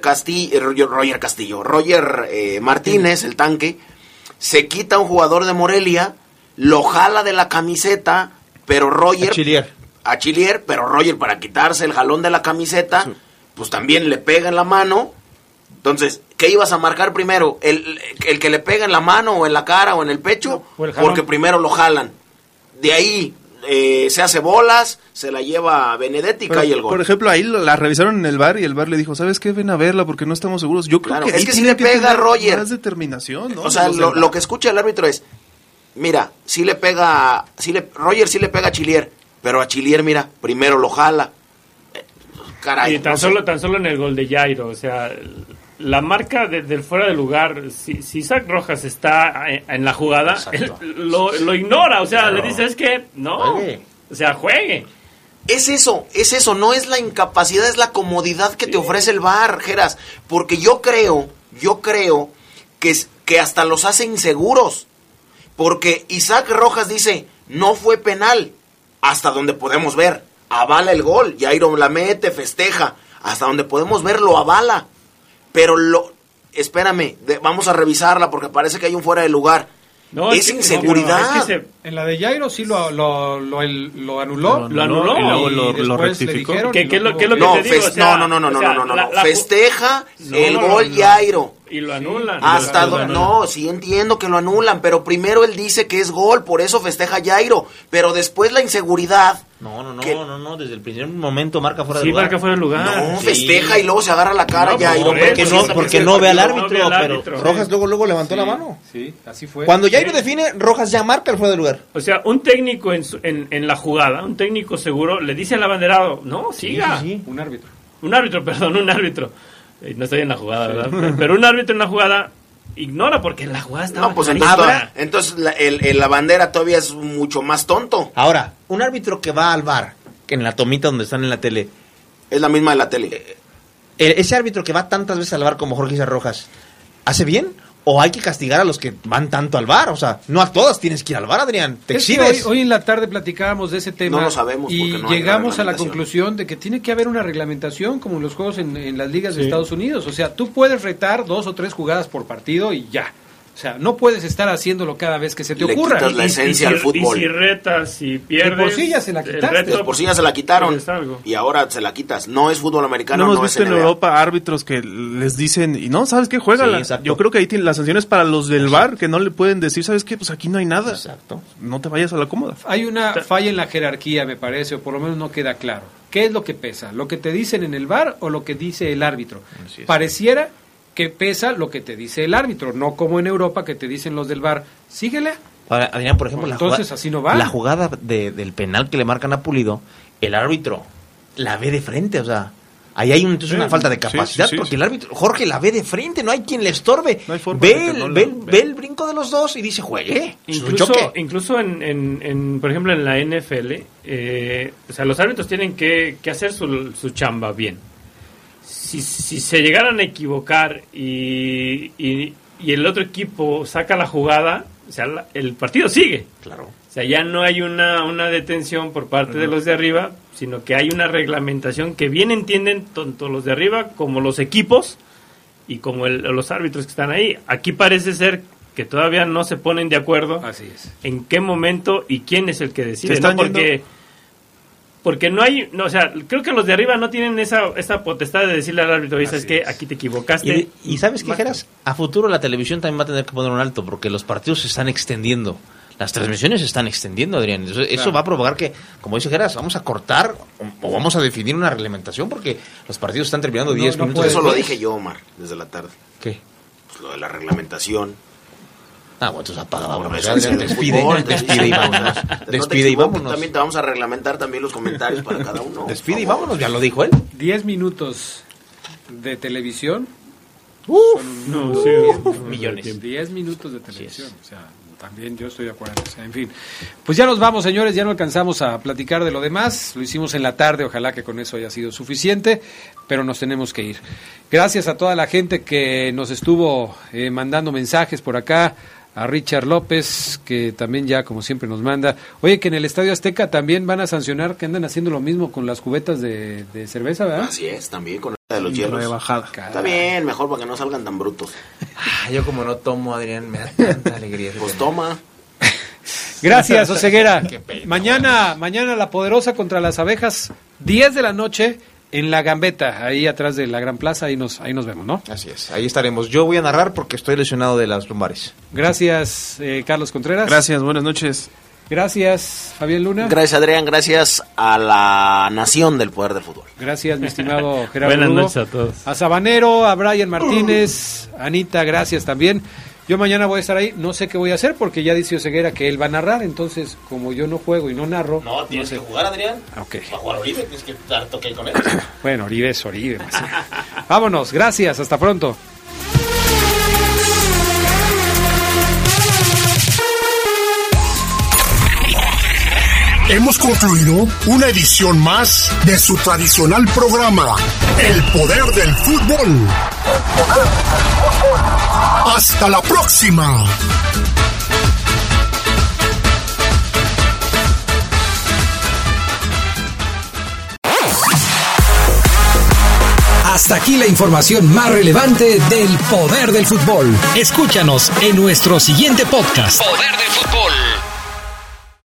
Martínez, el tanque, se quita a un jugador de Morelia, lo jala de la camiseta, pero Roger... A Chilier, pero Roger, para quitarse el jalón de la camiseta, pues también le pega en la mano. Entonces, ¿qué ibas a marcar primero? ¿El que le pega en la mano o en la cara o en el pecho? Porque primero lo jalan. De ahí se hace bolas, se la lleva a Benedetti y cae el gol. Por ejemplo, ahí la revisaron en el VAR y el VAR le dijo, ¿sabes qué? Ven a verla porque no estamos seguros. Yo creo que es que si le pega a Roger. Más determinación, ¿no? O sea, lo que escucha el árbitro es, mira, Roger sí le pega a Chilier, pero a Chilier, mira, primero lo jala. Caray. Y tan solo en el gol de Jairo, o sea, la marca del fuera de lugar, si Isaac Rojas está en la jugada, él lo ignora, o sea, claro. Le dice, es que no, juegue. O sea, juegue. Es eso, no es la incapacidad, es la comodidad que te ofrece el VAR, Geras, porque yo creo que hasta los hace inseguros, porque Isaac Rojas dice, no fue penal, hasta donde podemos ver, avala el gol, Jairo la mete, festeja, hasta donde podemos ver lo avala, pero espérame, vamos a revisarla porque parece que hay un fuera de lugar. No, es inseguridad. Es que en la de Jairo sí lo anuló. Lo anuló. Y luego lo rectificó. ¿Qué es lo que te digo? No. Festeja el gol Jairo. Y lo anulan. Sí entiendo que lo anulan, pero primero él dice que es gol, por eso festeja Jairo. Pero después la inseguridad. No, desde el primer momento marca fuera de lugar. Sí, marca fuera de lugar. No, festeja y luego se agarra la cara Jairo. Porque no ve al árbitro, pero Rojas luego levantó la mano. Sí, así fue. Cuando Jairo define, Rojas ya marca el fuera de lugar. O sea, un técnico en la jugada, un técnico seguro, le dice al abanderado, no, siga. Sí. Un árbitro. Un árbitro. No estoy en la jugada, ¿verdad? Pero un árbitro en la jugada ignora porque en la jugada estaba... No, pues entonces la bandera todavía es mucho más tonto. Ahora, un árbitro que va al VAR, que en la tomita donde están en la tele... Es la misma de la tele. Ese árbitro que va tantas veces al VAR como Jorge Isaac Rojas, ¿hace bien? ¿O hay que castigar a los que van tanto al VAR? O sea, no a todas tienes que ir al VAR, Adrián. Te exhibes. Hoy en la tarde platicábamos de ese tema. No lo sabemos y llegamos a la conclusión de que tiene que haber una reglamentación como en los juegos en las ligas de Estados Unidos. O sea, tú puedes retar 2 o 3 jugadas por partido y ya. O sea, no puedes estar haciéndolo cada vez que se te ocurra. Le quitas la esencia al fútbol. Y si retas y pierdes... De por sí ya se la quitaste. De por sí ya se la quitaron. Y ahora se la quitas. No es fútbol americano, no hemos visto en Europa árbitros que les dicen, y no, ¿sabes qué? Juégala. Sí, yo creo que ahí tienen las sanciones para los del VAR, que no le pueden decir, ¿sabes qué? Pues aquí no hay nada. Exacto. No te vayas a la cómoda. Hay una falla en la jerarquía, me parece, o por lo menos no queda claro. ¿Qué es lo que pesa? ¿Lo que te dicen en el VAR o lo que dice el árbitro? Pareciera que pesa lo que te dice el árbitro, no como en Europa que te dicen los del VAR, síguele. Ahora, Adrián, por ejemplo, así no va. La jugada del penal que le marcan a Pulido, el árbitro la ve de frente, o sea, ahí hay una falta de capacidad, porque el árbitro, Jorge, la ve de frente, no hay quien le estorbe. No hay forma ve el brinco de los dos y dice, juegue. Incluso en por ejemplo, en la NFL, o sea, los árbitros tienen que hacer su chamba bien. Si se llegaran a equivocar y el otro equipo saca la jugada, o sea, el partido sigue. Claro. O sea, ya no hay una detención por parte de los de arriba, sino que hay una reglamentación que bien entienden tanto los de arriba como los equipos y como los árbitros que están ahí. Aquí parece ser que todavía no se ponen de acuerdo. Así es. En qué momento y quién es el que decide, ¿no? Porque no hay, o sea, creo que los de arriba no tienen esa potestad de decirle al árbitro, ¿sabes qué? Aquí te equivocaste. Y ¿sabes qué, Geras? A futuro la televisión también va a tener que poner un alto, porque los partidos se están extendiendo. Las transmisiones se están extendiendo, Adrián. Eso va a provocar que, como dice Geras, vamos a cortar o vamos a definir una reglamentación, porque los partidos están terminando 10 minutos. Eso lo dije yo, Omar, desde la tarde. ¿Qué? Pues lo de la reglamentación. Bueno, entonces apaga, vámonos. Despide y vámonos. Despide y vámonos. También te vamos a reglamentar también los comentarios para cada uno. Despide y vámonos, ya lo dijo él. 10 minutos. de televisión. Millones. 10 minutos de televisión. O sea, también yo estoy de acuerdo. O sea, en fin. Pues ya nos vamos, señores. Ya no alcanzamos a platicar de lo demás. Lo hicimos en la tarde. Ojalá que con eso haya sido suficiente. Pero nos tenemos que ir. Gracias a toda la gente que nos estuvo mandando mensajes por acá. A Richard López, que también ya como siempre nos manda. Oye, que en el Estadio Azteca también van a sancionar que andan haciendo lo mismo con las cubetas de cerveza, ¿verdad? Así es, también con la de los hielos. De bajada. Está bien, mejor para que no salgan tan brutos. Yo como no tomo, Adrián, me da tanta alegría. Pues toma. Gracias, Oseguera. Mañana la Poderosa contra las Abejas, 10 de la noche. En la Gambeta, ahí atrás de la Gran Plaza, ahí nos vemos, ¿no? Así es, ahí estaremos. Yo voy a narrar porque estoy lesionado de las lumbares. Gracias, Carlos Contreras. Gracias, buenas noches. Gracias, Fabián Luna. Gracias, Adrián. Gracias a la nación del poder del fútbol. Gracias, mi estimado Gerardo. Buenas Lugo. noches a todos. A Sabanero, a Brian Martínez, Anita, gracias también. Yo mañana voy a estar ahí, no sé qué voy a hacer porque ya dice Oseguera que él va a narrar, entonces como yo no juego y no narro... No, tienes que jugar, Adrián. Okay. Para jugar Oribe, tienes que dar toque con él. Bueno, Oribe es Oribe. Vámonos, gracias, hasta pronto. Hemos concluido una edición más de su tradicional programa, El Poder del Fútbol. ¡Hasta la próxima! Hasta aquí la información más relevante del Poder del Fútbol. Escúchanos en nuestro siguiente podcast. Poder del Fútbol.